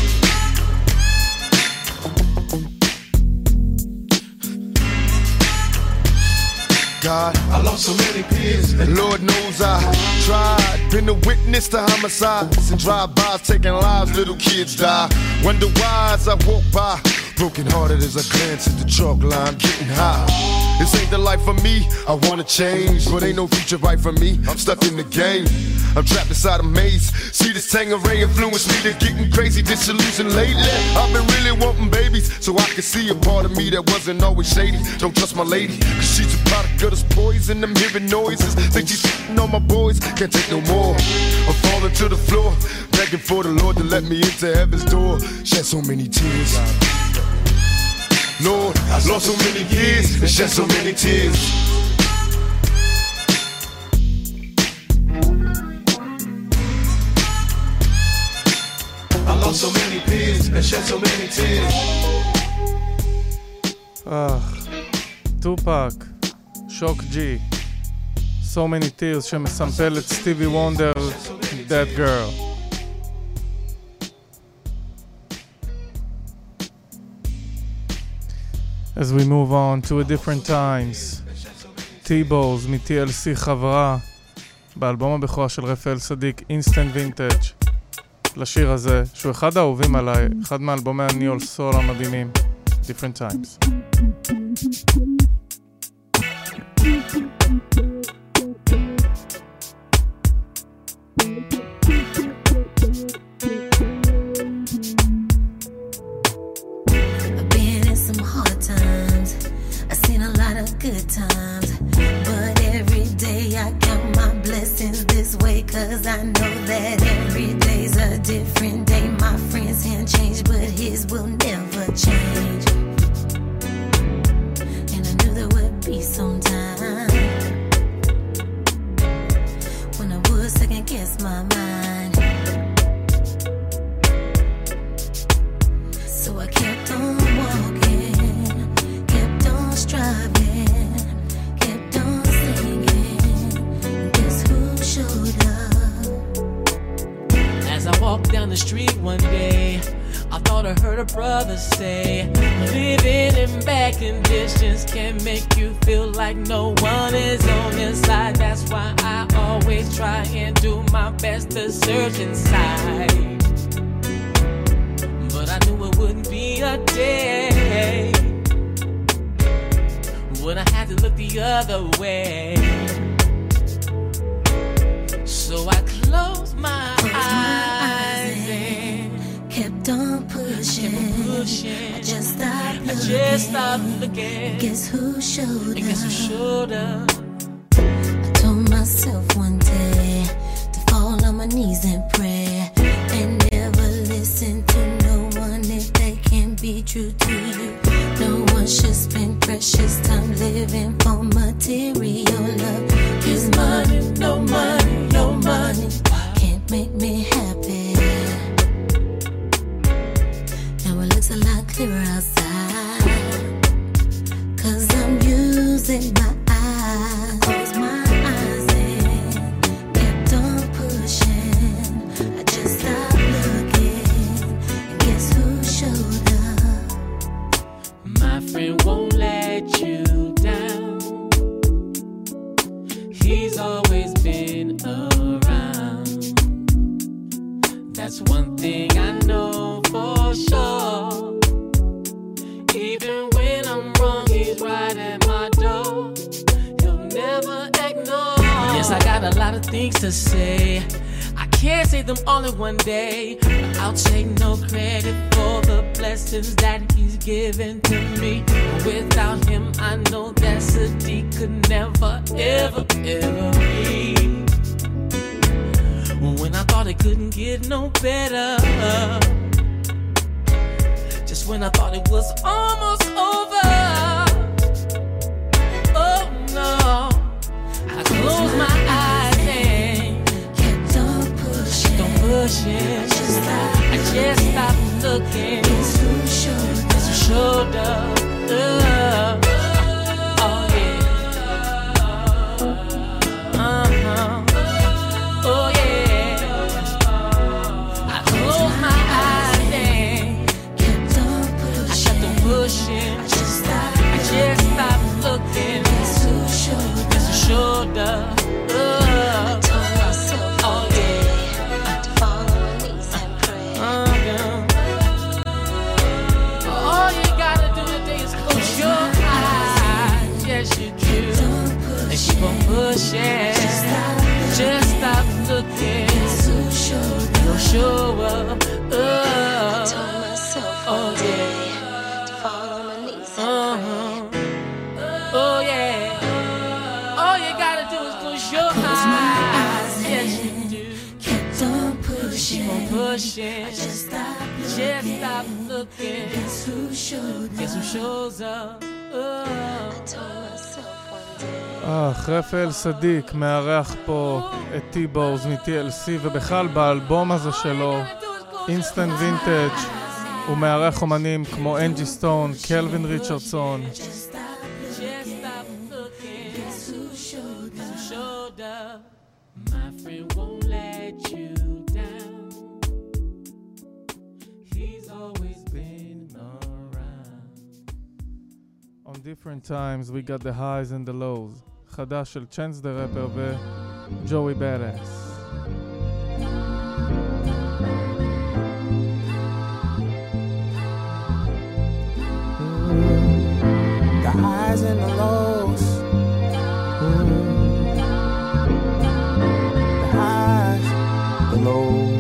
God, I lost so many peers. And Lord knows I tried, been a witness to homicides and drive-bys taking lives, little kids die. Wonder why as I walk by, broken hearted as I glance at the chalk line, getting high. This ain't the life for me, I wanna change, but ain't no future right for me, I'm stuck in the game. I'm trapped inside a maze. See this Tangeray influence me to getting crazy, disillusioned lately. I've been really wanting babies, so I can see a part of me that wasn't always shady. Don't trust my lady, cause she's a product of this poison. I'm hearing noises, think she's shitting on my boys. Can't take no more, I'm falling to the floor, begging for the Lord to let me into heaven's door. Shed so many tears. Lord, I lost so many years and shed so many tears. I lost so many peers and shed so many tears. Ah, טופק, שוק ג'י, So Many Tears שמסמפל את סטיבי וונדר, That Girl. As we move on to a different times, T-Bows מ-טי אל סי חברה באלבום הבכורה של רפאל סדיק, Instant Vintage, לשיר הזה, שהוא אחד האהובים עליי, אחד מאלבומי הניול סול המדהימים, Different Times. Good times, but every day I count my blessings this way, cause I know that every day's a different day. My friend's hand changed, but his will never change, and I knew there would be some time when I would second guess my mind, so I kept on walking, kept on striving, walked down the street one day, I thought I heard a brother say, living in bad conditions can make you feel like no one is on your side. That's why I always try and do my best to search inside. But I knew it wouldn't be a day when I had to look the other way. So I closed my Closed eyes my and kept on pushing. kept pushing. I just stopped I looking. just stopped looking. Guess who showed And guess who up? showed up? I told myself one day to fall on my knees and pray, and never listen to no one if they can't be true to you. No one should spend precious time living for material love. Cause money, no money, no money can't make me happy. Now it looks a lot clearer outside, cause I'm using my eyes. Close my eyes and kept on pushing. I just stopped looking, and guess who showed up? My friend won't let you down. He's always been around. That's one thing I know for sure. Even when I'm wrong, he's right at my door. He'll never ignore. Yes, I got a lot of things to say. I can't say them all in one day, but I'll take no credit for the blessings that he's given to me. Without him, I know that Sadiq could never, ever, ever be. When I thought it couldn't get no better, just when I thought it was almost over, oh no, I closed my eyes and kept on pushing. Don't push it. I just stopped looking. Guess who showed up? Guess who showed up? Uh, oh yeah. Uh-huh. Oh yeah. I closed my eyes and kept on pushing. I kept on pushing. I just stopped I just stopped looking. Guess who showed up? Guess who showed up? Uh, I told myself oh yeah. to fall on my knees and pray. Uh, yeah. All you gotta do today is close your eyes. Yes, you do. And keep on pushing. Just stop looking. Who showed You'll show up. I Uh, told myself oh one day yeah. to fall on my knees and pray. Uh-huh. Oh yeah. All you gotta do is close your Close my eyes. eyes Yes, you and do. kept on pushing. Keep on pushing. I just stopped Just looking. stop looking. Guess who showed up? Guess who shows up? Uh. I told myself one day. אה, רפאל סדיק מארח פה את T-Bows מ-T L C, ובכלל באלבום הזה שלו, אינסטנט וינטג', הוא מארח אומנים כמו אנג'י סטון, קלווין ריצ'רדסון. Just stop looking. Guess who showed Guess up? who showed up? My friend won't let you down. He's always been around. On different times we got the highs and the lows. חדש של צ'אנס דה רפר וג'וי בדאס. The highs and the lows. The highs, the lows.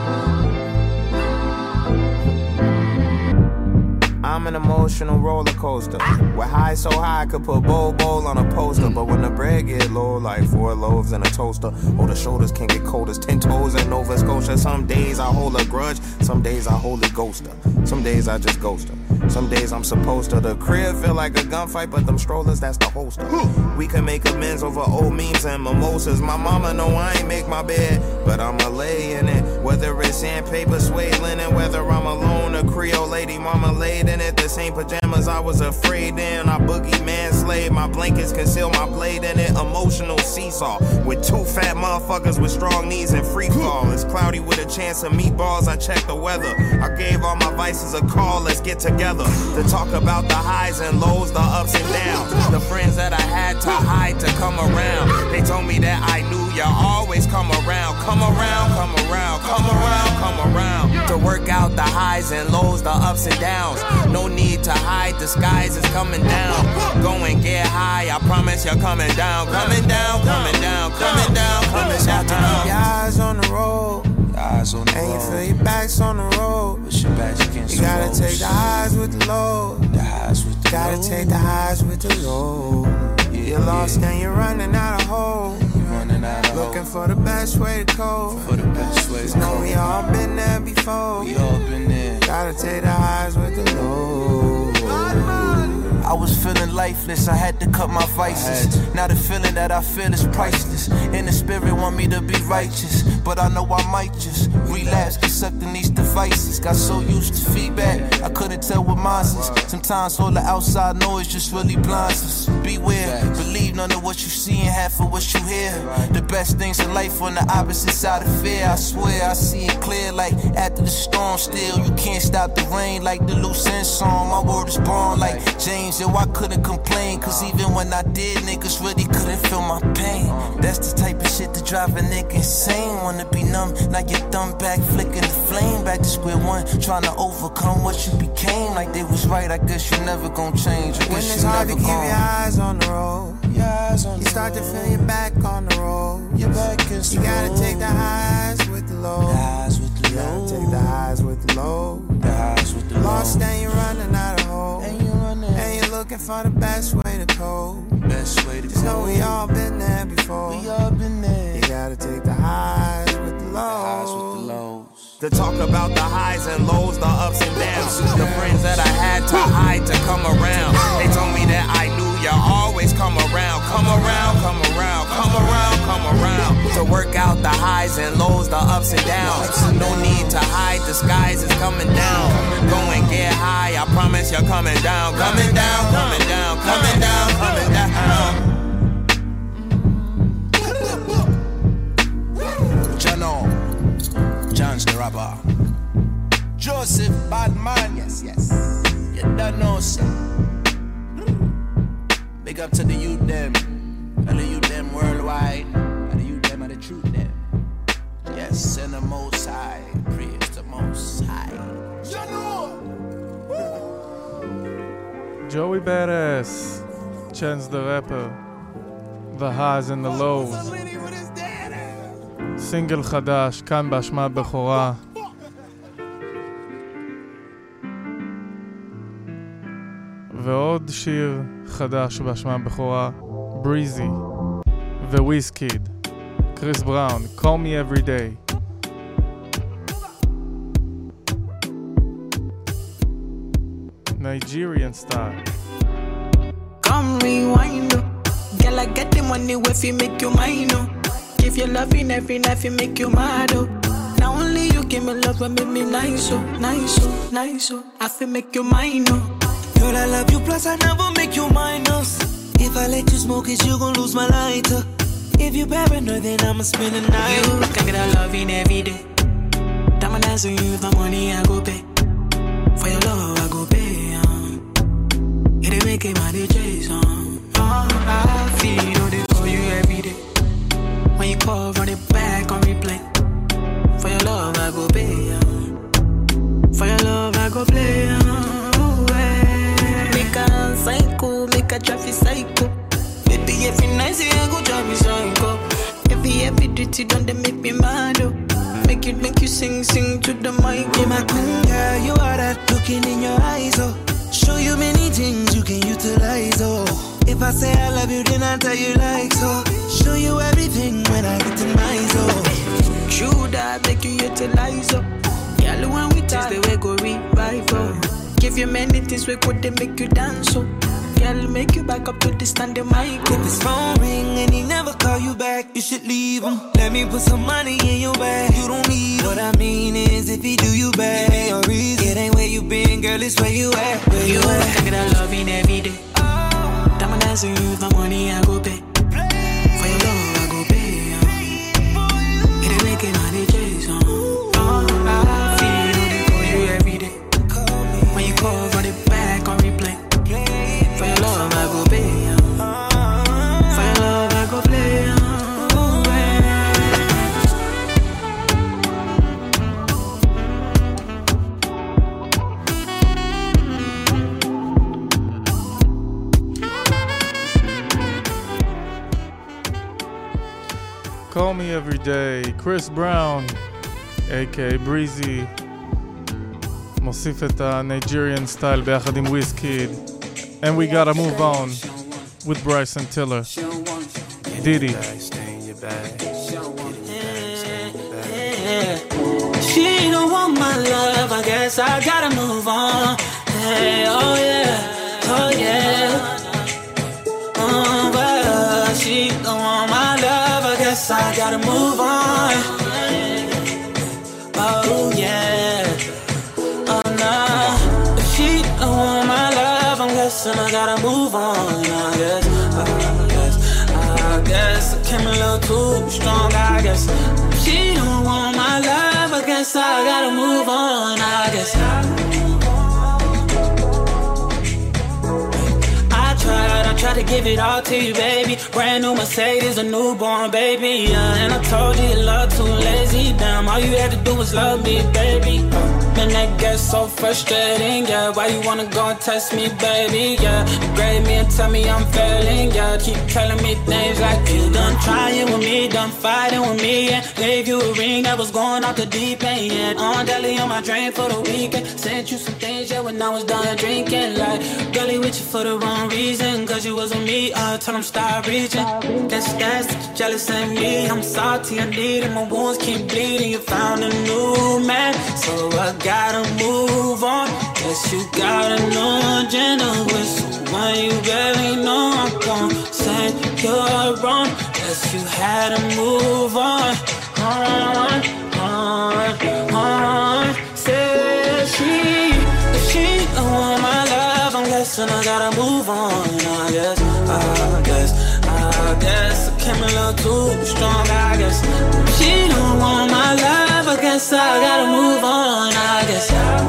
I'm an emotional roller coaster. With high so high I could put bowl bowl on a poster. But when the bread get low, like four loaves in a toaster. Oh, the shoulders can get cold as ten toes in Nova Scotia. Some days I hold a grudge, some days I holy ghost her. Some days I just ghost her. Some days I'm supposed to. The crib feel like a gunfight, but them strollers, that's the holster. We can make amends over old memes and mimosas. My mama know I ain't make my bed, but I'ma lay in it. Whether it's sandpaper, suede linen, whether I'm alone, a Creole lady, mama laid in it. The this ain't pajamas, I was afraid then. I boogie man slave, my blankets conceal my blade in it. Emotional seesaw with two fat motherfuckers with strong knees and free fall. It's cloudy with a chance of meatballs, I check the weather. I gave all my vices a call, let's get together to talk about the highs and lows, the ups and downs. The friends that I had to hide to come around. They told me that I knew you always come around. Come around, come around, come around, come around. To work out the highs and lows, the ups and downs. No need to hide, the skies is coming down. Go and get high, I promise you're coming down. Coming down, coming down, coming down, coming down. Keep your eyes on the road. Eyes on the and road. You feel your back's on the road. But your back's against you the gotta road. Take the highs with the low. The highs with the gotta low. Take the highs with the low. Yeah, you're lost yeah. and you're running out of hope. You're running out of Looking hope. For the best way to cope. For the best way to cope. We all been there before. We all been there. Gotta take the highs with the low. I was feeling lifeless, I had to cut my vices. Now the feeling that I feel is priceless. And the spirit want me to be righteous, but I know I might just relapse, get sucked in these devices. Got so used to feedback, I couldn't tell what mine is. Sometimes all the outside noise just really blinds us. Beware, believe none of what you see and half of what you hear. The best things in life on the opposite side of fear. I swear I see it clear like after the storm. Still you can't stop the rain like the loose end song. My word is born like James. Yo, I couldn't complain, cause even when I did, niggas really couldn't feel my pain. That's the type of shit that drive a nigga insane. Wanna be numb, now your thumb back, flicking the flame. Back to square one, trying to overcome what you became. Like they was right, I guess you never gon' change. I when guess it's you hard never to keep gon'. your eyes on the road, your eyes on you the start road. To feel your back on the road. Your back is You gotta road. Take the highs with the lows. The highs with the lows. Take the highs with the lows. The highs with the lows. Lost and you're running out of hope. And you're running. And you're looking for the best way to cope. Best way to Just know we all been there before. We all been there. You gotta take the highs with the lows. The highs with the lows. To talk about the highs and lows, the ups and downs. The friends that I had to hide to come around. They told me that I knew you always come around. Come around, come around, come around, come around. To work out the highs and lows, the ups and downs. No need to hide, the skies is coming down. Go and get high, I promise you're coming down. Coming down, coming down, coming down, coming down. Jano, John's the rapper. Joseph Badman, yes, yes. You don't know, sir. Big up to the youth them, and the youth them worldwide, and the youth them and the truth them. Yes, and the Most High, praise the Most High. Joey Badass, Chance the Rapper, The Highs and the Lows, סינגל חדש, כאן בהשמעת בכורה. ועוד שיר חדש בהשמעת בכורה, Breezy, וויזקיד, קריס בראון, Call Me Every Day. Nigerian style. Come rewind, oh. Girl, I get the money if you make you mine, oh. Give you loving every night, you make you mad, oh. Now only you give me love and make me nice, oh, nice, oh, nice, oh. I feel make you mine, oh. Girl, I love you, plus I never make you minus. If I let you smoke it, you gon' lose my lighter. If you paranoid, then I'ma spend the night. You can get a loving every day. Diamond dance with you, the money I go pay. For your love, I go pay. It ain't making my D Js on. Oh, I feel they call you every day. When you call, run it back on replay. For your love, I go pay. For your love, I go play. Oh, hey. Make a psycho, make a traffic psycho. Baby, every night say I go drive me psycho. Every every duty done they make me mad. Oh. Make it make you sing, sing to the mic. Yeah, my queen girl, you are that looking in your eyes, oh. Show you many things you can utilize, oh. If I say I love you, then I tell you like so. Show you everything when I get in my zone. True that make you utilize, oh. Girl, when we taste the way go revive, oh. Give you many things we could they make you dance, oh. Girl, make you back up to the standing mic, oh. If his phone ring and he never call you back, you should leave him. Let me put some money in your bag. You don't need him. What I mean is if he do you bad, it ain't where you been, girl. girl, it's where you at, where you at. Think of that loving every day. Diamond dancing with my money, I go pay. For your love, I go pay. Uh. It ain't making money, chase on. Uh. Oh, I feel it for you every day. When you call, run it back on replay. For your love, I go pay. Uh. For your love, I go play. Uh. Call Me Every Day, Chris Brown, A K A Breezy, מוסיף את ה-Nigerian style ביחד עם Wizkid, and we gotta move on with Bryson Tiller, Diddy. She don't want my love, I guess I gotta move on. Hey, oh yeah, oh yeah. Oh, but she don't want my love, I guess I gotta move on. Oh yeah, oh no. If she don't want my love, I'm guessing I gotta move on. I guess, I guess, I guess I came a little too strong. I guess if she don't want my love, I guess I gotta move on. I guess. I tried to give it all to you, baby. Brand new Mercedes, a newborn baby. Yeah, and I told you your love too lazy. Damn, all you had to do was love me, baby. Man, that gets so frustrating. Yeah, why you wanna go and test me, baby? Yeah, grade me and tell me I'm failing. Yeah, keep telling me things like you done trying with me, done fighting with me. And gave you a ring that was going off the deep end. Yeah, on deli on my drain for the weekend. Sent you some things, yeah, when I was done drinking. Like, girlie with you for the wrong reason. Cause you wasn't me, I told him stop reaching. Guess that's jealous of me. I'm salty, I need it, my wounds keep bleeding. You found a new man, so I gotta move on. Guess you got a new agenda with someone you barely know. I'm gon' say you're wrong. Guess you had to move on. On, on, on. Said she, if she don't want my love, I'm guessing I gotta move on. I guess, I guess, I guess I came a little too strong. I guess if she don't want my love, I guess I gotta move on. I guess,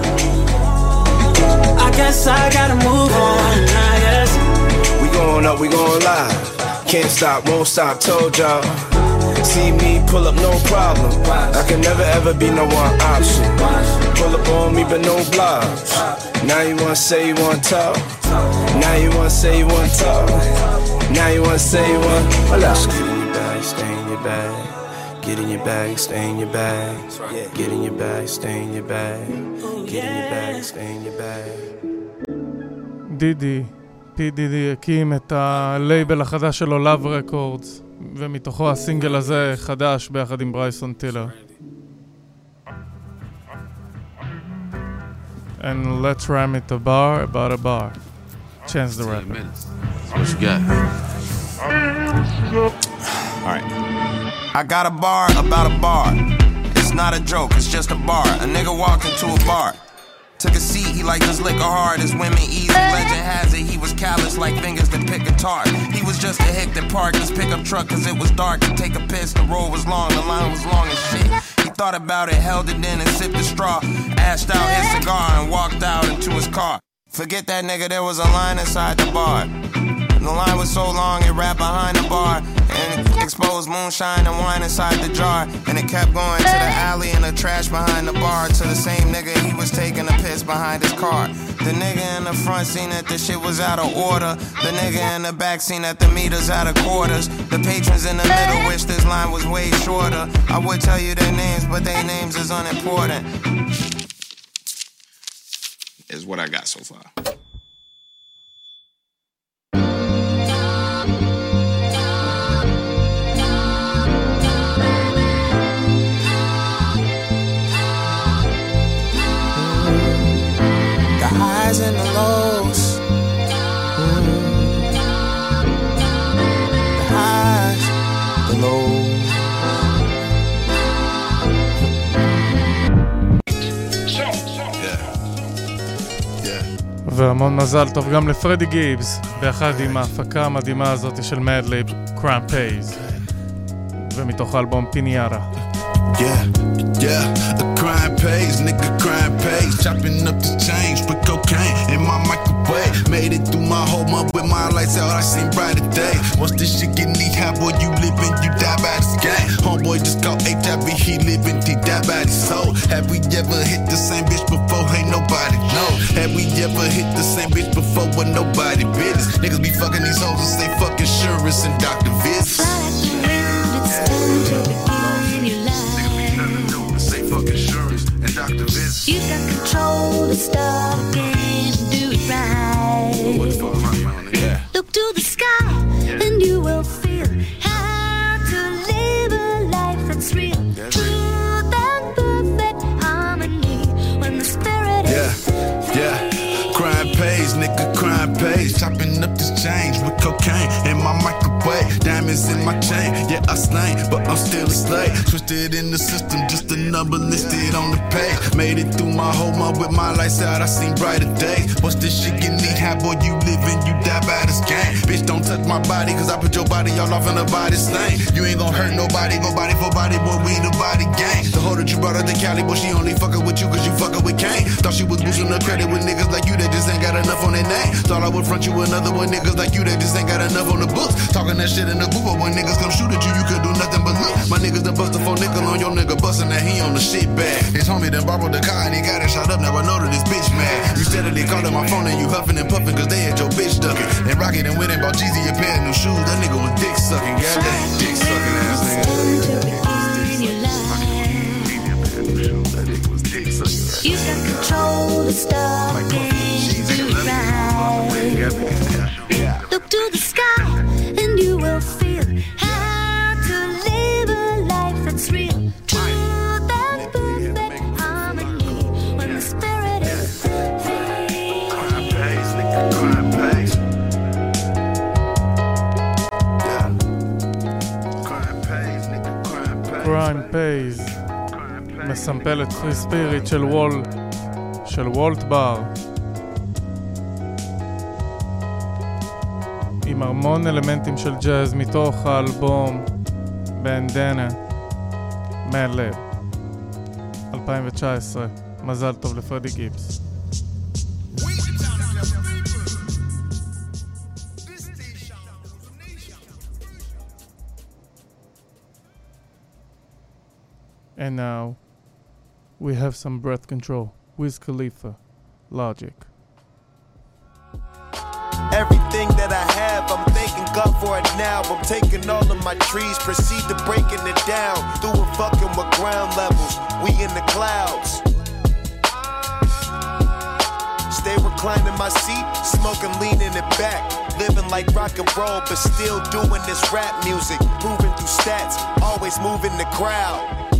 I guess I gotta move on. I guess we going up, we going live. Can't stop, won't stop, told y'all. See me pull up, no problem. I can never ever be no one option. Pull up on me, but no blocks. Now you wanna say you wanna talk. Now you wanna say you wanna talk. Now you wanna say you want. Hold up. Get in your bag, stay in your bag. Get in your bag, stay in your bag. Get in your bag, stay in your bag. Get in your bag, stay in your bag. דידי, פי דידי הקים את הלייבל החדש שלו, Love Records, ומתוכו הסינגל הזה חדש ביחד עם ברייסון טילר. And let's rhyme it a bar about a bar. Chance the Rapper. What you got? Alright. I got a bar about a bar. It's not a joke, it's just a bar. A nigga walked into a bar. Took a seat, he liked his liquor hard, his women easy. Legend has it, he was callous like fingers that pick guitar. He was just a hick that parked his pickup truck cause it was dark. To take a piss, the road was long, the line was long as shit. He thought about it, held it in and sipped the straw. Ashed out his cigar and walked out into his car. Forget that nigga, there was a line inside the bar. The line was so long, it wrapped behind the bar and it exposed moonshine and wine inside the jar. And it kept going to the alley and the trash behind the bar. To the same nigga, he was taking a piss behind his car. The nigga in the front seen that the shit was out of order. The nigga in the back seen that the meter's out of quarters. The patrons in the middle wish this line was way shorter. I would tell you their names, but their names is unimportant. Is what I got so far. highs and the lows. Mm. The highs, the lows. Yeah. והמון מזל טוב גם לפרדי גיבס, ביחד עם ההפקה המדהימה הזאת של מדליב, Crime Pays, ומתוך האלבום פיניארה. Yeah, yeah, a crime pays, nigga crime pays. Chopping up the change, put cocaine in my microwave. Made it through my whole month with my lights out, I seen brighter days. Once this shit get knee high, boy, you living, you die by this game. Homeboy just called H I V, he living, he die by his soul. Have we ever hit the same bitch before? Ain't nobody know. Have we ever hit the same bitch before with nobody business? Niggas be fucking these hoes and say fuck insurance and doctor visits. You got control to stop and do it right. Look to the sky and you will feel how to live a life that's real. Truth and perfect harmony when the spirit yeah, is yeah. Crime pays, nigga, crime pays. Chopping up this change with cocaine in my microwave. Diamonds in my chain, yeah, I slain, but I'm still a slave. Twisted in the system, just a number listed on the page. Made it through my whole month with my lights out, I seen brighter days. What's this shit get knee high, boy, you living, you die by this game. Bitch, don't touch my body, cause I put your body all off in the body stain. You ain't gon' hurt nobody, go body for body, boy, we the body gang. The hoe that you brought her to Cali, boy, she only fuckin' with you cause you fuckin' with Kane. Thought she was boosting the credit with niggas like you that just ain't got enough on their name. Thought I would front you another one, niggas like you that just ain't got enough on the books. Talking that shit in the booth, but when niggas come shoot at you, you could do nothing but look. My niggas done bust a four nickel on your nigga, bustin' that he on the shit bag. His homie done borrowed the car and he got it shot up, now I know that this bitch mad. You said that they called my phone and you huffing and puffing cause they had your bitch ducking. And Rocket and went and bought Jeezy a pair of new shoes, that nigga was dick sucking, goddamn dick sucking ass nigga. you got control to stop and do it right. Look to the sky and you will feel how to live a life that's real. Truth and perfect harmony when the spirit is free. Crime pays, nigga, crime pays. Yeah. Crime pays, nigga, crime pays. Crime Pays, מסמפל את פרי ספיריט של וול, של וולט בר, עם המון אלמנטים של ג'אז מתוך האלבום בנדנה מדליב אלפיים תשע עשרה. מזל טוב לפרדי גיבס. And now we have some breath control. Wiz Khalifa, Logic. Everything that I have, I'm thanking God for it now. I'm taking all of my trees, proceed to breaking it down. Through it fucking with ground levels, we in the clouds. Stay reclining my seat, smoking, leaning it back. Living like rock and roll, but still doing this rap music. Proving through stats, always moving the crowd.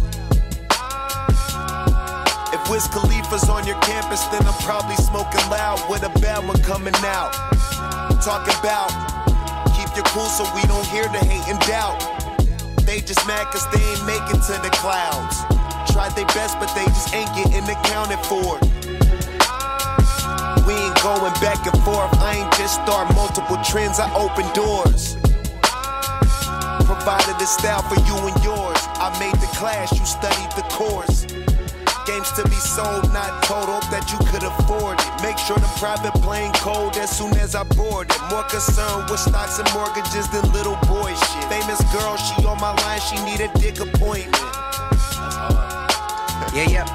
If Wiz Khalifa's on your campus, then I'm probably smoking loud with a bad one coming out. Talking about, keep your cool so we don't hear the hate and doubt. They just mad cause they ain't make it to the clouds. Tried their best but they just ain't getting accounted for. We ain't going back and forth, I ain't just start multiple trends, I open doors. Provided a style for you and yours. I made the class, you studied the course. Games to be sold, not told, hope that you could afford it. Make sure the private plane cold as soon as I board it. More concerned with stocks and mortgages than little boy shit. Famous girl, she on my line, she need a dick appointment. Yeah, yeah.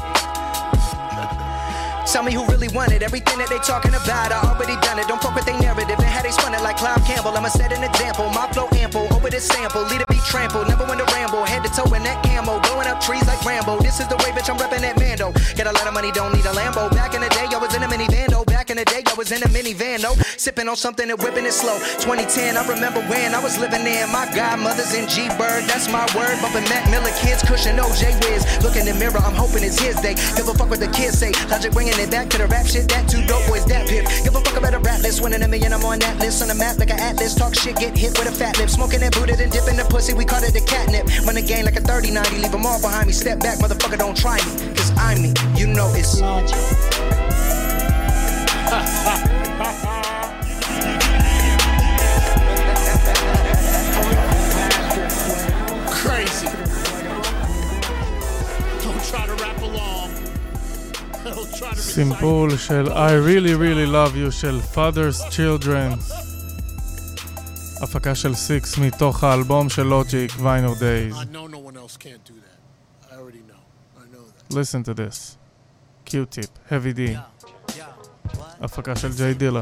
Tell me who really wanted everything that they talking about. I already done it. Don't fuck with they narrative and how they spun it like Clive Campbell. I'ma set an example. My flow ample over this sample. Lead it be trampled. Never went to ramble. Head to toe in that camo. Blowing up trees like Rambo. This is the way, bitch. I'm repping that Mando. Get a lot of money. Don't need a Lambo. Back in the day, I was in a minivan. though. Back in the day, I was in a minivan. though. Sipping on something and whipping it slow. twenty ten, I remember when I was living there. My godmother's in G-Bird. That's my word. Bumping Mac Miller kids. Cushion O J Wiz. Look in the mirror. I'm hoping it's his day. Give a fuck what the kids say. Logic bringing it back to the rap shit. That two dope boys, that pip. Give a fuck about a rap list. Winning a million, I'm on that list. On the map like an atlas. Talk shit, get hit with a fat lip. Smoking that booted and dipping the pussy. We call it the catnip. Run the game like a thirty ninety. Leave them all behind me. Step back, motherfucker, don't try me. Cause I'm me. You know it's Logic. Crazy. Don't try to rap along. Don't try to סימפול של I really really love you של Father's Children, הפקה של סיקס מתוך האלבום של לוג'יק, Vinyl Days. I know no one else can't do that. I already know. I know that. Listen to this. Q-Tip, Heavy D, הפקה של ג'יי דילה.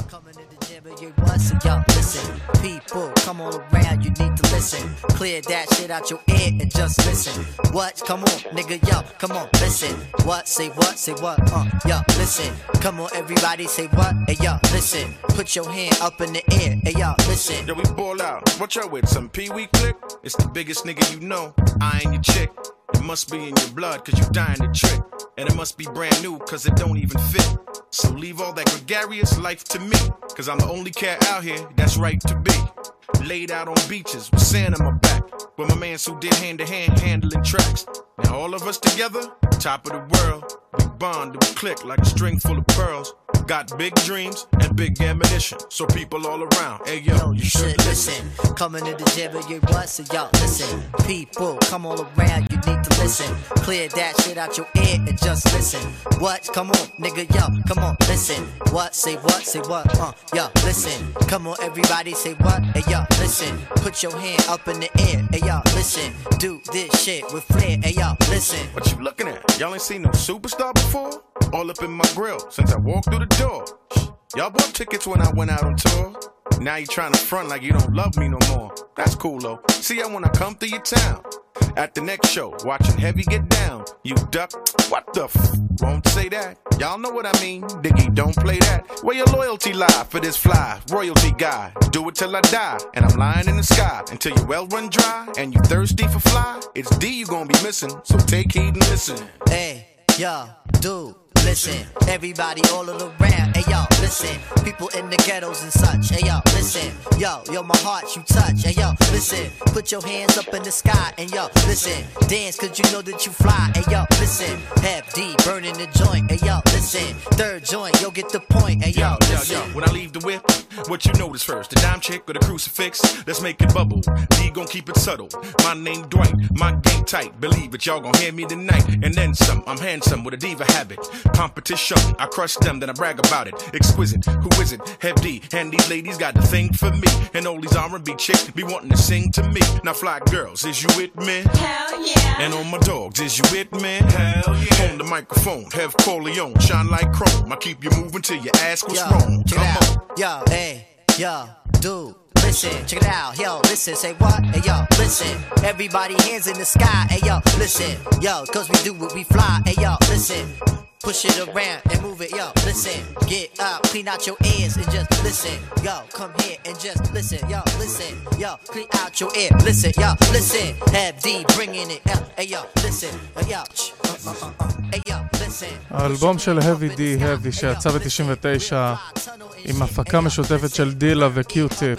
So yo, listen, people, come all around, you need to listen. Clear that shit out your ear and just listen. What? Come on, nigga, yo, come on, listen. What? Say what? Say what? Uh, yo, listen. Come on, everybody, say what? Hey, yo, listen. Put your hand up in the air. Hey, yo, listen. Yo, we ball out. What y'all with? Some Pee-wee click? It's the biggest nigga you know. I ain't your chick. It must be in your blood, cause you dying to trick. And it must be brand new, cause it don't even fit. So leave all that gregarious life to me, cause I'm the only cat out here that's right to be. Laid out on beaches with sand on my back, with my man Sue did hand to hand handling tracks. Now all of us together, top of the world. We bond, we click like a string full of pearls. Got big dreams and big ammunition, so people all around, hey yo, yo you should listen. listen. Coming to the jam, you what? So y'all listen. People, come all around, you need to listen. Clear that shit out your ear and just listen. What? Come on, nigga, yo, come on, listen. What? Say what? Say what? Uh, yo, listen. Come on, everybody, say what? Hey, yo, listen. Put your hand up in the air, hey, yo, listen. Do this shit with flair, hey, yo, listen. What you looking at? Y'all ain't seen no superstar before? All up in my grill since I walked through the door. Y'all bought tickets when I went out on tour. Now you trying to front like you don't love me no more. That's cool though. See ya when I come through your town. At the next show, watching Heavy get down. You duck, what the f? Won't say that. Y'all know what I mean. Diggy, don't play that. Where your loyalty lie for this fly royalty guy? Do it till I die, and I'm lying in the sky until your well run dry and you thirsty for fly. It's D you gonna be missing, so take heed and listen. Hey, yo, dude. Listen, everybody all around, hey yo, listen. People in the ghettos and such, hey yo, listen. Yo, yo, my heart you touch, hey yo, listen. Put your hands up in the sky, and yo, listen. Dance cause you know that you fly, hey yo, listen. Have D burning the joint, hey yo, listen. Third joint, yo, get the point, hey yo, yo, listen. yo, yo, when I leave the whip, what you notice first? The dime chick or the crucifix? Let's make it bubble. D gon' keep it subtle. My name Dwight, my game tight. Believe it, y'all gon' hear me tonight. And then some, I'm handsome with a diva habit. Competition, I crush them, then I brag about it. Exquisite, who is it? Hev D, and these ladies got the thing for me. And all these R and B chicks be wanting to sing to me. Now fly girls, is you with me? Hell yeah. And on my dogs, is you with me? Hell yeah. On the microphone, Hev Corleone, shine like chrome. I keep you moving till you ask what's yo, wrong. Check Come it out. on. Yo, hey, yo, dude. Listen, check it out, yo, listen, say what? Hey, yo, listen, everybody hands in the sky, hey, yo, listen, yo, cause we do what we fly, hey, yo, listen, push it around and move it, yo, listen, get up, clean out your ears and just listen, yo, come here and just listen, yo, listen, yo, clean out your ear, listen, yo, listen, have D bringing it, hey, yo, listen, yo, uh, uh, uh, hey, yo, listen. האלבום של Heavy D, Heavy, שיצא ב-תשעים ותשע עם הפקה משותפת של דילה וקיוטיפ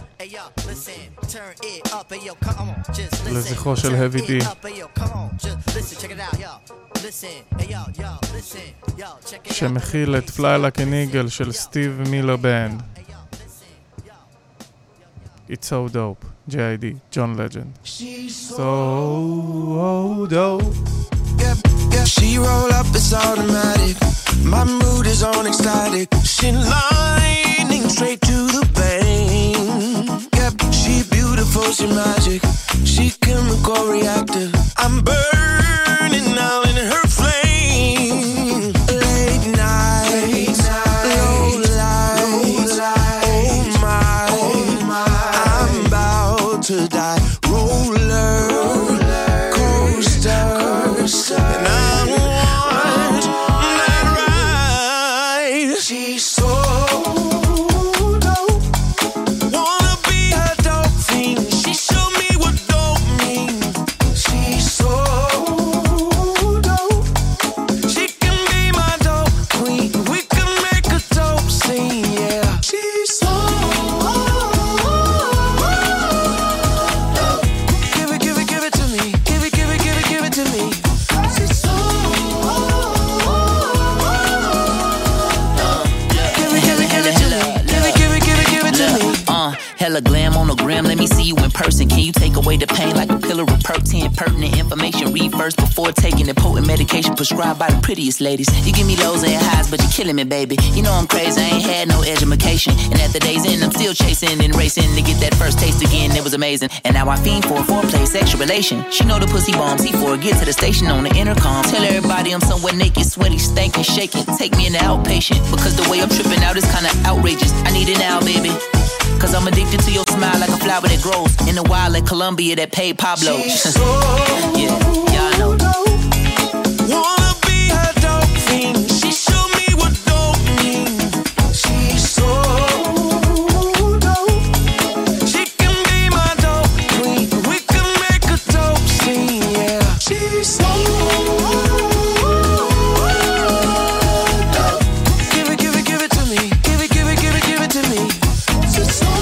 לזכרו של Heavy D, שמכיל את Fly Like an Eagle של סטיב מילר בנד. It's so dope. J I D, John Legend. So dope. Yep, yep. She roll up, it's automatic. My mood is on ecstatic. She lightning straight to the vein. Yep, she beautiful, she magic. She chemical reactive. I'm burning now in her flame. Late night, Late night low light. Low light. Oh my, oh my, I'm about to die. Roller, roller coaster, coaster. And I want hella glam on the gram, let me see you in person. Can you take away the pain like a pillar of perk ten? Pertinent information, read first before taking the potent medication prescribed by the prettiest ladies. You give me lows and highs, but you're killing me, baby. You know I'm crazy, I ain't had no education. And at the day's end, I'm still chasing and racing to get that first taste again. It was amazing. And now I fiend for a foreplay, sexual relation. She know the pussy bombs, he for get to the station on the intercom. Tell everybody I'm somewhere naked, sweaty, stankin', shaking. Take me in the outpatient, because the way I'm tripping out is kinda outrageous. I need it now, baby. Cause I'm addicted to your smile like a flower that grows in the wild like Colombia that paid Pablo. Yeah, y'all know. Wanna be her dope fiend. She showed me what dope means. She's so dope. She can be my dope queen. We can make a dope scene, yeah. She's so dope. Give it, give it, give it to me. Give it, give it, give it, give it to me. She's so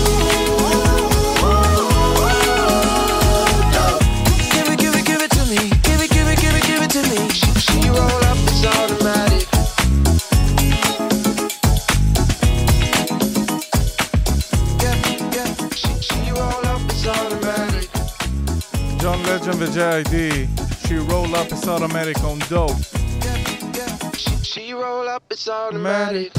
John Legend ו-J I D, She Roll Up It's Automatic on Dope. She roll up, it's automatic.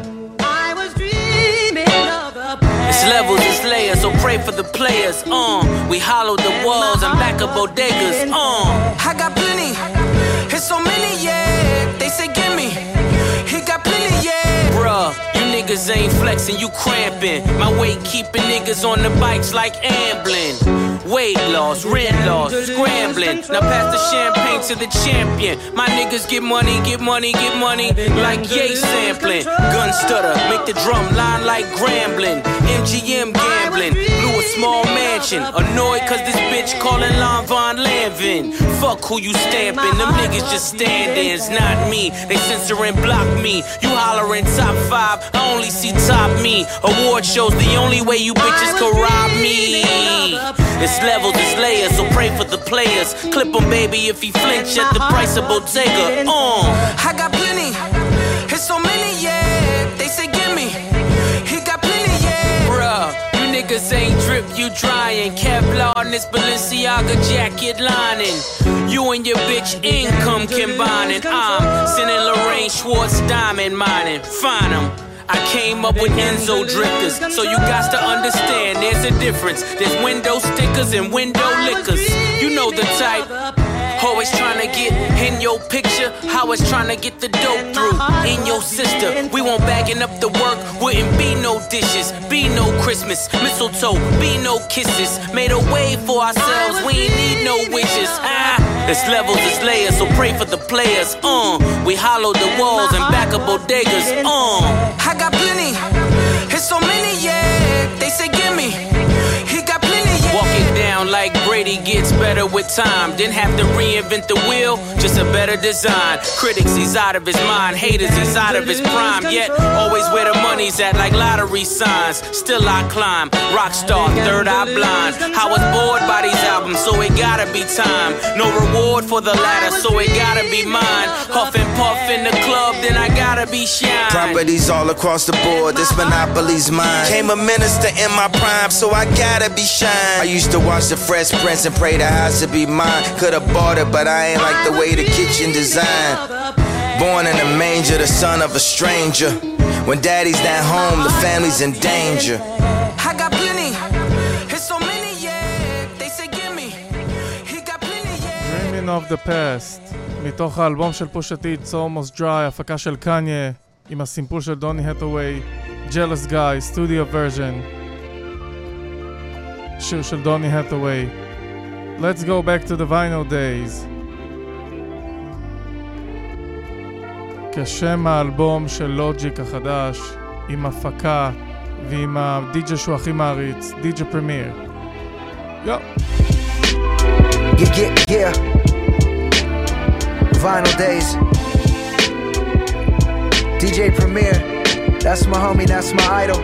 I was dreaming of a past. It's levels, it's layers, so pray for the players. Uh, we hollowed the walls and back up bodegas. Uh, I got plenty, it's so many, yeah. They say gimme, he got plenty, yeah. Bruh, you niggas ain't flexing, you cramping. My weight keeping niggas on the bikes like ambling. Weight loss, rent loss, scrambling. Now pass the champagne to the champion. My niggas get money, get money, get money. Like yay sampling. Gun stutter, make the drum line like Grambling. M G M gambling, blew a small mansion. Annoyed cause this bitch calling Lon Von Lanvin. Fuck who you stamping, them niggas just standing. It's not me, they censor and block me. You hollering top five, I only see top me. Award shows the only way you bitches could rob me. It's levels, it's layers, so pray for the players. Clip him, baby, if he flinch at the price of Bottega. Uh. I got plenty, it's so many, yeah. They say gimme, he got plenty, yeah. Bruh, you niggas ain't drip, you drying. Kevlar in this Balenciaga jacket lining. You and your bitch income combining. I'm sending Lorraine Schwartz diamond mining. Find 'em. I came up with Enzo drifters, so you got to understand there's a difference. There's window stickers and window liquors. You know the type. Always trying to get in your picture, always trying to get the dope through. In your sister, we won't bagging up the work. Wouldn't be no dishes, be no Christmas, mistletoe, be no kisses. Made a way for ourselves, we ain't need no wishes. Ah, it's levels, it's layers, so pray for the players. Uh, we hollowed the walls and back up bodegas. Uh, I got plenty, it's so many, yeah. They say gimme, he got plenty, yeah. Walk it down like Brady gets better with time. Didn't have to reinvent the wheel, just a better design. Critics, he's out of his mind. Haters, he's out of his prime. Yet, always where the money's at, like lottery signs. Still I climb, rock star, third eye blind. I was bored by these albums, so it gotta be time. No reward for the latter, so it gotta be mine. Huff and puff in the club, then I gotta be shine. Properties all across the board, this monopoly's mine. Came a minister in my prime, so I gotta be shine. I used to watch the Fresh Prince and pray the house to be mine. Could've bought it, but I ain't like the way the kitchen designed. Born in a manger, the son of a stranger. When daddy's not home, the family's in danger. I got plenty, it's so many, yeah. They say gimme, he got plenty, yeah. Dreaming of the Past, מתוך האלבום של פושה טי, It's Almost Dry, הפקה של קניה, עם הסימפול של דוני הטווי, Jealous Guy, Studio Version. שיר של דוני הטווי. Let's go back to the vinyl days. כשם האלבום של לוג'יק החדש, עם הפקה ועם הדי-ג'י שהוא הכי מעריץ, די-ג'י פרמיר. יו. Yeah, yeah, yeah. Vinyl days. D J Premier, that's my homie, that's my idol.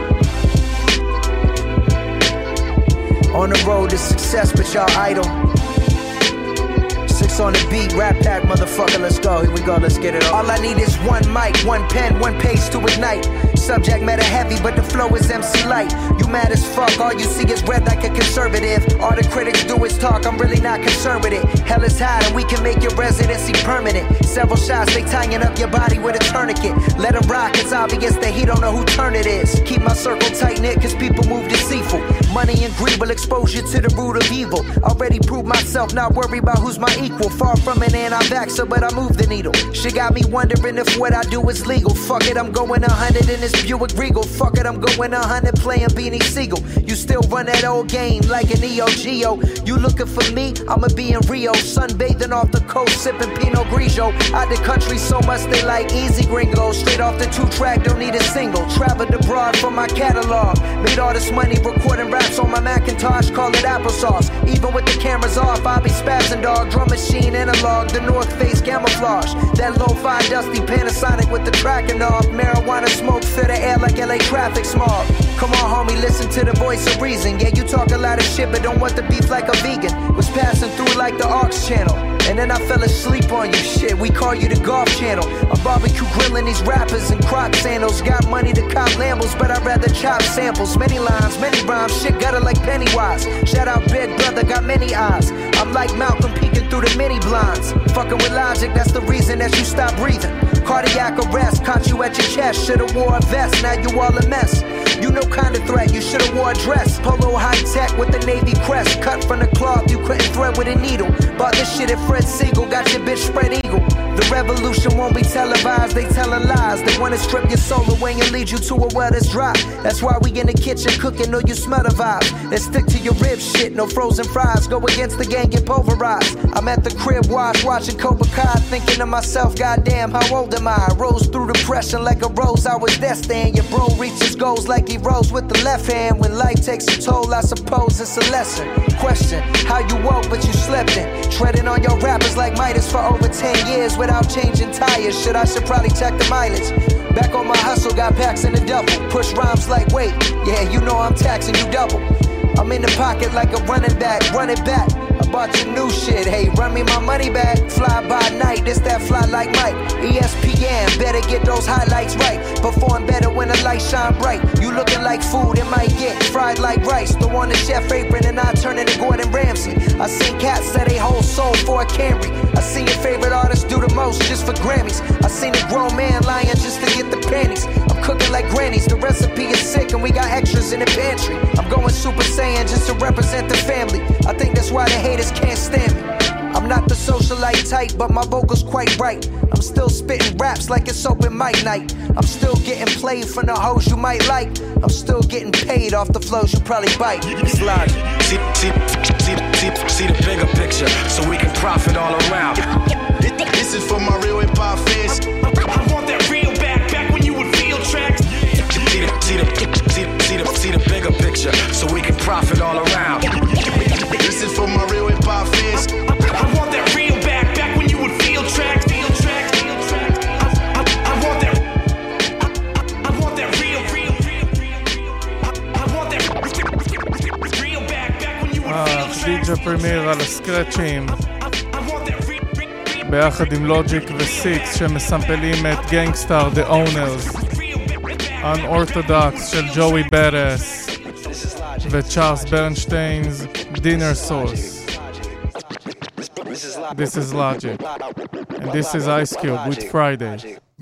On the road to success, but y'all idle. Six on the beat, rap pack, motherfucker, let's go. Here we go, let's get it on. All I need is one mic, one pen, one page to ignite. subject matter heavy, but the flow is M C light. You mad as fuck, all you see is red like a conservative. All the critics do is talk, I'm really not concerned with it. Hell is hot and we can make your residency permanent. Several shots, they tying up your body with a tourniquet. Let him rock, it's obvious that he don't know who turn it is. Keep my circle tight knit, cause people move deceitful. Money and greed will expose you to the root of evil. Already proved myself, not worry about who's my equal. Far from an anti-vaxxer, but I move the needle. Shit got me wondering if what I do is legal. Fuck it, I'm going a hundred in this Buick Regal. Fuck it, I'm going a hundred playing Beanie Siegel. You still run that old game like an E O Geo. You looking for me? I'ma be in Rio, sunbathing off the coast, sipping Pinot Grigio. Out the country so much they like easy gringo. Straight off the two-track, don't need a single. Traveled abroad for my catalog. Made all this money recording raps on my Macintosh, call it applesauce. Even with the cameras off, I be spazzing dog. Drum machine analog, the North Face camouflage. That lo-fi dusty Panasonic with the tracking off. Marijuana smoke fill the air like L A traffic smog. Come on homie, listen to the voice of reason. Yeah, you talk a lot of shit but don't want the beef like a vegan. Was passing through like the Aux channel, and then I fell asleep on you. Shit, we call you the Golf Channel. I'm barbecue grilling these rappers in Croc sandals. Got money to cop Lambos, but I'd rather chop samples. Many lines, many rhymes, shit gutter like Pennywise. Shout out Big Brother, got many eyes. I'm like Malcolm peeking through the mini blinds. Fucking with logic, that's the reason that you stop breathing. Cardiac arrest, caught you at your chest. Should've wore a vest, now you all a mess. You no kind of threat, you should've wore a dress. Polo high tech with the navy crest. Cut from the cloth, you couldn't thread with a needle. Bought this shit at Fred Siegel, got your bitch spread eagle. The revolution won't be televised, they telling lies. They wanna strip your soul away and lead you to a well that's dry. That's why we in the kitchen cooking, know you smell the vibe. And stick to your rib shit, no frozen fries. Go against the gang, get pulverized. I'm at the crib wash, watching Cobra Kai. Thinking to myself, goddamn, how old am I? Rose through depression like a rose, I was destined. Your bro reaches goals like he rose with the left hand. When life takes a toll, I suppose it's a lesson. Question, how you woke but you slept in. Treading on your rappers like Midas for over ten years without changing tires. Shit, I should probably check the mileage. Back on my hustle, got packs in the double. Push rhymes like wait, yeah, you know I'm taxing you double. I'm in the pocket like a running back, run it back. I bought you new shit, hey, run me my money back. Fly by night, this that fly like Mike. E S P N, better get those highlights right. Perform better when the lights shine bright. You looking like food, it might get fried like rice. Throw on the chef apron and I turn into Gordon Ramsay. I seen cats sell they whole soul for a Camry. I seen your favorite artist do the most just for Grammys. I seen a grown man lying just to get the panties. I'm cooking like grannies, the recipe is sick and we got extras in the pantry. I'm going Super Saiyan just to represent the family. I think that's why the haters can't stand me. I'm not the socialite type, but my vocals quite right. I'm still spitting raps like it's open mic night. I'm still getting played from the hoes you might like. I'm still getting paid off the flows you probably bite. Slide. See, see, see, see, see the bigger picture, so we can profit all around. This is for my real hip hop fans. I want that real back, back when you would feel tracks. See the, see the, see the, see the, see the bigger picture, so we can profit all around. This is for my real hip hop fans. I want that real back, back when you would feel tracks, feel tracks, feel tracks. I, I, I want that, I, I want that real, real, real, real. I want that real back, back when you would feel tracks. די-ג'יי פרמייר על הסקרצ'ים ביחד עם לוג'יק וסיקס שמסמפלים את גנגסטאר The Owners, Unorthodox של ג'וי ברס וצ'ארלס ברנשטיינ's Dinner Sauce. This is Logic, and this is Ice Cube with Friday.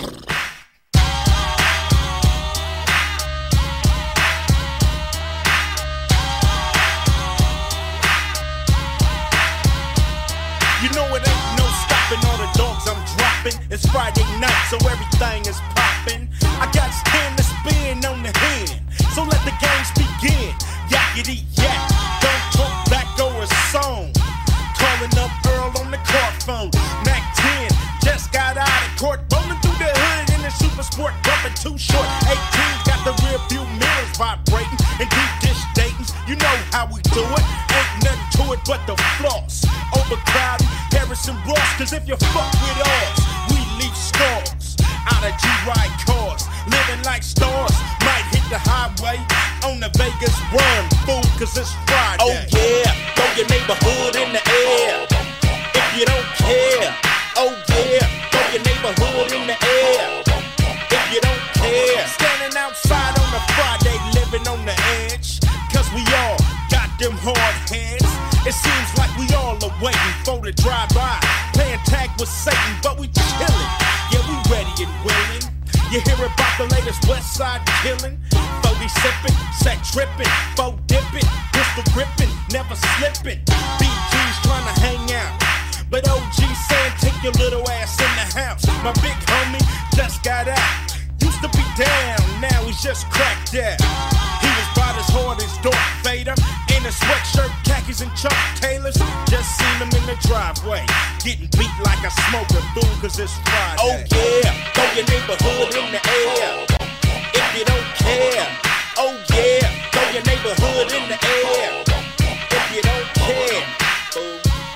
You know it ain't no stopping all the dogs I'm dropping. It's Friday night, so everything is popping. I got ten to spin on the hand, so let the games begin. Yakety yak, don't talk back over a song. Calling up Earl on the car phone. Mac ten just got out of court, rolling through the hood in the super sport, bumping too short. eighteen's got the rear view mirrors vibrating and deep dish datings. You know how we do it, ain't nothing to it but the floss. Overcrowded, Harrison Ross, cause if you fuck with us, we leave scars. Out of G-Ride cars, living like stars. Might hit the highway on the Vegas run, fool, cause it's Friday. Oh yeah, throw your neighborhood in the air. If you don't care, oh yeah, throw your neighborhood in the air. If you don't care, standing standing outside on a Friday, living on the edge. Cause we all got them hard heads. It seems like we all are waiting for the drive-by, playing tag with Satan, but we chillin'. Yeah, we ready and willing. You hear about the latest West Side killing? forty sippin', set trippin', four dippin', pistol grippin', never slippin'. B G's tryna hang out, but O G saying take your little ass in the house. My big homie just got out. Used to be down, now he's just cracked out. He was about as hard as Darth Vader, in a sweatshirt, khakis and Chuck Taylors. Just seen him in the driveway, getting beat like a smoker, fool, cause it's Friday. Oh yeah, throw your neighborhood in the air, if you don't care. Oh yeah, throw your neighborhood in the air, if you don't care. Oh.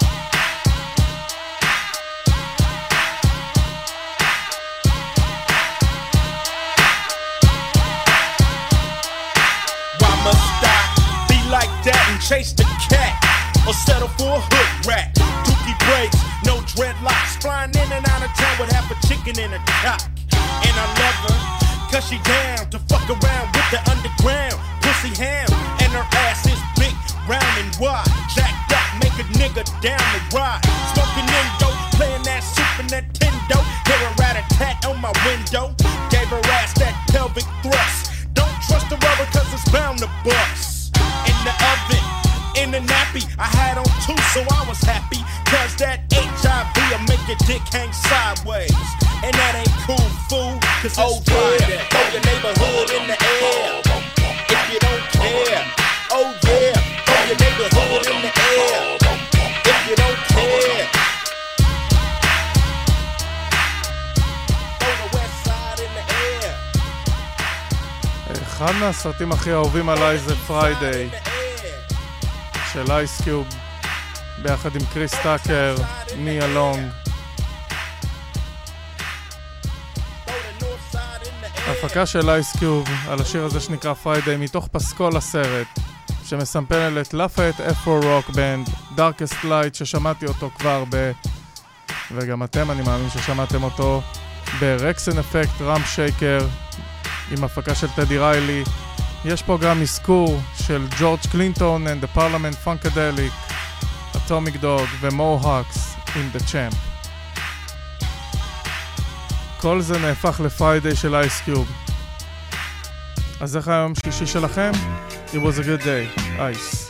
Must I be like that and chase the cat, or settle for a hood rat? Dookie braids, no dreadlocks, flying in and out of town with half a chicken in a cock. And I love her, cause she down to fuck around with the underground pussy ham. And her ass is big, round and wide, jacked up, make a nigga down the ride. Smoking Indo, playing that Super Nintendo, hear a rat-a-tat on my window. Gave her ass that pelvic thrust. Don't trust the rubber cause it's bound to bust. In the oven, in the nappy, I had on two so I was happy. Cause that H I V'll make your dick hang sideways. And that ain't cool, fool, cause it's oh, Friday. Yeah. Throw your neighborhood in the air, if you don't care. Oh yeah, throw your neighborhood in the air, if you don't care. Throw the west side in the air. אחד מהסרטים הכי אהובים עליי זה פריידיי של אייס קיוב ביחד עם קריס טאקר, ניה לונג. ההפקה של אייס קיוב על השיר הזה שנקרא פריידיי מתוך פסקול הסרט שמסמפל את לפייט אפרו רוק בנד, דארקסט לייט, ששמעתי אותו כבר ב... וגם אתם אני מאמין ששמעתם אותו ברקסן אפקט רם שייקר עם הפקה של טדי ריילי. יש פה גם מזכור של ג'ורג' קלינטון and the Parliament Funkadelic, Atomic Dog ומוהאקס in the Champ. כל זה נהפך לפריידיי של אייס קיוב. אז איך היום שלישי שלכם? It was a good day, Ice.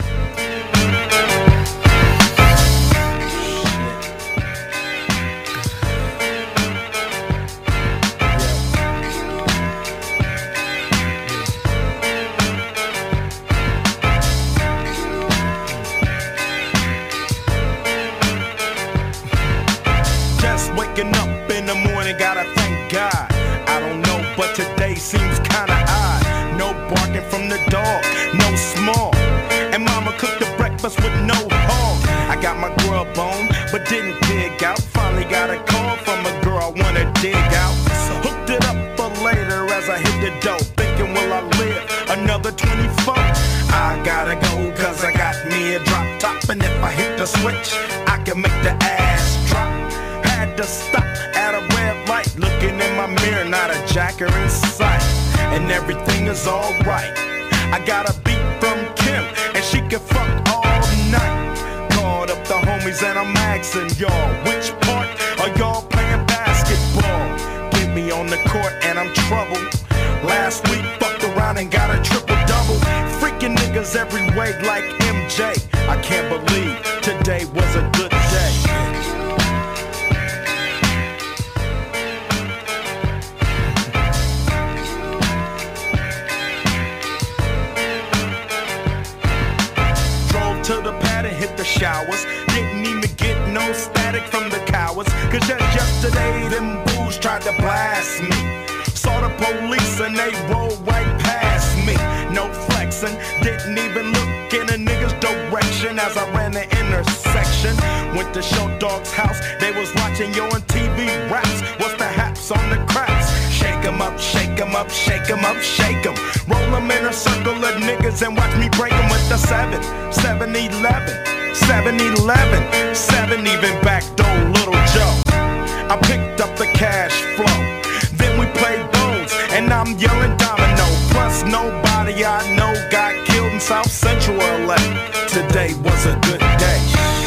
Seems kinda odd, no barking from the dog, no small, and mama cooked the breakfast with no hog. I got my grub on, but didn't dig out. Finally got a call from a girl I wanna dig out. Hooked it up for later as I hit the dough, thinking will I live another twenty-four? I gotta go cause I got me a drop top, and if I hit the switch, I can make the ass drop. Had to stop at a red light, looking in my mirror, not a jacker in sight, and everything is alright. I got a beat from Kim, and she can fuck all night. Called up the homies and I'm asking y'all, which part are y'all playing basketball? Get me on the court and I'm troubled. Last week fucked around and got a triple-double. Freaking niggas every way like M J. I can't believe today was a good day. To the pad and hit the showers. Didn't even get no static from the cowards, cause just yesterday them fools tried to blast me. Saw the police and they rolled right past me. No flexing, didn't even look in a nigga's direction as I ran the intersection. Went to Show Dog's house, they was watching yo on T V raps. What's the haps on the craps? Shake 'em up, shake 'em up, shake 'em up, shake 'em. Roll 'em in a circle of niggas and watch me break 'em with the seven, seven eleven, seven eleven, seven even backdoor Little Joe. I picked up the cash flow, then we played bones, and I'm yelling domino. nobody I know got killed in South Central L A. Today was a good day.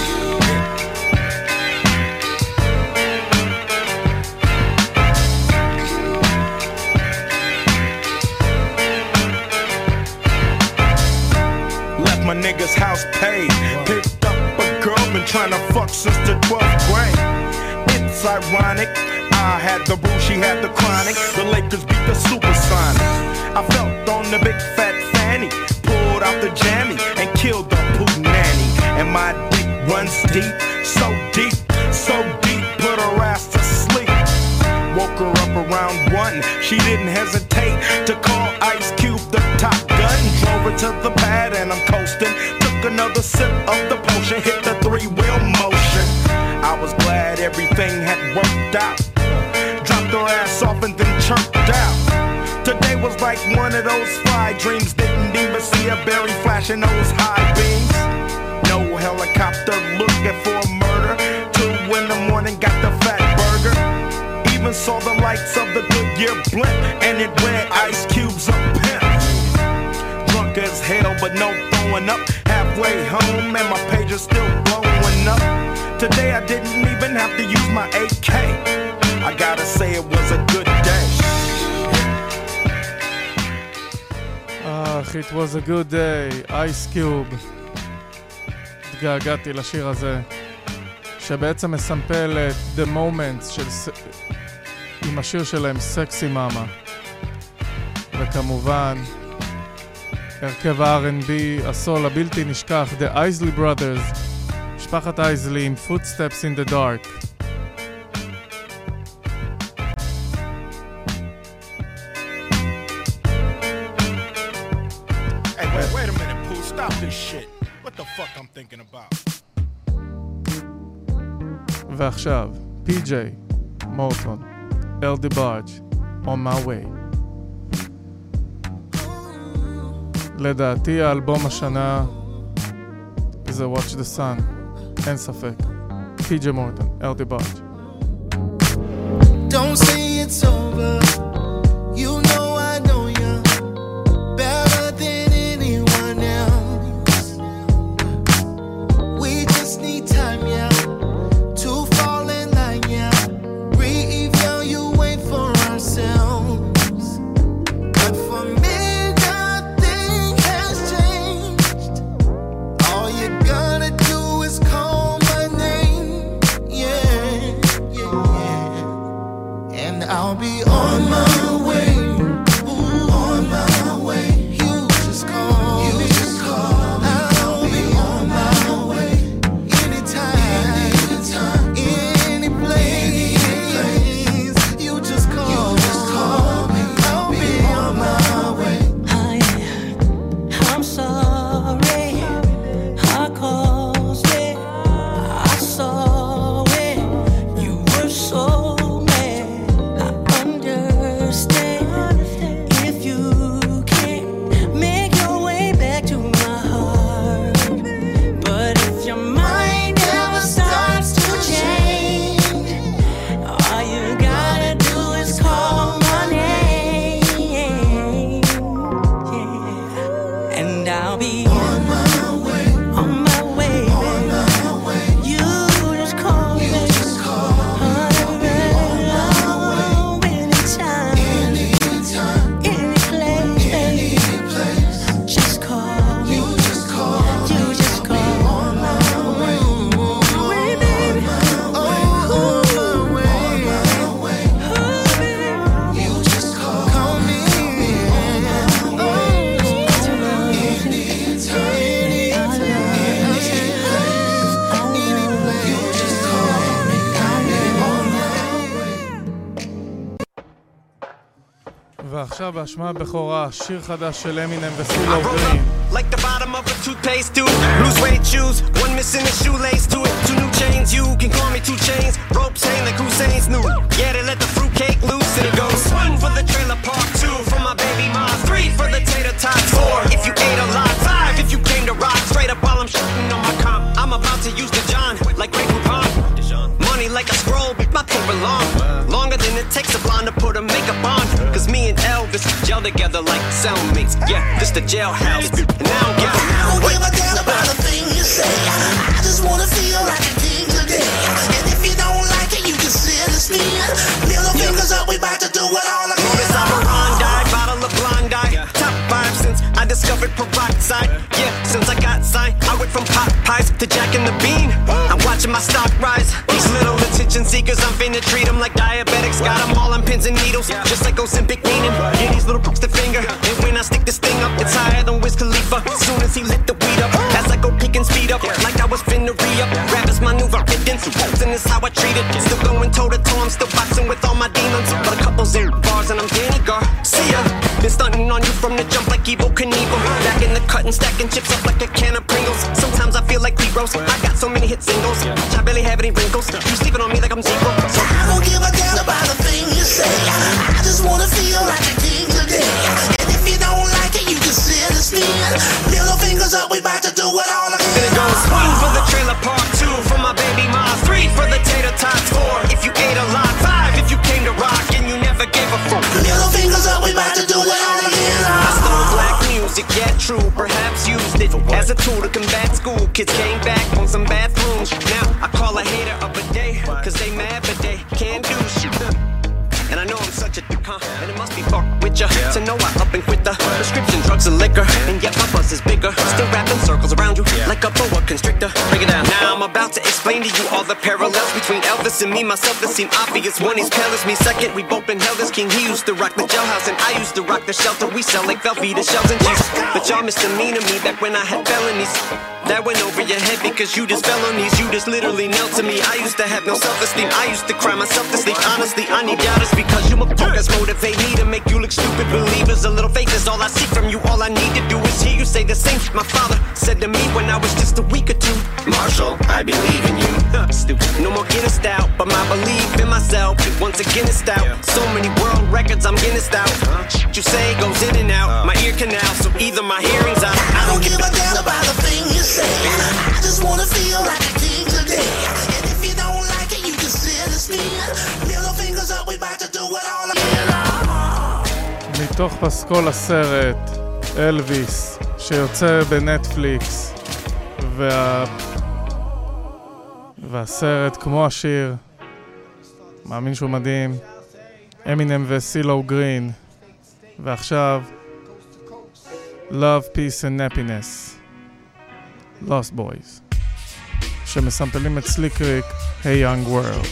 Left my nigga's house paid. Picked up a girl, been trying to fuck since the twelfth grade. It's ironic, I had the boo, she had the chronic. The Lakers beat the Supersonics. I felt on the big fat fanny, pulled out the jammy and killed the poo nanny. And my dick runs deep, so deep, so deep, put her ass to sleep. Woke her up around one, she didn't hesitate to call Ice Cube the top gun. Drove her to the pad and I'm coasting. Took another sip of the potion, hit the three-wheel motion. I was glad everything had worked out. Dropped her ass off and then chirped out. Today was like one of those fly dreams. Didn't even see a berry flashing those high beams. No helicopter looking for a murder. Two in the morning got the fat burger. Even saw the lights of the Goodyear blimp and it read Ice Cube's a pimp. Drunk as hell but no throwing up. Halfway home and my page is still blowing up. Today I didn't even have to use my A K. I gotta say it was a good day. אך, it was a good day, Ice Cube. התגעגעתי לשיר הזה, שבעצם מסמפל את The Moments של... עם השיר שלהם, סקסי מאמה. וכמובן, הרכב ה-אר אנד בי, הסול הבלתי נשכח, The Isley Brothers, משפחת אייזלי עם Footsteps in the Dark. Hey, wait, wait a minute, Pooh, stop this shit. What the fuck I'm thinking about? ועכשיו, פי ג'יי, מורטון, אל דיבארג', On My Way. לדעתי האלבום השנה זה Watch the Sun, אין ספק. פי ג'יי מורטון, אל דיבארג'. Don't say it's over. You know I know you better than anyone else. We just need time, yeah, to fall in line, yeah. Re-evaluate for ourselves. But for me, nothing has changed. All you gotta do is call my name, yeah, yeah, yeah. And I'll be on my way, ooh, on my way. You just call, you just call. I'll be on my way, anytime, anytime, any place. You just call, you just call me. I'll be on my way. I'm sorry, I caused it, I saw it, you were so mad. I understand if you can't make your way back to my heart. But if your mind ever starts to change, all you gotta do is call my name, yeah. And I'll be on my way, on my way, on my way. You just call me, you just call me. I'll be on my way, anytime, anytime, any place, any place. Just call me, you just call me, you just call me. On my way, way, baby, oh, on my way, on my way. You just call, call me, oh, anytime, anytime, any place, any place. You just call me, I'll be on my way. ועכשיו בהשמעה בכורה, שיר חדש של אמינם וסילו גרין. Like the bottom of a toothpaste tube. Blue suede shoes, one missing a shoelace to it. Two new chains, you can call me two chains. Ropes hang like Hussein's new. Yeah, they let the fruitcake loose and it goes. One for the trailer park, two for my baby mom, three for the tater tots, four if you ate a lot, five if you came to rock. Straight up while I'm shooting on my comp. I'm about to use the John like Grey Poupon. Money like a scroll, my paper long. Longer than it takes a blonde to put a makeup on. Cause me and L Elvis, gel together like cellmates. Yeah, this the jailhouse. And now I'm giving I don't give a damn about a thing you say. I just wanna feel like a king today. And if you don't like it, you can sit and spin. Middle fingers up, we about to do it all again. Miss Operandi, bottle of Blondie. Top five since I discovered peroxide. Yeah, since I got signed, I went from pot pies to Jack and the Bean. I'm watching my stock rise. These little attention seekers, I'm finna treat them like diabetics. Got them all on pins and needles, just like Ozempic meaning. Yeah, these little pooks the finger. And when I stick this thing up, it's higher than Wiz Khalifa. Soon as he lit the weed up, as I go peek and speed up, like I was finna re-up. Rappers maneuver riddance, and it's how I treat it. Still going toe to toe, I'm still boxing with all my demons. But a couple zero bars and I'm Danny Gar. See ya. Been stunting on you from the jump like Evel Knievel. Back in the cut and stacking chips up like a can of Pringles. Sometimes I feel like P-Rose. I got so many hit singles, I barely have any wrinkles. You sleeping on me like I'm zero. So I don't give a damn about a thing you say. I just wanna feel like a king today. And if you don't like it, you can sit and spin. Middle fingers up, we about to do it all again. Then it goes one for the trailer park, two for my baby mom, three for the tater tots, four if you ate a lot, five if you came to rock and you never gave a fuck. Middle fingers up, we about to do it all again. I stole black music, yeah true, perhaps used it as a tool to combat school. Kids came back on some bathrooms. Now I call a hater up a day, cause they mad but they can't do shit. And I know I'm such a dick, huh? And it must be fuck with ya to know I up and quit the prescription drugs and liquor. And yet my buzz is bigger, still wrapping circles around you like a boa constrictor. Break it down. Now I'm about to explain to you all the parallels between Elvis and me. Myself that seem obvious. One, he's pale as me. Second, we both been held as king. He used to rock the jailhouse and I used to rock the shelter. We sell like Velveeta shells and cheese. But y'all misdemeanor me back when I had felonies. That went over your head because you just fell on these. You just literally knelt to me. I used to have no self-esteem. I used to cry myself to sleep. Honestly, I need doubters because you motherfuckers motivate me to make you look stupid. Believers, a little faith is all I seek from you. All I need to do is hear you say the same shit my father said to me when I was just a week or two. Marshall, I believe in you. Stupid. No more Guinness out, but my belief in myself once again is stout. So many world records, I'm Guinness out. Shit you say goes in and out my ear canal, so either my hearing's out. I don't give a damn about a thing you say. I just wanna feel like a king today. And if you don't like it, you can sit and spin. Middle fingers up, we about to do it all again. מתוך פסקול הסרט אלוויס שיוצא בנטפליקס, וה... והסרט כמו השיר, מאמין שהוא מדהים, אמינם וסילו גרין. ועכשיו Love, Peace and Happiness, Lost Boys, שמסמפלים את סליק ריק, Hey Young World.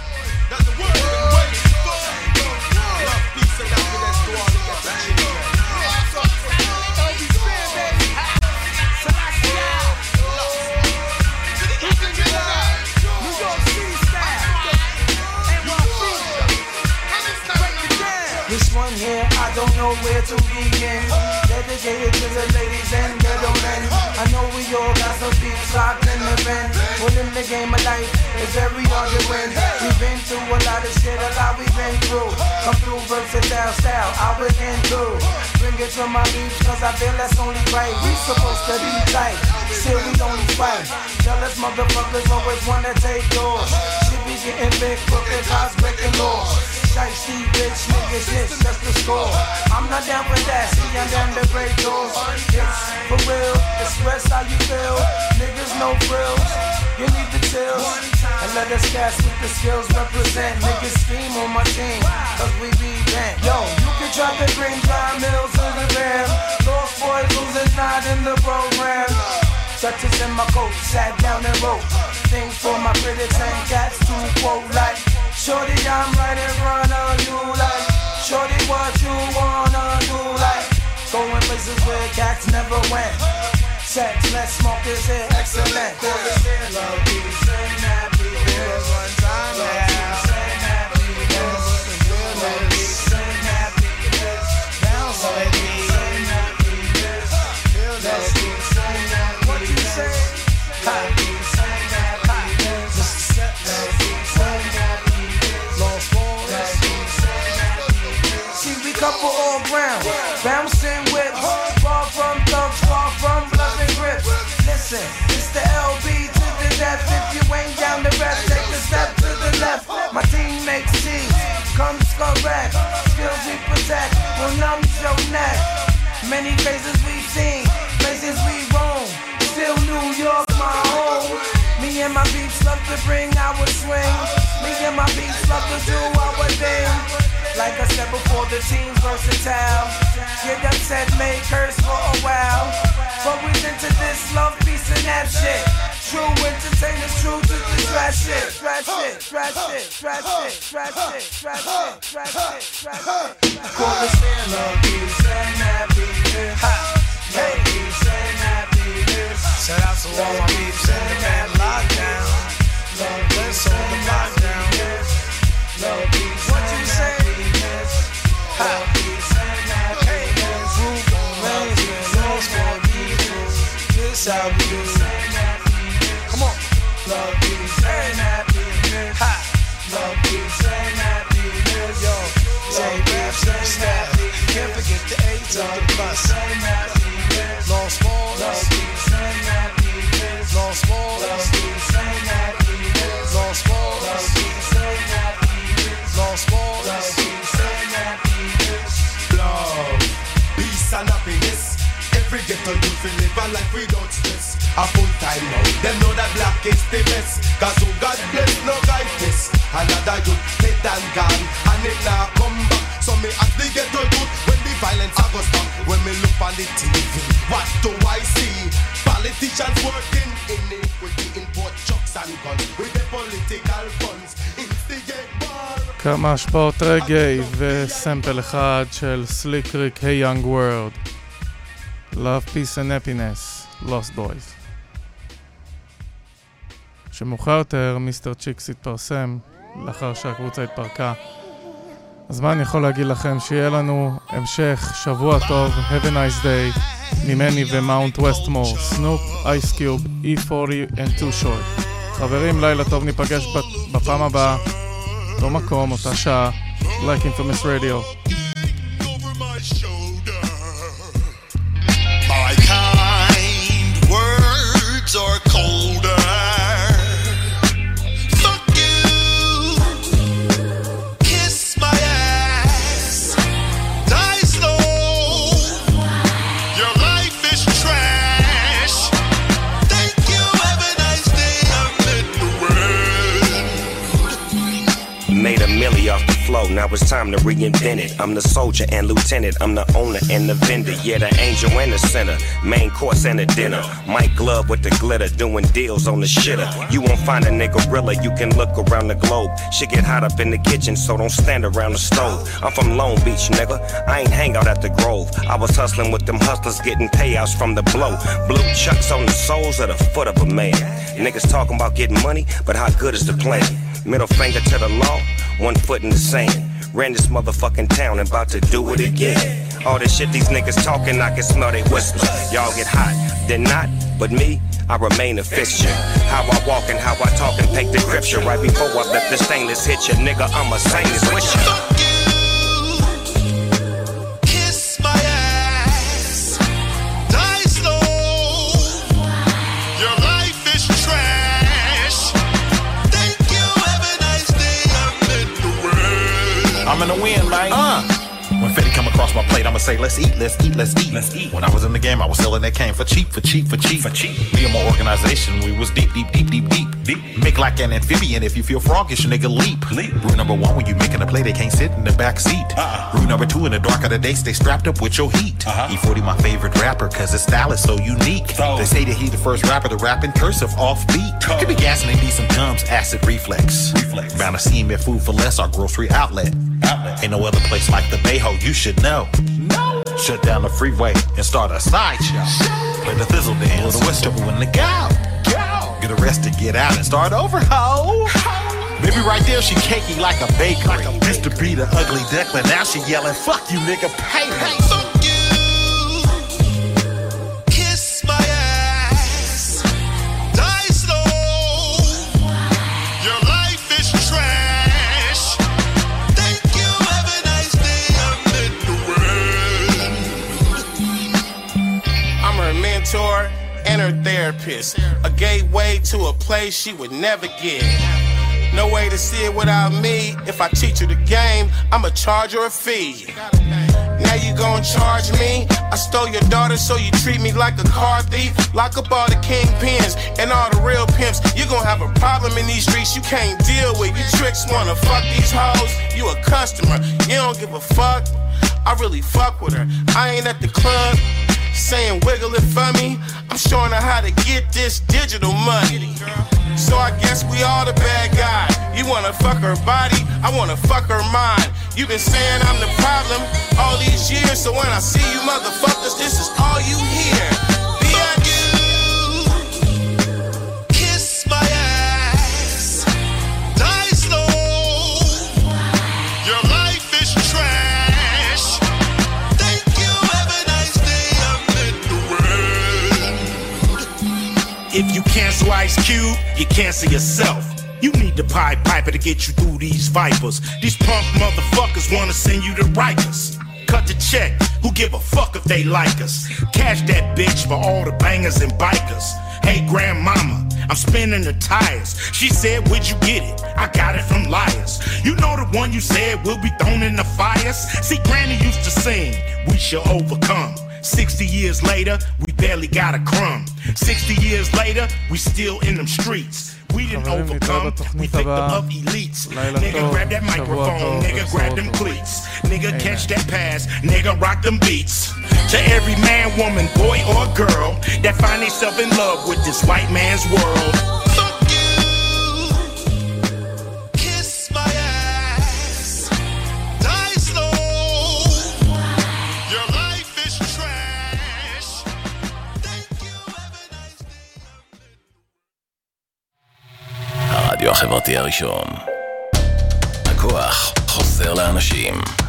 This one here, I don't know where to begin. Dedicated to the ladies and gentlemen. I know we all got some beats locked in the bend. Well, in the game of life, it's very hard to win. We've been through a lot of shit, a lot we've been through. Come through versatile style, I was into. Bring it to my beats, cause I feel that's only right. We supposed to be tight, still we only fight. Jealous motherfuckers always wanna take yours. Shit be getting big, crooked, cars breaking laws. Shiesty, bitch, niggas, this, that's the score. I'm not down for that, see I'm down to break doors. It's for real, express how you feel. Niggas no frills, you need the chills. And let us cast with the skills represent. Niggas scheme on my team, cause we be bent. Yo, you can drop the green dime mills in the van. Lost boys losing not in the program. Touches in my coat, sat down and wrote things for my critics and cats to quote like, shorty, I'm right in front of you like, shorty, what you wanna do like, going places where cats never went. Sex, let's smoke this here, excellent. Love, peace, and happiness. One time now. Love, peace, and happiness. Bounce with me. Love, peace, and happiness. What you say? Love, peace, and happiness. Love, peace, and happiness. Lost boys. Love, peace, and happiness. See, we couple all ground, bouncing with far from thugs, far from blood and grip. Listen, it's the L B to the death. If you ain't down the rest, take a step to the left. My team makes teams, comes correct. Skills we protect will not many faces we've seen, places we roam. Still New York, my home. Me and my peeps love to bring our swing. Me and my peeps love to do our thing. Like I said before, the team's versatile. Get upset, make curse for a while. But we into this love, peace, and that shit. True entertainers, true to the trash shit. Trash shit, trash shit, trash shit, trash shit, trash shit, trash shit, trash shit. Call us in love, peace, and happiness. Love, peace, and happiness. Shout out to all my peeps in the band lockdown. Love, bless all the lockdown. Love, peace, what you say? Love, peace, and happiness. Love, peace, and happiness. This how we do. Come on. Love, peace, and happiness. Love, peace, and happiness. Yo, J Babs and Snap. Can't forget the A's on the bus. Long Smalls. Love, peace, and happiness. Long Smalls. Love, peace, and happiness. Long Smalls. Love, peace, and happiness. Long Smalls. Love, peace, and happiness. Love, peace and happiness. Every ghetto youth will live a life without stress. A full time now, them know that black is the best. Cause who God bless, no guide this. Another youth dead and gone, and it now come back. So me ask the ghetto youth, when the violence a go stop. When me look on the T V, what do I see? Politicians working iniquity, import trucks and guns with the political funds. Instigate war. כמה השפעות רגעי וסמפל אחד של סליק ריק, Hey Young World. Love, Peace and Happiness, Lost Boys. שמאוחר יותר מיסטר צ'יקס התפרסם לאחר שהקבוצה התפרקה. אז מה אני יכול להגיד לכם? שיהיה לנו המשך שבוע טוב, Have a nice day, ממני ומאונט ווסטמור, סנופ, אייס קיוב, E forty and Too Short. חברים, לילה טוב, ניפגש בפעם הבאה, אותו מקום, אותה שעה, Like Infamous Radio. My kind words are colder. Fuck you. Kiss my ass. Die slow. Your life is trash. Thank you. Have a nice day. I'm in the world. Made a milli off the flow, now it's time to reinvent it. I'm the soldier and lieutenant, I'm the owner and the vendor. Yeah, the angel and the sinner, main course and a dinner. Mike Glove with the glitter, doing deals on the shitter. You won't find a nigga realer, you can look around the globe. Shit get hot up in the kitchen, so don't stand around the stove. I'm from Long Beach, nigga, I ain't hang out at the Grove. I was hustling with them hustlers, getting payouts from the blow. Blue chucks on the soles of the foot of a man. Niggas talking about getting money, but how good is the plan? Middle finger to the law, one foot in the sand. Ran this motherfucking town and about to do it again. All this shit these niggas talking, I can smell they whispers. Y'all get hot, then not, but me, I remain a fixture. How I walk and how I talk and paint the scripture. Right before I let the stainless hit you, nigga, I'm a saint with you. Kiss my ass. Die slow. Your life is trash. Thank you. Have a nice day. I'm in the world. I'm in the wind, man. Uh. When Fetty come across my plate, I'ma say, let's eat, let's eat, let's eat, let's eat. When I was in the game, I was selling that cane for cheap, for cheap, for cheap, for cheap. Me and my organization, we was deep, deep, deep, deep, deep, deep. Make like an amphibian. If you feel froggish, nigga, leap. leap. Rule number one, when you making a play, they can't sit in the back seat. Uh-uh. Rule number two, in the dark of the day, stay strapped up with your heat. Uh-huh. E forty my favorite rapper, cause his style is so unique. Oh. They say that he the first rapper to rap in cursive offbeat. Oh. Could be gassing and need some gums, acid reflex. Reflex. Bound to see him at Food for Less, our grocery outlet. Outlet. Ain't no other place like the Bayho, you should know. No. Shut down the freeway and start a sideshow. Play the Thizzle dance, or the Westover when the go. Go. Get arrested, get out, and start over, ho. Maybe right there she cakey like a bakery. Like a used to be the ugly duckling, now she yelling, fuck you, nigga, pay me. Fuck you. Kiss my ass. Die slow. Your life is trash. Thank you. Have a nice day. I'm in the world. I'm her mentor and her therapist. A gateway to a place she would never get. No way to see it without me. If I teach her the game, I'ma charge her a fee. Now you gon' charge me? I stole your daughter, so you treat me like a car thief. Lock up all the kingpins and all the real pimps. You gon' have a problem in these streets you can't deal with. You tricks wanna fuck these hoes. You a customer, you don't give a fuck. I really fuck with her. I ain't at the club saying wiggle it for me. I'm showing her how to get this digital money. So I guess we all the bad guy. You wanna fuck her body, I wanna fuck her mind. You been saying I'm the problem all these years, so when I see you motherfuckers, this is all you hear. Bitch. Kiss my ass, die slow. Your life is trash. Thank you, have a nice day. I'm in the world. If you cancel Ice Cube, you cancel yourself. You need the Pied Piper to get you through these vipers. These punk motherfuckers wanna send you to Rikers. Cut the check, who give a fuck if they like us? Cash that bitch for all the bangers and bikers. Hey grandmama, I'm spinning the tires. She said, where'd you get it? I got it from Liars. You know the one you said will be thrown in the fires? See, Granny used to sing, we shall overcome. Sixty years later, we barely got a crumb. Sixty years later, we still in them streets. We didn't overcome, we victim of elites. Nigga grab that microphone, nigga grab them cleats. Nigga catch that pass, nigga rock them beats. To every man, woman, boy or girl that find themselves in love with this white man's world. הרדיו החברתי הראשון. הכוח חוזר לאנשים.